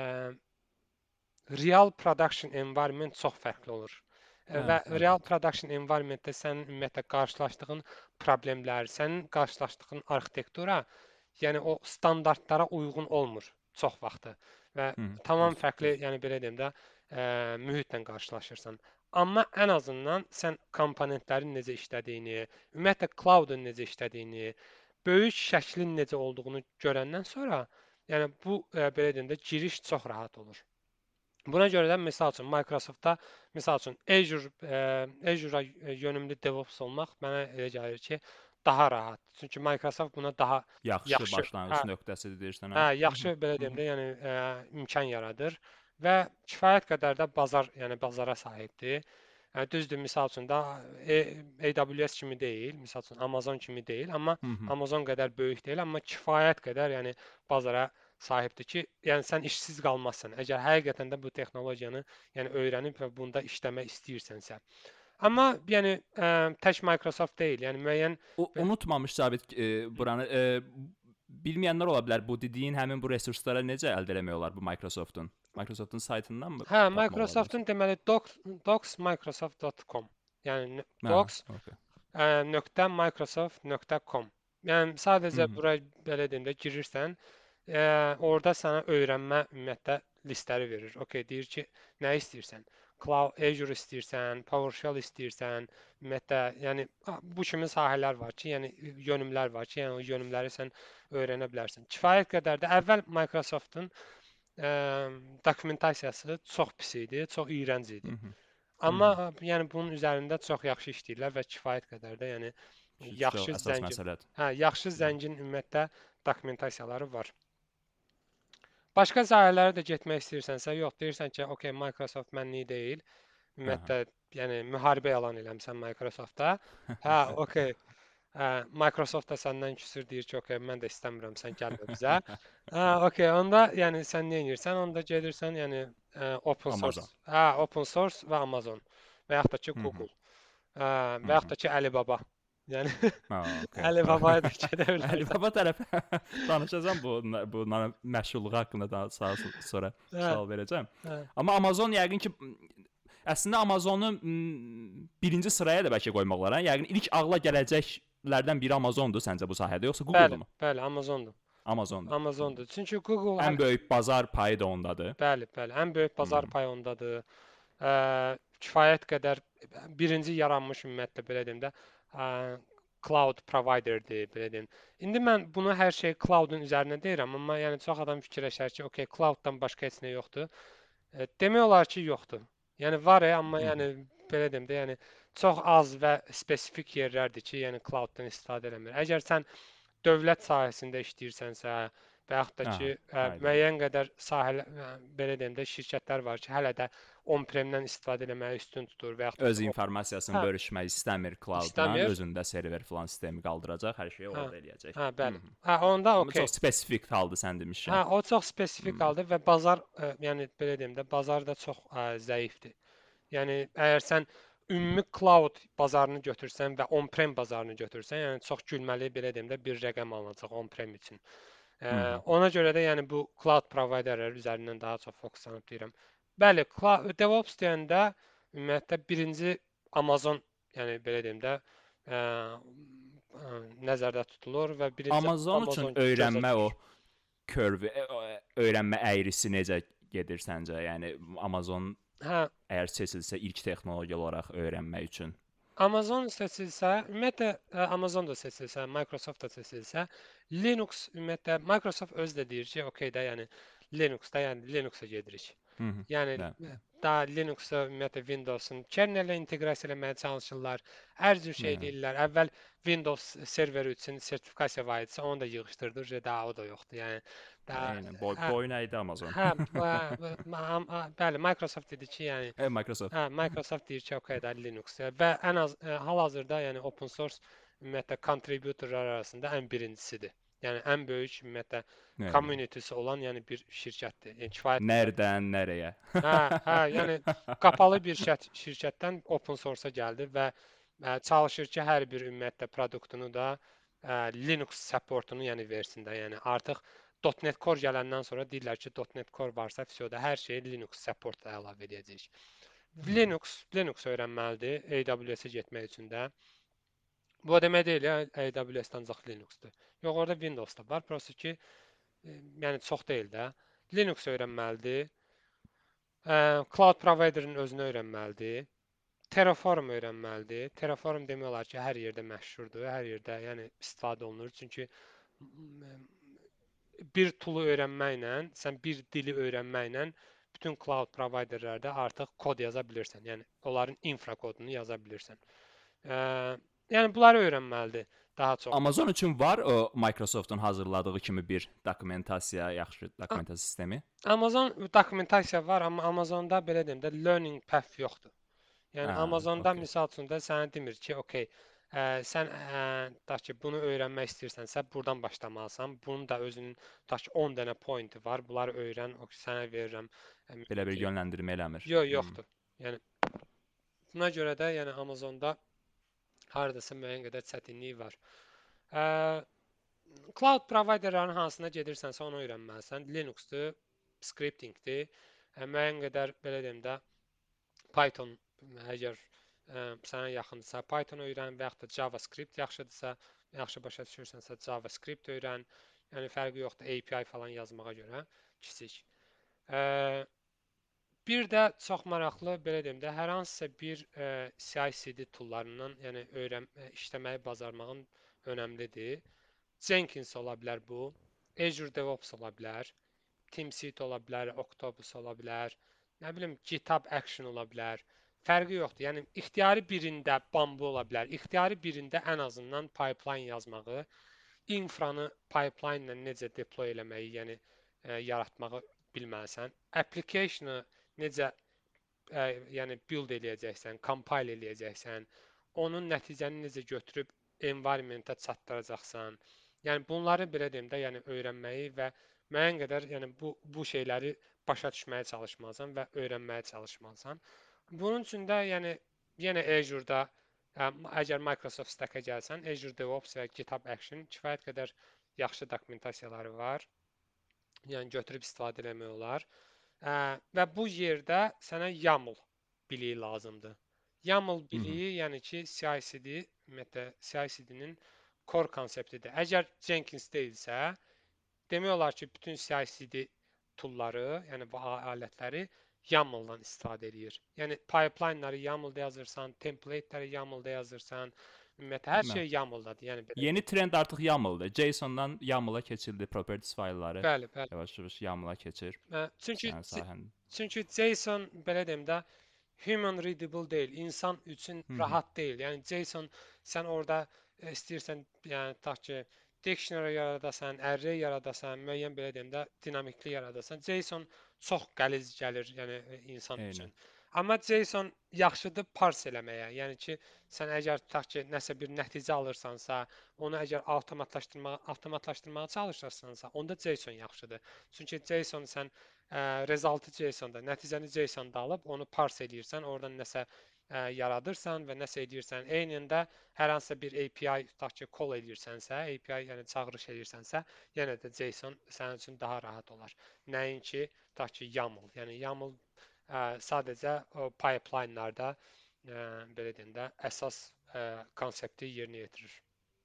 real production environment çox fərqli olur. Ə, Və
Evet,
real
əlbəttə.
production environmentdə sənin ümumiyyətlə qarşılaşdığın problemlər, sənin qarşılaşdığın arxitektura, yəni o standartlara uyğun olmur çox vaxtı və
Hı hı.
tamam
Düz,
fərqli,
düz.
yəni belə deyim də, ə, mühitlə qarşılaşırsan. Amma ən azından sən komponentlərin necə işlədiyini, ümumiyyətlə cloudun necə işlədiyini, böyük şəklin necə olduğunu görəndən sonra, yəni bu ə, belə deyim də giriş çox rahat olur. Buna görə də misal üçün Microsoft-da misal üçün Azure ə, Azure-a yönümlü DevOps olmaq mənə elə gəlir ki, daha rahat. Çünki Microsoft buna daha
Yaxşı
yaxşı, hə,
başlanğıc nöqtəsidir deyirsən,
hə,
hə? Hı hı.
yaxşı belə
Hı
deyim
hı.
də, yəni ə, imkan yaradır və kifayət qədər də bazar, yəni bazara sahibdir. Hə, düzdür, misal üçün də e, AWS kimi deyil, misal üçün Amazon kimi deyil, amma
Hı hı.
Amazon qədər böyük deyil, amma kifayət qədər yəni bazara sahibdir ki, yəni sən işsiz qalmazsan. Əgər həqiqətən də bu texnologiyanı yəni öyrənib və bunda işləmək istəyirsənsə. Amma yəni ə, tək Microsoft deyil, yəni müəyyən
O
və
unutmamış Sabit e, buranı e, bilməyənlər ola bilər. Bu dediyin həmin bu resurslara necə əldə etmək olar bu Microsoftun? Microsoftun saytından mı
hə,
tapmaq olar yoxsa?
Microsoftun deməli docs, docsmicrosoft dot com. Yəni
Hə,
docs
okey.
ə, nöqtə microsoft nöqtə com. Yəni
Hı
sadəcə
hı.
bura belə deyim də girirsən, ə, orada sənə öyrənmə ümumiyyətlə listləri verir. Okay, deyir ki, nə istəyirsən? Cloud Azure istəyirsən, PowerShell istəyirsən, ümumiyyətlə, yəni a, bu kimi sahələr var ki, yəni yönümlər var ki, yəni o yönümləri sən öyrənə bilərsən. Kifayət qədər də əvvəl Microsoftun ə, dokumentasiyası çox pis idi, çox iyrənc
Hı
idi.
hı. Hı
Amma
hı.
ə, yəni bunun üzərində çox yaxşı işləyirlər və kifayət qədər də yəni
Ki, çox
yaxşı
əsas
zəngin.
məsələdir.
Hə, yaxşı
Hı hı.
zəngin ümumiyyətlə dokumentasiyaları var. Başqa sahələrə də getmək istəyirsənsə, yox, deyirsən ki, okey, Microsoft mənlik deyil.
Hə, hə.
Ümumiyyətlə, yəni müharibə elan eləmisən Microsoftda. Hə, okey. Hə, Microsoft da səndən küsür, deyir ki, okey, mən də istəmirəm, sən gəlmə bizə. Hə, okey, onda yəni sən nə edirsən? Onda gedirsən, yəni ə, open
Amazon.
source. Hə, open source və Amazon və yaxud da ki
Hı hı.
Google. Hə,
Hı
və yaxud
hı.
da ki Alibaba. Yəni
Ha, okey.
Alibabaya da gedə bilərsən.
Əlibaba tərəf danışacağam bu bunların məşhurluğu haqqında daha sağa sonra
Hə,
sual verəcəm.
hə.
Amma Amazon yəqin ki əslində Amazonu m, birinci sıraya da bəlkə qoymaq olar. Hə? Yəqin ilk ağla gələcəklərdən biri Amazondur səncə bu sahədə, yoxsa
Bəli,
Google-mu?
bəli, Amazondur.
Amazondur.
Amazondur. Çünki Google
Ən
hələ
böyük bazar payı da ondadır.
bəli, bəli, ən böyük
Hı
bazar
-hı.
payı ondadır. Ə, kifayət qədər birinci yaranmış ümumiyyətlə belə deyim də, ə, cloud providerdir, belə deyim. İndi mən bunu hər şey cloudun üzərinə deyirəm, amma yəni çox adam fikirləşər ki, okey, clouddan başqa heç nə yoxdur. E, demək olar ki, yoxdur. Yəni var, e, amma
Hı -hı.
yəni belə deyim də, yəni çox az və spesifik yerlərdir ki, yəni clouddan istifadə eləmir. Əgər sən dövlət sahəsində işləyirsənsə və yaxud da ki,
Aha,
ə,
aydındır.
müəyyən qədər sahələr, ə, belə deyim də, şirkətlər var ki, hələ də on-premdən istifadə etməyi üstün tutur və yaxud da
Öz
ki, o
informasiyasını
hə,
bölüşmək istəmir cloudla,
istəmir.
özündə server falan sistemi qaldıracaq, hər şeyi
Hə,
orada eləyəcək.
hə,
Hı
bəli.
-hı.
Hə, onda
Amma
okey.
çox spesifik haldır sən demişkən.
Hə, o çox spesifik
Hı.
haldır və bazar, ə, yəni belə deyim də, bazar da çox ə, zəifdir. Yəni əgər sən ümumi cloud bazarını götürsən və on-prem bazarını götürsən, yəni çox gülməli belə deyim də bir rəqəm alınacaq on-prem üçün. Ə,
Hı -hı.
ona görə də yəni bu cloud providerlər üzərindən daha çox fokuslanıb deyirəm. Bəli, cloud DevOps deyəndə ümumiyyətlə birinci Amazon, yəni belə deyim də, ə, ə, nəzərdə tutulur və birinci
Amazon üçün
Amazon gözə
öyrənmə o
düşür.
curve, e, o, e, öyrənmə əyrisi necə gedir səncə? Yəni Amazon
Hə,
Əgər seçilsə ilk texnologiya olaraq öyrənmək üçün.
Amazon seçilsə, ümumiyyətlə ə, Amazon da seçilsə, Microsoft da seçilsə, Linux ümumiyyətlə Microsoft özü də deyir ki, okey də, yəni Linux-da, yəni Linux-a gedirik.
Hı -hı.
Yəni
Hə.
ə, daha Linux-a ümumiyyətlə Windows-un kernel-lə inteqrasiya eləməyə çalışırlar. Hər cür şey
Hə.
eləyirlər. Əvvəl Windows serveri üçün sertifikasiya var idisə, onu da yığışdırdı, daha o da yoxdur. Yəni daha
Eynən. Boy,
hə,
boyun əydi Amazon.
hə, bə- bə- ma- ma- bəli, Microsoft dedi ki, yəni
Hə, Microsoft.
hə, Microsoft deyir ki, okey də Linux və ən az ə, hal-hazırda, yəni open source ümumiyyətlə contributorlar arasında ən birincisidir. Yəni ən böyük ümumiyyətlə
Eynən.
community'si olan yəni bir şirkətdir. Yəni kifayət qədər.
Nereden nereye?
Hə, hə, yəni qapalı bir şirkət, şirkətdən open source-a gəldi və ə, çalışır ki, hər bir ümumiyyətlə produktunu da ə, Linux supportunu yəni versin də. Yəni artıq .NET Core gələndən sonra deyirlər ki, .NET Core varsa, vəsyoda hər şeyi Linux support-la əlavə edəcəyik. Linux, Linux öyrənməlidir A W S-ə getmək üçün də. Bu o demək deyil, ya, A W S-də ancaq Linux-dur. Yox, orada Windows da var, prosta ki, e, yəni çox deyil də. Linux öyrənməlidir. Ə, Cloud provider-ın özünü öyrənməlidir. Terraform öyrənməlidir. Terraform demək olar ki, hər yerdə məşhurdur, hər yerdə yəni istifadə olunur. Çünki m, bir toolu öyrənməklə, sən bir dili öyrənməklə bütün cloud providerlərdə artıq kod yaza bilirsən. Yəni onların infra kodunu yaza bilirsən. Ə, yəni bunları öyrənməlidir daha çox.
Amazon üçün var o Microsoft'un hazırladığı kimi bir dokumentasiya, yaxşı dokumentasiya sistemi?
Amazon dokumentasiya var, amma Amazonda belə deyim də learning path yoxdur. Yəni
Hə,
Amazonda
okey.
misal üçün də sənə demir ki, okey, ə, sən ə, tutaq ki, bunu öyrənmək istəyirsənsə, burdan başlamalısan. Bunun da özünün tutaq ki, on dənə pointi var. Bunları öyrən, o sənə verirəm.
Belə bir yönləndirmə eləmir.
Yox, yoxdur. Yəni buna görə də yəni Amazonda hardasa müəyyən qədər çətinlik var. Ə, Cloud providerların hansına gedirsənsə onu öyrənməlisən. Linux-dur, scripting-dir. Ə, müəyyən qədər belə deyim də Python əgər ə, sənə yaxındırsa Python öyrən və yaxud da JavaScript yaxşıdırsa, yaxşı başa düşürsənsə JavaScript öyrən. Yəni fərqi yoxdur A P I falan yazmağa görə kiçik. Ə, bir də çox maraqlı belə deyim də hər hansısa bir ə, C I C D toollarından, yəni öyrən işləməyi bacarmağın önəmlidir. Jenkins ola bilər bu, Azure DevOps ola bilər, TeamSeed ola bilər, Octopus ola bilər, nə bilim GitHub Action ola bilər. Fərqi yoxdur. Yəni ixtiyari birində Bamboo ola bilər, ixtiyari birində ən azından pipeline yazmağı, infranı pipeline ilə necə deploy eləməyi, yəni ə, yaratmağı bilməlisən. Application-ı necə ə, yəni build eləyəcəksən, compile eləyəcəksən, onun nəticəni necə götürüb environment-a çatdıracaqsan. Yəni bunları belə deyim də, yəni öyrənməyi və müəyyən qədər yəni bu bu şeyləri başa düşməyə çalışmalısan və öyrənməyə çalışmalısan. Bunun üçün də yəni yenə Azure-da ə, əgər Microsoft Stack-ə gəlsən, Azure DevOps və GitHub Action kifayət qədər yaxşı dokumentasiyaları var. Yəni götürüb istifadə etmək olar. Ə, və bu yerdə sənə YAML biliyi lazımdır. YAML biliyi, yəni ki, C I C D, ümumiyyətlə C I C D-nin core konseptidir. Əgər Jenkins deyilsə, demək olar ki, bütün C I C D toolları, yəni bu alətləri YAML-dan istifadə edir. Yəni pipeline-ları YAML-da yazırsan, template-ləri YAML-da yazırsan, ümumiyyətlə hər şey YAML-dadır. Yəni belə.
Yeni trend artıq YAML-dır. JSON-dan YAML-a keçildi, properties faylları.
Bəli, bəli.
Yavaş-yavaş YAML-a keçir.
Hə, çünki
Sənin sahən.
çünki JSON belə deyim də human readable deyil, insan üçün rahat deyil. Yəni JSON sən orada istəyirsən, yəni tutaq ki, dictionary yaradasan, array yaradasan, müəyyən belə deyim də dinamikli yaradasan. JSON çox qəliz gəlir, yəni insan
Eynən.
üçün. Amma JSON yaxşıdır parse eləməyə. Yəni ki, sən əgər tutaq ki, nəsə bir nəticə alırsansa, onu əgər avtomatlaşdırmağa, avtomatlaşdırmağa çalışırsansa, onda JSON yaxşıdır. Çünki JSON sən ə, resultı JSON-da, nəticəni JSON-da alıb onu parse eləyirsən, oradan nəsə ə, yaradırsan və nəsə edirsən. Eynində hər hansısa bir A P I tutaq ki, call edirsənsə, A P I yəni çağırış edirsənsə, yenə də JSON sənin üçün daha rahat olar. Nəinki tutaq ki, YAML. Yəni YAML ə, sadəcə o pipeline-larda ə, belə deyim də əsas ə, konsepti yerinə yetirir.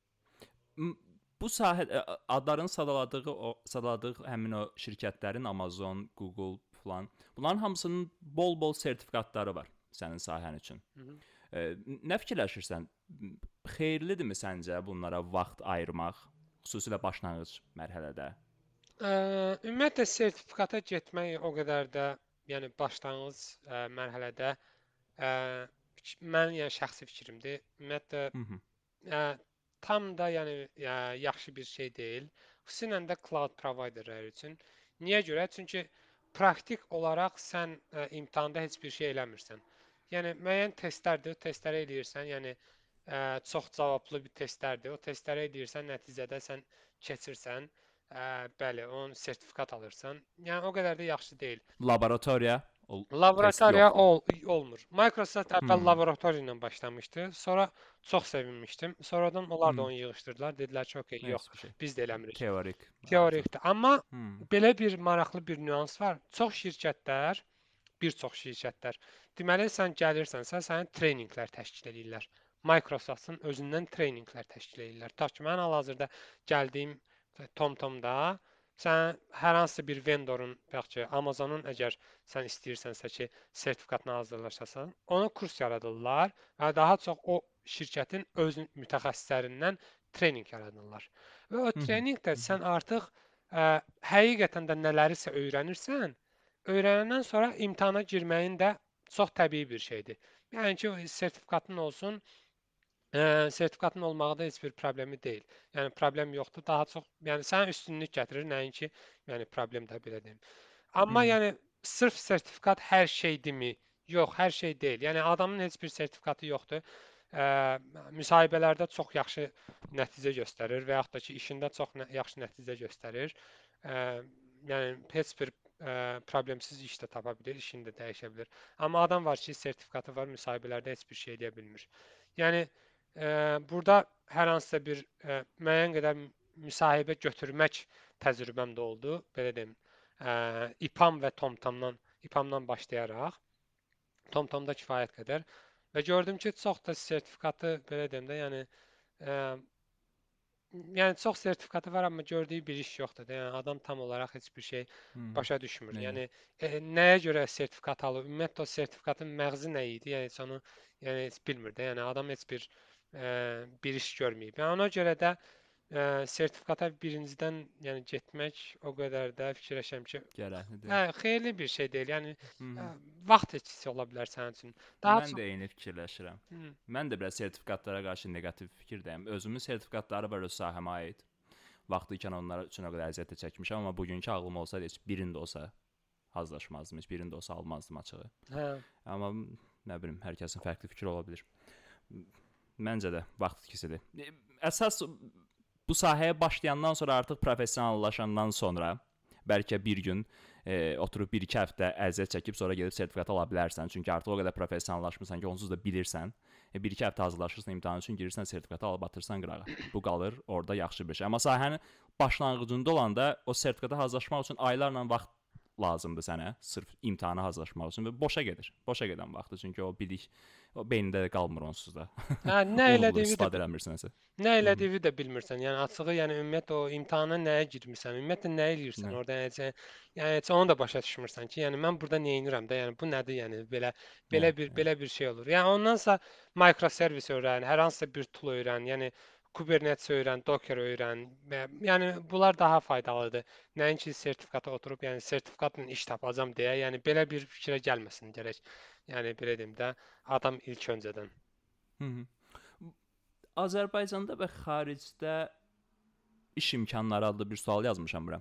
Bu sahə adların sadaladığı o sadaladığı həmin o şirkətlərin Amazon, Google filan. Bunların hamısının bol-bol sertifikatları var sənin sahən üçün.
Hı -hı.
E, nə fikirləşirsən? Xeyirlidirmi səncə bunlara vaxt ayırmaq, xüsusilə başlanğıc mərhələdə?
Ə, ümumiyyətlə sertifikata getmək o qədər də, yəni başlanğıc ə, mərhələdə ə, mənim yəni şəxsi fikrimdir. Ümumiyyətlə
Hı -hı.
ə, tam da yəni ə, yaxşı bir şey deyil. Xüsusilə də cloud providerlər üçün. Niyə görə? Çünki praktik olaraq sən ə, imtahanda heç bir şey eləmirsən. Yəni müəyyən testlərdir, o testləri eləyirsən, yəni ə, çox cavablı bir testlərdir. O testləri eləyirsən, nəticədə sən keçirsən, ə, bəli, onun sertifikat alırsan. Yəni o qədər də yaxşı deyil.
Laboratoriya ol test
Laboratoriya
yoxdur.
ol olmur. Microsoft əvvəl
Hmm.
laboratoriya ilə başlamışdı. Sonra çox sevinmişdim. Sonradan onlar da
Hmm.
onu yığışdırdılar. Dedilər ki, okey, yox,
Heç bir şey.
biz də eləmirik.
Teorik.
Teorikdir. Amma
Hmm.
belə bir maraqlı bir nüans var. Çox şirkətlər, bir çox şirkətlər, deməli sən gəlirsənsə, sənə treyninqlər təşkil edirlər. Microsoftun özündən treyninqlər təşkil edirlər. Ta ki, mən hal-hazırda gəldiyim TomTomda sən hər hansı bir vendorun, yaxud ki, Amazonun əgər sən istəyirsənsə ki, sertifikatını hazırlaşasan, ona kurs yaradırlar və daha çox o şirkətin öz mütəxəssislərindən treyninq yaradırlar. Və o
Hı -hı.
treyninqdə
Hı -hı.
sən artıq ə, həqiqətən də nələrisə öyrənirsən, öyrənəndən sonra imtahana girməyin də çox təbii bir şeydir. Yəni ki, sertifikatın olsun, ə, sertifikatın olmağı da heç bir problemi deyil. Yəni problem yoxdur. Daha çox, yəni sənin üstünlük gətirir, nəinki, yəni problem də belə deyim. Amma
Hı -hı.
yəni sırf sertifikat hər şeydirmi? Yox, hər şey deyil. Yəni adamın heç bir sertifikatı yoxdur. Ə, müsahibələrdə çox yaxşı nəticə göstərir və yaxud da ki, işində çox nə yaxşı nəticə göstərir. Ə, yəni heç bir ə, problemsiz iş də tapa bilir, işini də dəyişə bilir. Amma adam var ki, sertifikatı var, müsahibələrdə heç bir şey edə bilmir. Yəni ə, burada hər hansısa bir ə, müəyyən qədər müsahibə götürmək təcrübəm də oldu, belə deyim. Ə, İPAM və TomTomdan, İPAMdan başlayaraq TomTomda kifayət qədər və gördüm ki, çox da sertifikatı belə deyim də, yəni ə, yəni çox sertifikatı var, amma gördüyü bir iş yoxdur da. Yəni adam tam olaraq heç bir şey
Hı -hı.
başa düşmür.
Nəyə?
Yəni e, nəyə görə sertifikat alıb? Ümumiyyətlə o sertifikatın məğzi nə idi? Yəni heç onu yəni heç bilmir də. Yəni adam heç bir ə, bir iş görməyib. Yəni ona görə də ə, sertifikata birincidən yəni getmək o qədər də fikirləşirəm ki,
Gərəklidir.
hə, xeyirli bir şey deyil. Yəni
Hı
ə,
-hı.
vaxt itkisi ola bilər sənin üçün. Daha
Mən
çox
də eyni fikirləşirəm.
Hı.
Mən də biraz sertifikatlara qarşı neqativ fikirdəyim. Özümün sertifikatları var öz sahəmə aid. Vaxtı ikən onlar üçün o qədər əziyyət çəkmişəm, amma bugünkü ağlım olsaydı heç birində olsa hazırlaşmazdım, heç birində olsa almazdım açığı.
Hə.
Amma nə bilim, hər kəsin fərqli fikri ola bilər. Məncə də vaxt itkisidir. Əsas bu sahəyə başlayandan sonra artıq professionallaşandan sonra bəlkə bir gün e, oturub bir iki həftə əziyyət çəkib sonra gedib sertifikat ala bilərsən. Çünki artıq o qədər professionallaşmısan ki, onsuz da bilirsən. E, bir iki həftə hazırlaşırsan imtahan üçün, girirsən sertifikatı alıb atırsan qırağa. Bu qalır orada yaxşı bir şey. Amma sahənin başlanğıcında olanda o sertifikata hazırlaşmaq üçün aylarla vaxt lazımdır sənə, sırf imtahana hazırlaşmaq üçün və boşa gedir. Boşa gedən vaxtdır. Çünki o bilik o beynində də qalmır onsuz da.
Hə, nə elədiyini də
istifadə eləmirsənsə.
Nə elədiyini də bilmirsən. Yəni açığı, yəni ümumiyyətlə o imtahana nəyə girmisən? Ümumiyyətlə nə eləyirsən
Nə?
orada? Yəni sən- yəni heç onu da başa düşmürsən ki, yəni mən burada nə edirəm də, yəni bu nədir yəni belə belə
Nə?
bir belə bir şey olur. Yəni ondansa microservis öyrən, hər hansısa bir tool öyrən, yəni Kubernetes öyrən, Docker öyrən. və- Yəni bunlar daha faydalıdır. Nəinki sertifikata oturub, yəni sertifikatla iş tapacağam deyə, yəni belə bir fikrə gəlməsin gərək. Yəni belə deyim də, adam ilk öncədən.
Hı -hı. Azərbaycanda və xaricdə iş imkanları adlı bir sual yazmışam bura.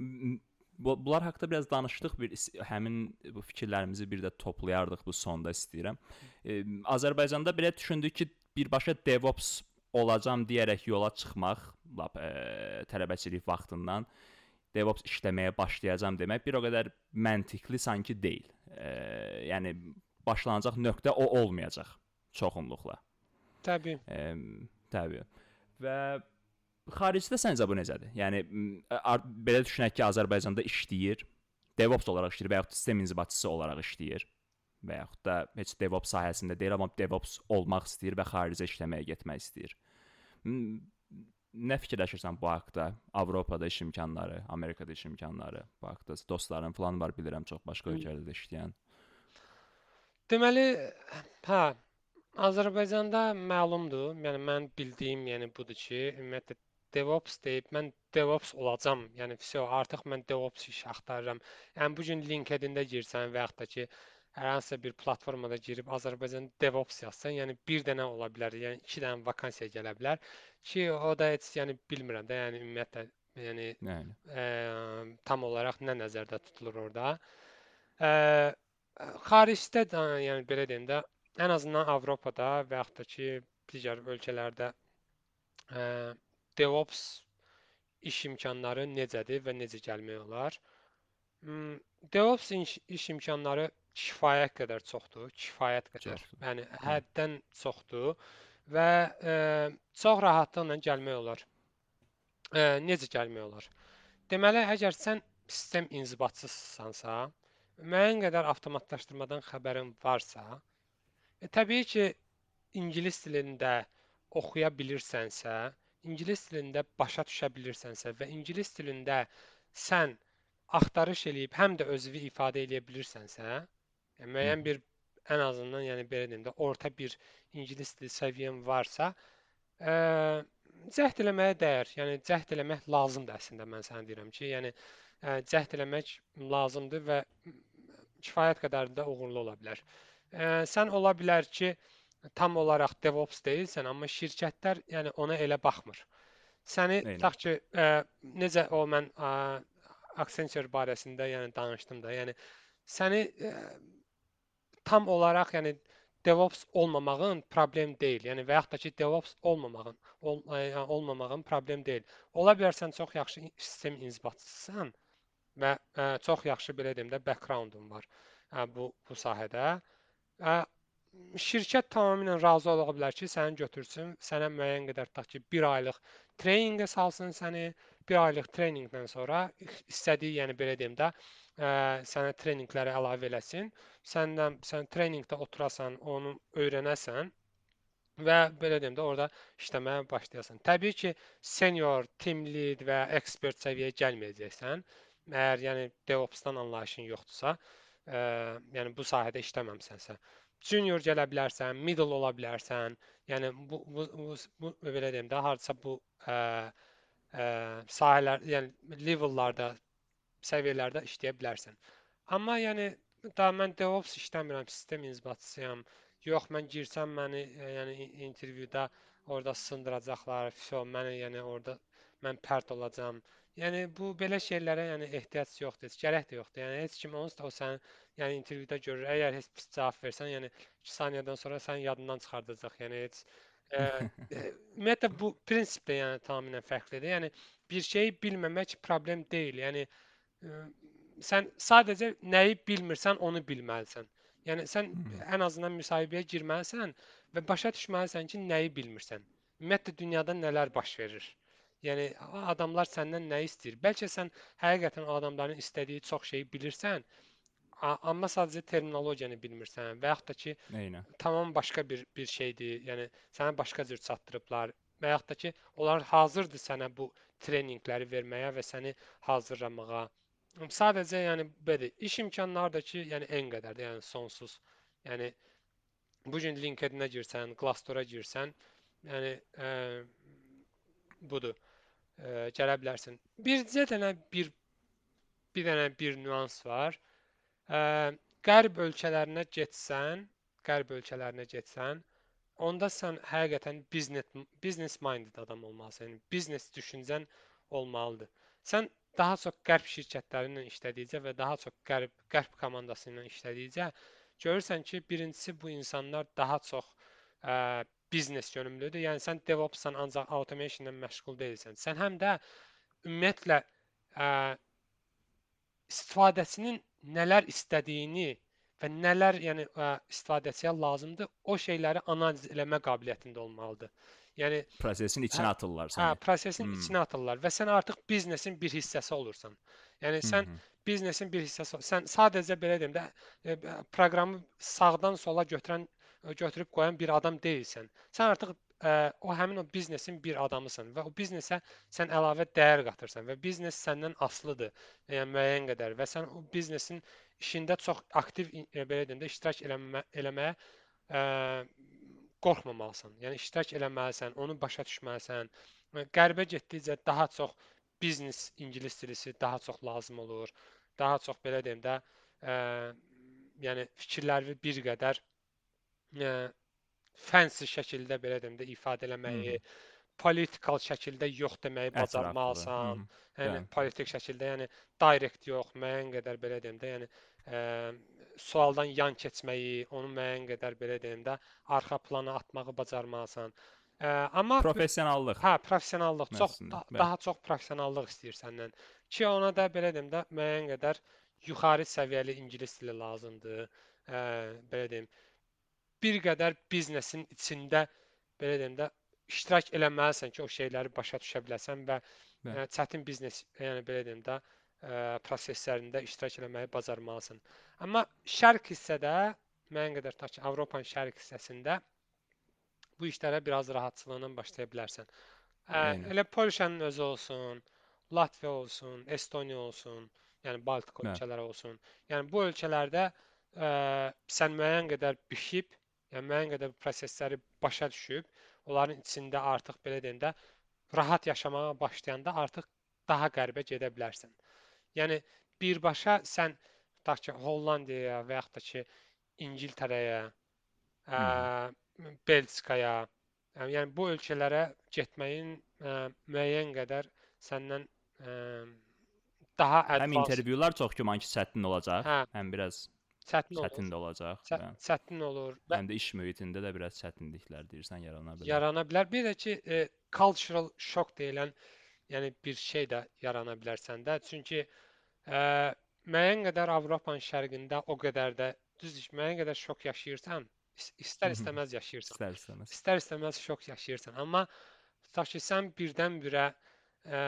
Bunlar haqqında biraz danışdıq, bir həmin bu fikirlərimizi bir də toplayardıq bu sonda istəyirəm. E, Azərbaycanda belə düşündük ki, birbaşa DevOps olacam deyərək yola çıxmaq, lap e, tələbəçilik vaxtından DevOps işləməyə başlayacam demək bir o qədər məntiqli sanki deyil. E, yəni başlanacaq nöqtə o olmayacaq çoxunluqla.
Təbii.
E, təbii. Və xaricdə səncə bu necədir? Yəni belə düşünək ki, Azərbaycanda işləyir, DevOps olaraq işləyir və yaxud sistem inzibatçısı olaraq işləyir və yaxud da heç DevOps sahəsində deyil, amma DevOps olmaq istəyir və xaricə işləməyə getmək istəyir. nə fikirləşirsən bu haqqda? Avropada iş imkanları, Amerikada iş imkanları bu haqqda. Dostların falan var, bilirəm çox başqa ölkələrdə işləyən.
Deməli, hə, Azərbaycanda məlumdur. Yəni mən bildiyim, yəni budur ki, ümumiyyətlə DevOps deyib mən DevOps olacam. Yəni vəsə artıq mən DevOps iş axtarıram. Yəni bu gün LinkedIn-də girsən və yaxud da ki, hər hansısa bir platformada girib Azərbaycan DevOps yazsan, yəni bir dənə ola bilər, yəni iki dənə vakansiya gələ bilər ki, o da heç yəni bilmirəm də, yəni ümumiyyətlə yəni
Yəni,
ə, tam olaraq nə nəzərdə tutulur orada. Ə, Xaricdə də, yəni belə deyim də, ən azından Avropada və yaxud da ki, digər ölkələrdə ə, DevOps iş imkanları necədir və necə gəlmək olar? Hmm, DevOps iş, iş imkanları kifayət qədər çoxdur, kifayət qədər.
çoxdur.
Yəni
Hə,
həddən çoxdur və ə, çox rahatlıqla gəlmək olar. Ə, necə gəlmək olar? Deməli, əgər sən sistem inzibatçısınsansa, müəyyən qədər avtomatlaşdırmadan xəbərin varsa, e, təbii ki, ingilis dilində oxuya bilirsənsə, ingilis dilində başa düşə bilirsənsə və ingilis dilində sən axtarış eləyib həm də özünü ifadə edə bilirsənsə, yəni
hı,
müəyyən bir ən azından yəni belə deyim də orta bir ingilis dili səviyyən varsa, ə, cəhd eləməyə dəyər. Yəni cəhd eləmək lazımdır əslində mən sənə deyirəm ki, yəni ə, cəhd eləmək lazımdır və kifayət qədər də uğurlu ola bilər. Ə, sən ola bilər ki, tam olaraq DevOps deyilsən, amma şirkətlər yəni ona elə baxmır. Səni
eynən.
tutaq ki, ə, necə o mən ə, Accenture barəsində yəni danışdım da, yəni səni ə, tam olaraq yəni DevOps olmamağın problem deyil. Yəni və yaxud da ki, DevOps olmamağın ol, ə, olmamağın problem deyil. Ola bilər sən çox yaxşı sistem inzibatçısan və ə, çox yaxşı belə deyim də background-un var ə, bu bu sahədə. Ə, şirkət tamamilə razı ola bilər ki, səni götürsün, sənə müəyyən qədər tutaq ki, bir aylıq treyninqə salsın səni, bir aylıq treyninqdən sonra istədiyi, yəni belə deyim də, ə, sənə treyninqləri əlavə eləsin. Səndən sən treyninqdə oturasan, onu öyrənəsən və belə deyim də orada işləməyə başlayasan. Təbii ki, senior, team lead və ekspert səviyyəyə gəlməyəcəksən. Əgər yəni DevOps-dan anlayışın yoxdursa, ə, yəni bu sahədə işləməmisənsə. Junior gələ bilərsən, middle ola bilərsən. Yəni bu bu, bu, bu belə deyim də hardasa bu ə, ə, sahələr, yəni levellarda səviyyələrdə işləyə bilərsən. Amma yəni da mən DevOps işləmirəm, sistem inzibatçısıyam. Yox, mən girsəm məni e, yəni intervyuda orada sındıracaqlar, fişo, məni yəni orada mən pərt olacam. Yəni bu belə şeylərə yəni ehtiyac yoxdur, heç gərək də yoxdur. Yəni heç kim onsuz da o sənin yəni intervyuda görür. Əgər heç pis cavab versən, yəni iki saniyədən sonra sənin yadından çıxardacaq. Yəni heç e, e, ümumiyyətlə bu prinsip də yəni tamamilə fərqlidir. Yəni bir şeyi bilməmək problem deyil. Yəni ə, sən sadəcə nəyi bilmirsən, onu bilməlisən. Yəni sən
Hı,
ən azından müsahibəyə girməlisən və başa düşməlisən ki, nəyi bilmirsən. Ümumiyyətlə dünyada nələr baş verir. Yəni a- adamlar səndən nə istəyir? Bəlkə sən həqiqətən o adamların istədiyi çox şeyi bilirsən, a- amma sadəcə terminologiyanı bilmirsən və yaxud da ki,
eynən.
tamam başqa bir bir şeydir. Yəni sənə başqa cür çatdırıblar və yaxud da ki, onlar hazırdır sənə bu treninqləri verməyə və səni hazırlamağa. Sadəcə yəni belə iş imkanları da ki, yəni en qədərdir, yəni sonsuz. Yəni bu gün LinkedIn-ə girsən, Glassdoor-a girsən, yəni ə, budur. Ə, gələ bilərsən. Bircə dənə bir bir dənə bir nüans var. Ə, qərb ölkələrinə getsən, qərb ölkələrinə getsən, onda sən həqiqətən business business minded adam olmalısan. Yəni biznes düşüncən olmalıdır. Sən daha çox qərb şirkətləri ilə işlədikcə və daha çox qərb qərb komandası ilə işlədikcə görürsən ki, birincisi bu insanlar daha çox ə, biznes yönümlüdür. Yəni sən DevOps-san ancaq automation ilə məşğul deyilsən. Sən həm də ümumiyyətlə ə, istifadəçinin nələr istədiyini və nələr yəni ə, istifadəçiyə lazımdır, o şeyləri analiz eləmə qabiliyyətində olmalıdır. Yəni
Prosesin
hə,
içinə atırlar
hə,
səni.
prosesin
Hmm.
içinə atırlar və sən artıq biznesin bir hissəsi olursan. Yəni
Hı
sən
-hı.
biznesin bir hissəsi ol- sən sadəcə belə deyim də e, proqramı sağdan sola götürən götürüb qoyan bir adam deyilsən. Sən artıq ə, o həmin o biznesin bir adamısan və o biznesə sən əlavə dəyər qatırsan və biznes səndən asılıdır, yəni müəyyən qədər və sən o biznesin işində çox aktiv e, belə deyim də iştirak eləmə, eləməyə ə, qorxmamalısan. Yəni iştirak eləməlisən, onu başa düşməlisən. Qərbə getdikcə daha çox biznes ingilis dilisi daha çox lazım olur. Daha çox belə deyim də, ə, yəni fikirləri bir qədər ə, fancy şəkildə belə deyim də ifadə
Hı
eləməyi,
-hı.
politikal şəkildə yox deməyi
Ətraflı. Hı
bacarmalısan.
-hı.
Yəni
Bəli,
politik şəkildə, yəni direct yox, müəyyən qədər belə deyim də, yəni ə, sualdan yan keçməyi, onu müəyyən qədər belə deyim də, arxa plana atmağı bacarmalısan. Ə, amma
professionallıq
hə, professionallıq çox
məfhumunda.
da,
Bəli,
daha çox professionallıq istəyir səndən. Ki ona da belə deyim də, müəyyən qədər yuxarı səviyyəli ingilis dili lazımdır. Ə, belə deyim, bir qədər biznesin içində belə deyim də iştirak eləməlisən ki, o şeyləri başa düşə biləsən və
bəli,
ə, çətin biznes, yəni belə deyim də, ə, proseslərində iştirak eləməyi bacarmalısan. Amma şərq hissədə müəyyən qədər tutaq ki, Avropanın şərq hissəsində bu işlərə biraz rahatçılıqla başlaya bilərsən. Ə,
eynən.
elə Polşanın özü olsun, Latviya olsun, Estoniya olsun, yəni Baltik
Bəli,
ölkələri olsun. Yəni bu ölkələrdə ə, sən müəyyən qədər bişib, yəni müəyyən qədər bu prosesləri başa düşüb, onların içində artıq belə deyim də rahat yaşamağa başlayanda artıq daha qərbə gedə bilərsən. Yəni birbaşa sən tutaq ki, Hollandiyaya və yaxud da ki, İngiltərəyə,
hı -hı.
ə, Belçikaya, ə, yəni bu ölkələrə getməyin ə, müəyyən qədər səndən ə, daha
Həm
advance,
intervyular çox güman ki, çətin olacaq,
hə,
həm biraz
çətin olur.
çətin də olacaq
Çə
və
çətin olur və
həm də iş mühitində də biraz çətinliklər deyirsən yarana bilər.
yarana bilər. Bir də ki, e, cultural shock deyilən, yəni bir şey də yarana bilər səndə. Çünki ə, müəyyən qədər Avropanın şərqində o qədər də düzdür ki, müəyyən qədər şok yaşayırsan, is- istər-istəməz yaşayırsan.
İstər-istəməz.
İstər-istəməz şok yaşayırsan. Amma tutaq ki, sən birdən-birə ə,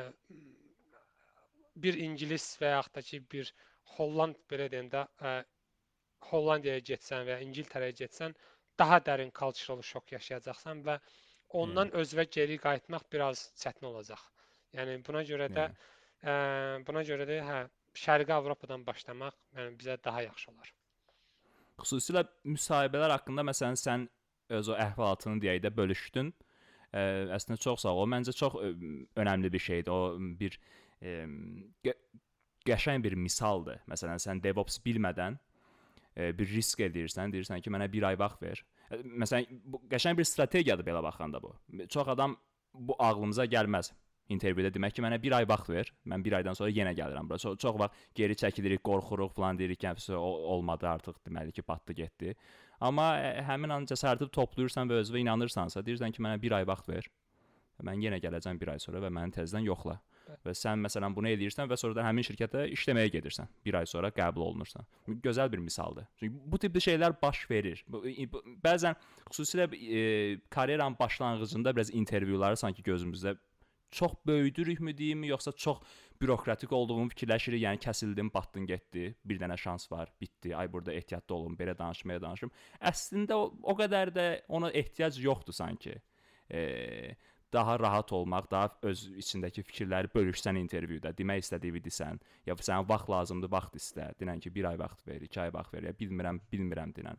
bir ingilis və yaxud da ki, bir Holland belə deyim də, ə, Hollandiyaya getsən və ya İngiltərəyə getsən, daha dərin cultural şok yaşayacaqsan və
Eynən,
ondan özünə geri qayıtmaq biraz çətin olacaq. Yəni buna görə də
eynən.
ə, buna görə də hə, Şərqi Avropadan başlamaq yəni bizə daha yaxşı olar.
Xüsusilə müsahibələr haqqında məsələn sən öz o əhvalatını deyək də bölüşdün. Ə, əslində çox sağ ol. O məncə çox ə, önəmli bir şeydir. O bir ə, gə qəşəng bir misaldır. Məsələn sən DevOps bilmədən ə, bir risk edirsən, deyirsən ki, mənə bir ay vaxt ver. Ə, Məsələn bu qəşəng bir strategiyadır belə baxanda bu. Çox adam bu ağlımıza gəlməz. İntervyuda demək ki, mənə bir ay vaxt ver. Mən bir aydan sonra yenə gəlirəm bura. Çox, çox vaxt geri çəkilirik, qorxuruq falan deyirik ki, həbsə olmadı artıq, deməli ki, batdı getdi. Amma ə, həmin an cəsarəti toplayırsan və özünə inanırsansa, deyirsən ki, mənə bir ay vaxt ver. Mən yenə gələcəm bir ay sonra və məni təzədən yoxla. Və sən məsələn bunu eləyirsən və sonra da həmin şirkətə işləməyə gedirsən. Bir ay sonra qəbul olunursan. Bu gözəl bir misaldır. Çünki bu tipli şeylər baş verir. Bu, bu, bəzən xüsusilə e, karyeranın başlanğıcında biraz intervyuları sanki gözümüzdə çox böyüdürükmü deyim, yoxsa çox bürokratik olduğumu fikirləşirik. Yəni kəsildim, batdın, getdi. Bir dənə şans var, bitdi. Ay burada ehtiyatlı olun, belə danışmaya danışım. Əslində o, o qədər də ona ehtiyac yoxdur sanki. Eee daha rahat olmaq, daha öz içindəki fikirləri bölüşsən intervyuda, demək istədiyini desən, ya sənə vaxt lazımdır, vaxt istə, denən ki, bir ay vaxt ver, iki ay vaxt ver, ya bilmirəm, bilmirəm denən.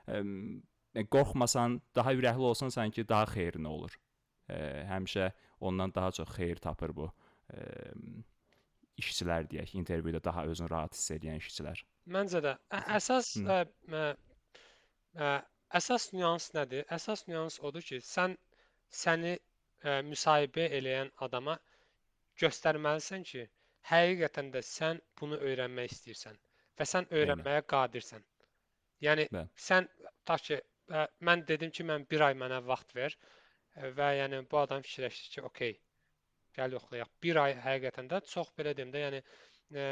E, qorxmasan, daha ürəkli olsan sanki daha xeyrinə olur. E, həmişə ondan daha çox xeyir tapır bu e, işçilər deyək, intervyuda daha özünü rahat hiss edən işçilər.
Məncə də ə, əsas ə, ə, ə, əsas nüans nədir? Əsas nüans odur ki, sən səni ə, müsahibə eləyən adama göstərməlisən ki, həqiqətən də sən bunu öyrənmək istəyirsən və sən
Eynən.
öyrənməyə qadirsən. Yəni
Bəli.
sən tutaq ki, ə, mən dedim ki, mən bir ay mənə vaxt ver ə, və yəni bu adam fikirləşdi ki, okey, gəl yoxlayaq. Bir ay həqiqətən də çox belə deyim də, yəni ə,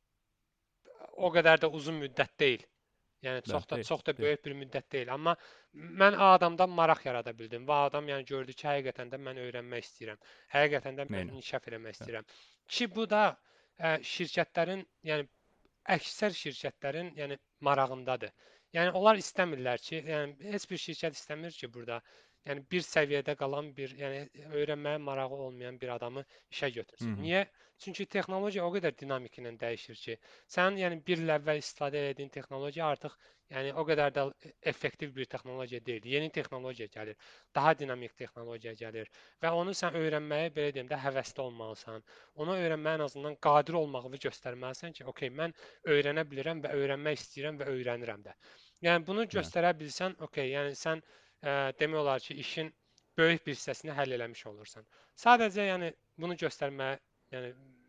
o qədər də uzun müddət deyil. Yəni çox
Bəli,
da
deyil,
çox da
deyil.
böyük bir müddət deyil, amma mən o adamdan maraq yarada bildim. Və adam yəni gördü ki, həqiqətən də mən öyrənmək istəyirəm. Həqiqətən də mən
Eynən.
inkişaf eləmək
Bəli.
istəyirəm. Ki bu da ə, şirkətlərin, yəni əksər şirkətlərin yəni marağındadır. Yəni onlar istəmirlər ki, yəni heç bir şirkət istəmir ki, burada yəni bir səviyyədə qalan bir, yəni öyrənməyə marağı olmayan bir adamı işə
Hı
götürsün.
-hı.
Niyə? Çünki texnologiya o qədər dinamik ilə dəyişir ki, sən yəni bir il əvvəl istifadə etdiyin texnologiya artıq yəni o qədər də effektiv bir texnologiya deyil. Yeni texnologiya gəlir, daha dinamik texnologiya gəlir və onu sən öyrənməyə belə deyim də həvəsli olmalısan. Onu öyrənməyə ən azından qadir olmağını göstərməlisən ki, okey, mən öyrənə bilirəm və öyrənmək istəyirəm və öyrənirəm də. Yəni bunu
Bəli.
göstərə bilsən, okey, yəni sən ə, demək olar ki, işin böyük bir hissəsini həll eləmiş olursan. Sadəcə yəni bunu göstərməyə, yəni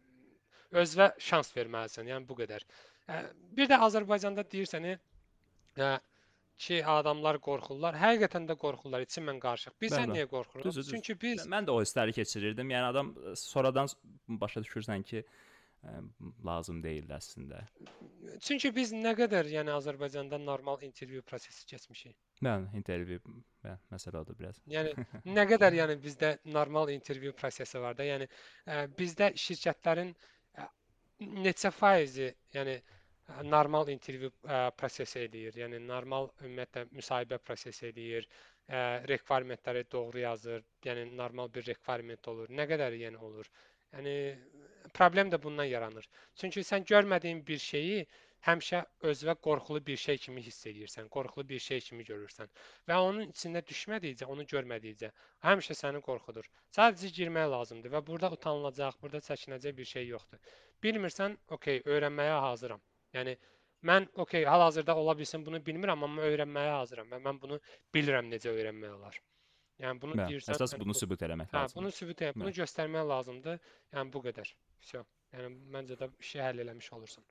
özünə şans verməlisən. Yəni bu qədər. Ə, bir də Azərbaycanda deyirsən ə, ki, adamlar qorxurlar. Həqiqətən də qorxurlar. İçimən qarışıq.
Bəli,
Bilsən
bəli.
niyə qorxuruq?
Düzdür, düzdür.
Çünki biz
Mə- Mən də o hissləri keçirirdim. Yəni adam e, sonradan s- başa düşürsən ki, ə, lazım deyildi əslində.
çünki biz nə qədər yəni Azərbaycanda normal intervyu prosesi keçmişik.
Bəli, intervyu, bəli, məsələ odur biraz.
Yəni nə qədər yəni bizdə normal intervyu prosesi var da. Yəni ə, bizdə şirkətlərin ə, neçə faizi, yəni ə, normal intervyu ə, prosesi eləyir. Yəni normal ümumiyyətlə müsahibə prosesi eləyir. Ə, requirement-ləri doğru yazır. Yəni normal bir requirement olur. Nə qədər yəni olur? Yəni problem də bundan yaranır. Çünki sən görmədiyin bir şeyi həmişə özünə qorxulu bir şey kimi hiss edirsən, qorxulu bir şey kimi görürsən və onun içində düşmədikcə, onu görmədikcə həmişə səni qorxudur. Sadəcə girmək lazımdır və burada utanılacaq, burada çəkinəcək bir şey yoxdur. Bilmirsən, okey, öyrənməyə hazıram. Yəni mən okey, hal-hazırda ola bilsin bunu bilmirəm, amma öyrənməyə hazıram və mən bunu bilirəm necə öyrənmək olar. Yəni bunu
Bəli,
deyirsən,
əsas
yəni
bunu
bu,
sübut eləmək
hə, bunu
lazımdır.
sübut et, bunu
Bəli.
göstərmək lazımdır. Yəni bu qədər. Vəsə. Yəni məncə də işi həll eləmiş olursan.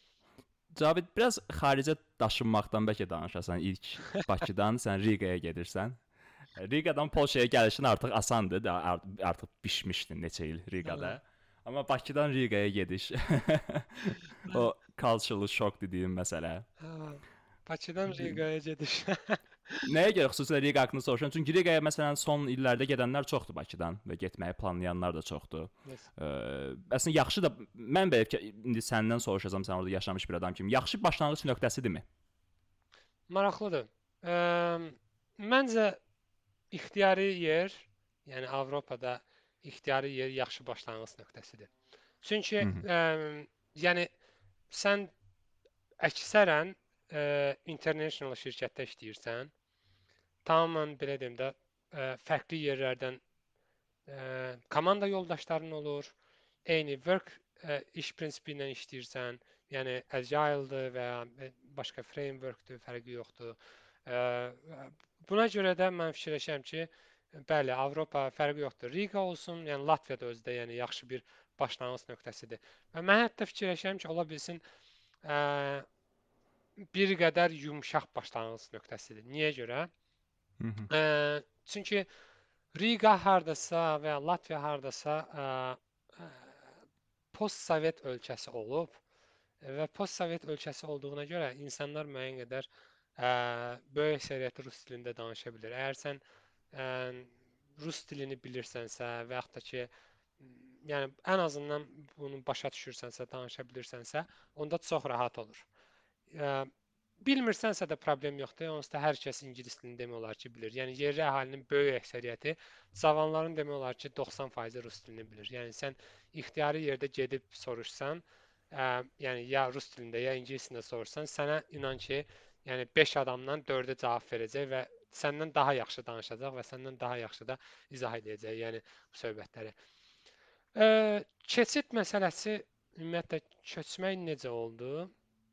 Cavid, biraz xaricə daşınmaqdan bəlkə danışasan. İlk Bakıdan sən Riqaya gedirsən. Riqadan Polşaya gəlişin artıq asandır, da art- artıq bişmişdin neçə il Riqada. Amma Bakıdan Riqaya gediş o cultural shock dediyim məsələ.
Hə, Bakıdan Riqaya gediş.
Nəyə görə xüsusilə Riqa haqqında soruşuram? Çünki Riqaya məsələn son illərdə gedənlər çoxdur Bakıdan və getməyi planlayanlar da çoxdur.
Yes.
Ə, əslində yaxşı da mən belə ki, indi səndən soruşacağam, sən orada yaşamış bir adam kimi. Yaxşı başlanğıc nöqtəsidirmi?
Maraqlıdır. Ə, məncə ixtiyari yer, yəni Avropada ixtiyari yer yaxşı başlanğıc nöqtəsidir. Çünki
Hı -hı.
ə, yəni sən əksərən ə, international şirkətdə işləyirsən, tamamilə belə deyim də, ə, fərqli yerlərdən ə, komanda yoldaşların olur, eyni work ə, iş prinsipi ilə işləyirsən, yəni agile-dır və ya başqa framework-dur, fərqi yoxdur. Ə, buna görə də mən fikirləşirəm ki, bəli, Avropa fərqi yoxdur. Riga olsun, yəni Latviya da özdə yəni yaxşı bir başlanğıc nöqtəsidir. Və mən hətta fikirləşirəm ki, ola bilsin ə, bir qədər yumşaq başlanğıc nöqtəsidir. Niyə görə?
Hı -hı.
Ə, çünki Riga hardasa və ya Latviya hardasa ə, ə, postsovet ölkəsi olub və postsovet ölkəsi olduğuna görə insanlar müəyyən qədər ə, böyük əksəriyyəti rus dilində danışa bilər. Əgər sən ə, rus dilini bilirsənsə və yaxud da ki, yəni ən azından bunu başa düşürsənsə, danışa bilirsənsə, onda çox rahat olur. Ə, bilmirsənsə də problem yoxdur. Onsuz da hər kəs ingilis dilini demək olar ki, bilir. Yəni yerli əhalinin böyük əksəriyyəti, cavanların demək olar ki, doxsan faizi rus dilini bilir. Yəni sən ixtiyari yerdə gedib soruşsan, ə, yəni ya rus dilində, ya ingilis dilində soruşsan, sənə inan ki, yəni beş adamdan dördü cavab verəcək və səndən daha yaxşı danışacaq və səndən daha yaxşı da izah edəcək, yəni bu söhbətləri. Ə, keçid məsələsi ümumiyyətlə köçmək necə oldu?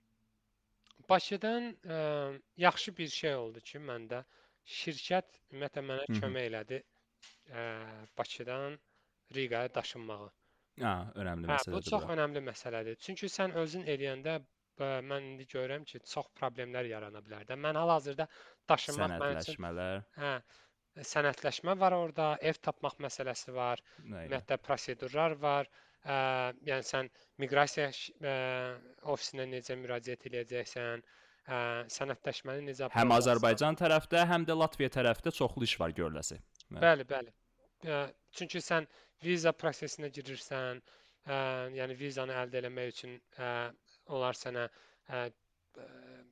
Bakıdan ə, yaxşı bir şey oldu ki, məndə şirkət ümumiyyətlə mənə
Hı -hı.
kömək elədi ə, Bakıdan Riqaya daşınmağı.
Ha, önəmli
Hə, bu
məsələdir
çox
bura.
önəmli məsələdir. Çünki sən özün eləyəndə ə, mən indi görürəm ki, çox problemlər yarana bilər də. Mən hal-hazırda daşınmaq mənim üçün
Sənədləşmələr,
hə, sənədləşmə var orada, ev tapmaq məsələsi var,
nə ilə?
ümumiyyətlə prosedurlar var. Ə, yəni sən miqrasiya ə, ofisinə necə müraciət edəcəksən, ə, sənədləşməni necə
Həm
aparacaqsan.
Azərbaycan tərəfdə, həm də Latviya tərəfdə çoxlu iş var görüləsi.
Bəli, bəli. Ə, çünki sən viza prosesinə girirsən, ə, yəni vizanı əldə etmək üçün ə, onlar sənə ə, ə,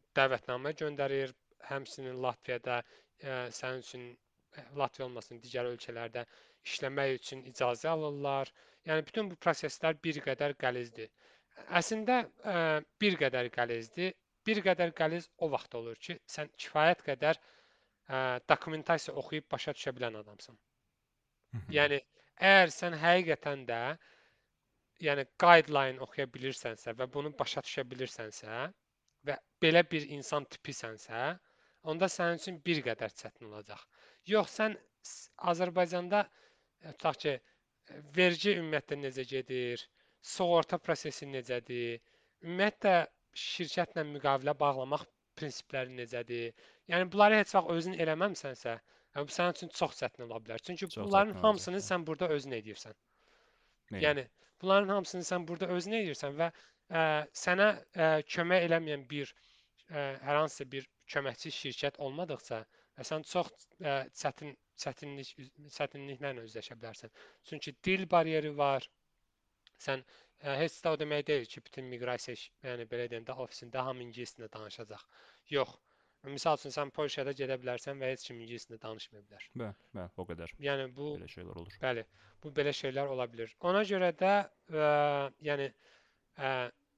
dəvətnamə göndərir, həmçinin Latviyada ə, sənin üçün ə, Latviya olmasın, digər ölkələrdə işləmək üçün icazə alırlar. Yəni bütün bu proseslər bir qədər qəlizdir. Əslində ə, bir qədər qəlizdir. Bir qədər qəliz o vaxt olur ki, sən kifayət qədər ə, dokumentasiya oxuyub başa düşə bilən adamsan. Yəni əgər sən həqiqətən də yəni guideline oxuya bilirsənsə və bunu başa düşə bilirsənsə və belə bir insan tipisənsə, onda sənin üçün bir qədər çətin olacaq. Yox, sən s- Azərbaycanda e, tutaq ki, e, vergi ümumiyyətlə necə gedir, sığorta prosesi necədir, ümumiyyətlə şirkətlə müqavilə bağlamaq prinsipləri necədir? Yəni bunları heç vaxt özün eləməmisənsə, yəni bu sənin üçün çox çətin ola bilər. Çünki
Çox
bunların
çətin olacaq.
hamısını sən burada özün edirsən.
Eynən.
Yəni bunların hamısını sən burada özün edirsən və ə, sənə ə, kömək eləməyən bir ə, hər hansısa bir köməkçi şirkət olmadıqca və sən çox ə, çətin çətinlik çətinliklərlə üzləşə bilərsən. Çünki dil bariyeri var. Sən ə, heç də o demək deyil ki, bütün miqrasiya, iş- yəni belə deyim də ofisində hamı ingilis dilində danışacaq. Yox. Misal üçün sən Polşada gedə bilərsən və heç kim ingilis dilində danışmaya bilər.
Bəli, bəli, o qədər.
Yəni bu
Belə şeylər olur.
bəli, bu belə şeylər ola bilər. Ona görə də ə, yəni ə,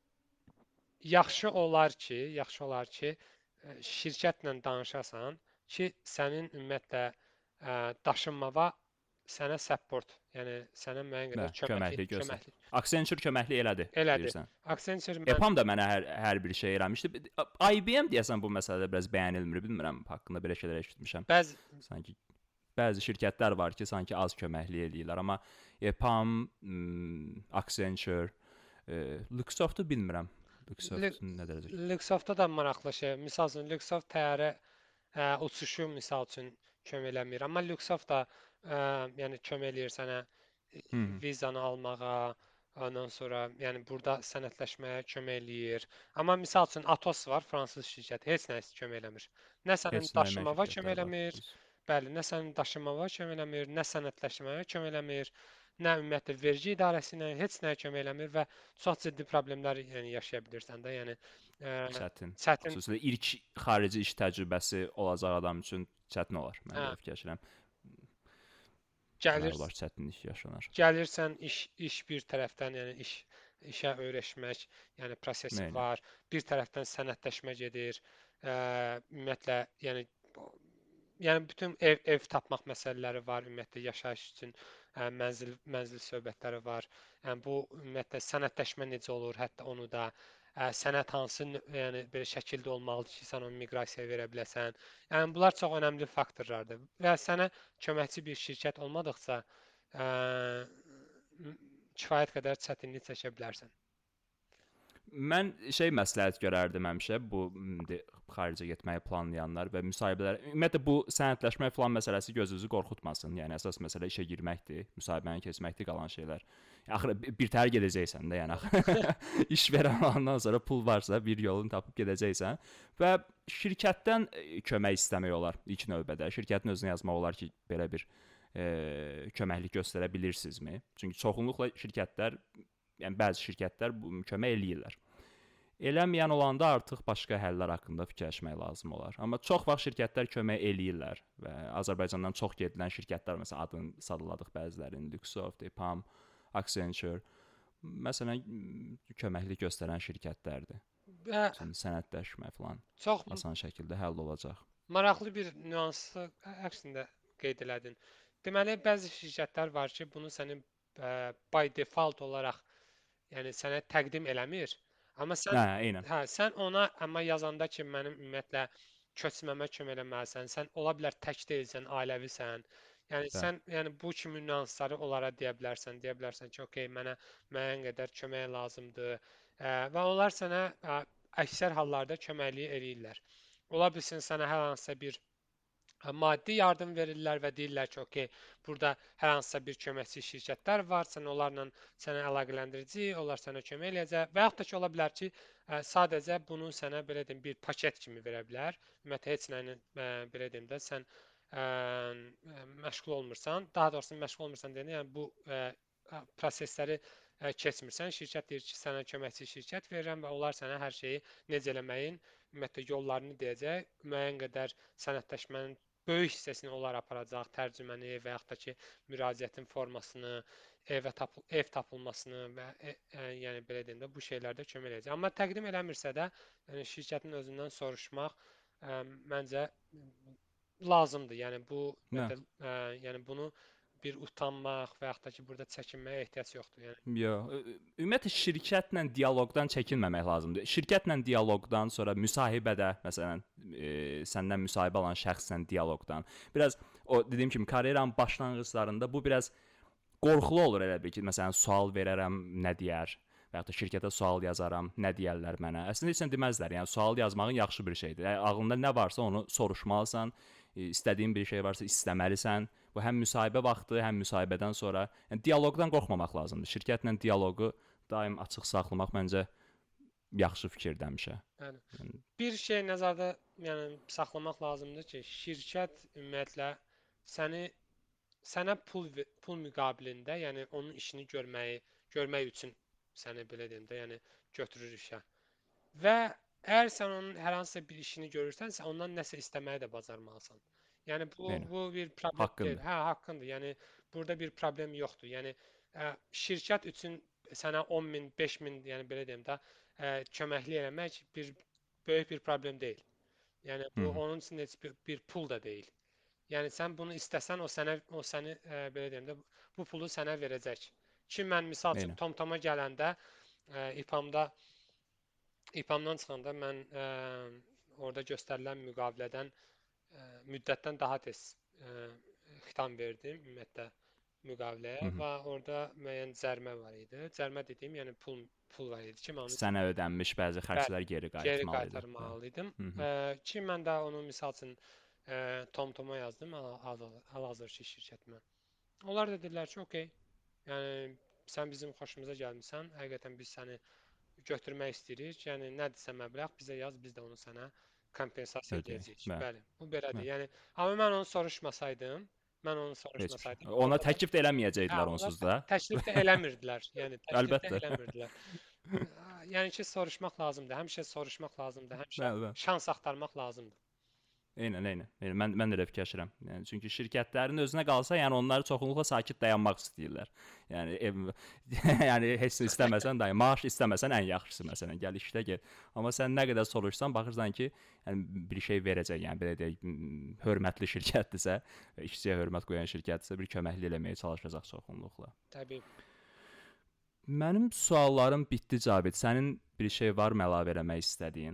yaxşı olar ki, yaxşı olar ki, ə, şirkətlə danışasan ki, sənin ümumiyyətlə ə, daşınmağa sənə support, yəni sənə müəyyən qədər
Bəli,
köməkli,
köməklik göstər.
köməkli
Accenture köməklik elədi,
elədi.
deyirsən.
Accenture mən
EPAM da mənə hər, hər bir şey eləmişdi. I B M deyəsən bu məsələdə biraz bəyənilmir, bilmirəm, haqqında belə şeylər eşitmişəm.
bəzi
Sanki bəzi şirkətlər var ki, sanki az köməklik eləyirlər, amma EPAM, m, Accenture, e, Luxoft-u bilmirəm. Luxoft nə dərəcə?
Luxoft-da da maraqlı şey. Misal üçün Luxoft təyyarə ə, uçuşu misal üçün kömək eləmir. Amma Luxoft da ə, yəni kömək eləyir sənə e,
Hı -hı.
vizanı almağa, ondan sonra yəni burada sənədləşməyə kömək eləyir. Amma misal üçün Atos var, fransız şirkəti, heç nə kömək eləmir. Nə sənin
Heç nə
daşımağa kömək
şirkətlər var.
eləmir,
Biz.
bəli, nə sənin daşımağa kömək eləmir, nə sənədləşməyə kömək eləmir, nə ümumiyyətlə vergi idarəsi ilə heç nəyə kömək eləmir və çox ciddi problemlər yəni yaşaya bilirsən də. Yəni ə,
Çətin.
çətin.
Xüsusilə ilk xarici iş təcrübəsi olacaq adam üçün çətin olar. Mən
Hə,
belə fikirləşirəm.
gəlir
Deməli var, çətinlik yaşanar.
gəlirsən iş iş bir tərəfdən, yəni iş işə öyrəşmək, yəni prosesi
Nəylə?
var. Bir tərəfdən sənədləşmə gedir. Ə, ümumiyyətlə, yəni yəni bütün ev ev tapmaq məsələləri var, ümumiyyətlə yaşayış üçün ə, mənzil mənzil söhbətləri var. Yəni bu ümumiyyətlə sənədləşmə necə olur, hətta onu da ə, sənəd hansı nö- yəni belə şəkildə olmalıdır ki, sən onu miqrasiyaya verə biləsən. Yəni bunlar çox önəmli faktorlardır. Və sənə köməkçi bir şirkət olmadıqca ə, m- kifayət qədər çətinlik çəkə bilərsən.
Mən şey məsləhət görərdim həmişə bu m, de, xaricə getməyi planlayanlar və müsahibələr. Ümumiyyətlə bu sənədləşmə falan məsələsi gözünüzü qorxutmasın. Yəni əsas məsələ işə girməkdir, müsahibəni keçməkdir, qalan şeylər. Axırı bir bir təhər gedəcəksən də, yəni axı iş verən olandan sonra pul varsa bir yolunu tapıb gedəcəksən və şirkətdən e, kömək istəmək olar ilk növbədə. Şirkətin özünə yazmaq olar ki, belə bir e, köməklik göstərə bilirsinizmi? Çünki çoxunluqla şirkətlər, yəni bəzi şirkətlər bu kömək eləyirlər. Eləməyən olanda artıq başqa həllər haqqında fikirləşmək lazım olar. Amma çox vaxt şirkətlər kömək eləyirlər və Azərbaycandan çox gedilən şirkətlər, məsələn adını sadaladıq bəzilərinin, Luxoft, EPAM, Accenture, məsələn köməklik göstərən şirkətlərdir.
Və
Üçün sənədləşmə falan
çox
asan şəkildə həll olacaq.
maraqlı bir nüansı əksində qeyd elədin. Deməli, bəzi şirkətlər var ki, bunu sənin ə, by default olaraq, yəni sənə təqdim eləmir. Amma sən
Hə, eynən.
hə, sən ona amma yazanda ki, mənim ümumiyyətlə köçməmə kömək eləməlisən. Sən ola bilər tək deyilsən, ailəvisən. Yəni
Bəli.
sən yəni bu kimi nüansları onlara deyə bilərsən. Deyə bilərsən ki, okey, mənə müəyyən qədər kömək lazımdır. Ə, və onlar sənə ə, əksər hallarda köməkliyi eləyirlər. Ola bilsin sənə hər hansısa bir ə, maddi yardım verirlər və deyirlər ki, okey, burada hər hansısa bir köməkçi şirkətlər var, sən onlarla sənə əlaqələndirici, onlar sənə kömək eləyəcək və yaxud da ki, ola bilər ki, ə, sadəcə bunu sənə belə deyim bir paket kimi verə bilər. Ümumiyyətlə heç nə ilə ə, belə deyim də sən ə, ə, məşğul olmursan, daha doğrusu məşğul olmursan deyəndə, yəni bu ə, ə, prosesləri ə, keçmirsən. Şirkət deyir ki, sənə köməkçi şirkət verirəm və onlar sənə hər şeyi necə eləməyin ümumiyyətlə yollarını deyəcək, müəyyən qədər sənədləşmənin böyük hissəsini onlar aparacaq, tərcüməni və yaxud da ki, müraciətin formasını, evə tapıl ev tapılmasını və e, e, yəni belə deyim də bu şeylərdə kömək edəcək. Amma təqdim eləmirsə də, yəni şirkətin özündən soruşmaq ə, məncə lazımdır. Yəni bu ümumiyyətlə, ə, yəni bunu bir utanmaq və yaxud da ki, burada çəkinməyə ehtiyac yoxdur. Yəni
Yox, ümumiyyətlə şirkətlə dialoqdan çəkinməmək lazımdır. Şirkətlə dialoqdan sonra müsahibədə, məsələn, e, səndən müsahibə alan şəxslə dialoqdan, biraz o dediyim kimi karyeranın başlanğıclarında bu biraz qorxulu olur elə bil ki, məsələn, sual verərəm, nə deyər? Və yaxud da şirkətə sual yazaram, nə deyərlər mənə? Əslində heç nə deməzlər. Yəni sual yazmağın yaxşı bir şeydir. Yəni, ağlında nə varsa onu soruşmalısan. İstədiyin bir şey varsa istəməlisən. Bu həm müsahibə vaxtı, həm müsahibədən sonra. Yəni dialoqdan qorxmamaq lazımdır. Şirkətlə dialoqu daim açıq saxlamaq məncə yaxşı fikirdir həmişə.
Yəni bir şey nəzərdə, yəni saxlamaq lazımdır ki, şirkət ümumiyyətlə səni sənə pul pul müqabilində, yəni onun işini görməyi, görmək üçün səni belə deyim də, yəni götürür işə. Və əgər sən onun hər hansısa bir işini görürsənsə, ondan nəsə istəməyi də bacarmalısan. Yəni bu
Eyni.
bu bir problem
Haqqındır.
deyil. Hə, haqqındır. Yəni burada bir problem yoxdur. Yəni ə, şirkət üçün sənə on min, beş min, yəni belə deyim də, ə, köməklik eləmək bir böyük bir problem deyil. Yəni bu
Hı.
onun üçün heç bir, bir pul da deyil. Yəni sən bunu istəsən, o sənə o səni ə, belə deyim də, bu pulu sənə verəcək. Ki mən misal üçün
Eyni.
TomToma gələndə ə, İPAM-da İPAM-dan çıxanda mən ə, orada göstərilən müqavilədən ə, müddətdən daha tez ə, xitam verdim ümumiyyətlə müqaviləyə
Hı -hı.
və orada müəyyən cərimə var idi. Cərimə dediyim, yəni pul pul var idi ki, mən onu
Sənə ödənmiş bəzi xərclər geri
geri
qaytarmalıydın.
qaytarmalıydım.
Hı -hı.
Ə, ki mən də onu misal üçün ə, TomToma yazdım, hal-hazırki şirkətimə. Onlar da dedilər ki, okey. Yəni sən bizim xoşumuza gəlmisən. Həqiqətən biz səni götürmək istəyirik. Yəni nədirsə məbləğ bizə yaz, biz də onu sənə kompensasiya
Ödəyək.
edəcəyik.
Bəli.
Bəli, bu belədir.
Bəli.
Yəni amma mən onu soruşmasaydım, mən onu
Heç bir şey.
soruşmasaydım,
Ona
onlar-
təklif də
Hə,
eləməyəcəkdilər
onlar
onsuz da.
təklif də eləmirdilər. Yəni təklif də
Əlbəttə.
eləmirdilər. Yəni ki, soruşmaq lazımdır. Həmişə soruşmaq lazımdır. Həmişə
Bəli, bəli.
şans axtarmaq lazımdır.
Eynən, eynən. Eynən. Mən mən də elə fikirləşirəm. Yəni çünki şirkətlərin özünə qalsa, yəni onlar çoxunluqla sakit dayanmaq istəyirlər. Yəni ev yəni heç nə istəməsən də, maaş istəməsən ən yaxşısı məsələn, gəl işlə get. Amma sən nə qədər soruşsan, baxırsan ki, yəni bir şey verəcək, yəni belə deyək, hörmətli şirkətdirsə, işçiyə hörmət qoyan şirkətdirsə, bir köməklik eləməyə çalışacaq çoxunluqla.
Təbii.
Mənim suallarım bitdi Cavid. Sənin bir şey varmı əlavə eləmək istədiyin?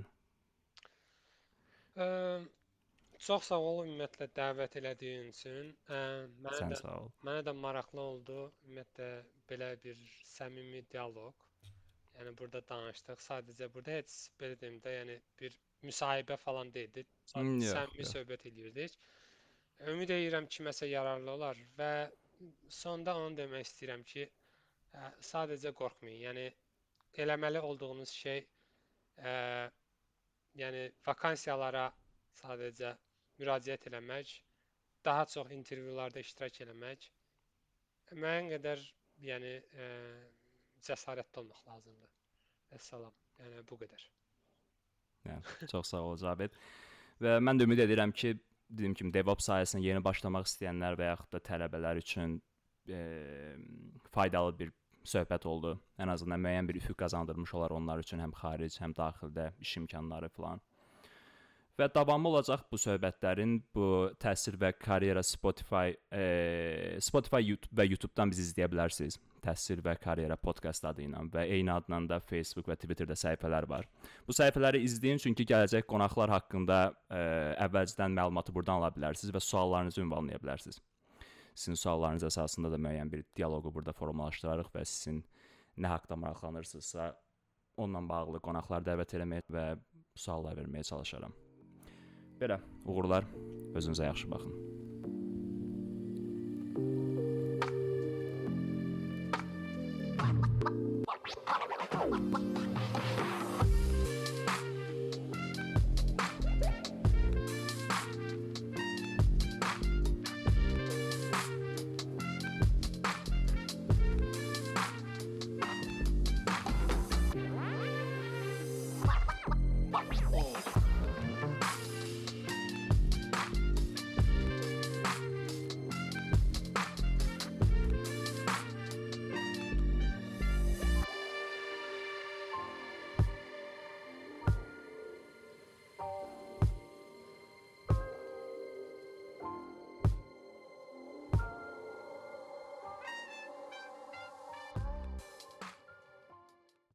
Ə, Çox sağ ol ümumiyyətlə dəvət elədiyin üçün. Ə, mənə
Sən
də
sağ ol.
mənə də maraqlı oldu. Ümumiyyətlə belə bir səmimi dialoq. Yəni burada danışdıq. Sadəcə burada heç belə deyim də, yəni bir müsahibə falan deyildi.
Hmm,
Sadəcə
yox,
səmimi
yox.
söhbət edirdik. Ümid edirəm kiməsə yararlı olar və sonda onu demək istəyirəm ki, ə, sadəcə qorxmayın. Yəni eləməli olduğunuz şey ə, yəni vakansiyalara sadəcə müraciət eləmək, daha çox intervyularda iştirak eləmək, müəyyən qədər, yəni ə, cəsarətli olmaq lazımdır. Əssalam. Yəni bu qədər.
Yəni çox sağ ol Cavid. Və mən də ümid edirəm ki, dediyim kimi DevOps sahəsinə yeni başlamaq istəyənlər və yaxud da tələbələr üçün e, faydalı bir söhbət oldu. Ən azından müəyyən bir üfüq qazandırmış olar onlar üçün həm xaric, həm daxildə iş imkanları falan. Və davamı olacaq bu söhbətlərin. Bu təhsil və karyera Spotify, e, Spotify YouTube və YouTube-dan bizi izləyə bilərsiniz. Təhsil və karyera podkast adı ilə və eyni adla da Facebook və Twitterdə səhifələr var. Bu səhifələri izləyin çünki gələcək qonaqlar haqqında e, əvvəlcədən məlumatı buradan ala bilərsiniz və suallarınızı ünvanlaya bilərsiniz. Sizin suallarınız əsasında da müəyyən bir dialoqu burada formalaşdırarıq və sizin nə haqqda maraqlanırsınızsa onunla bağlı qonaqlar dəvət etməyə və suallar verməyə çalışaram. Belə, uğurlar, özünüzə yaxşı baxın.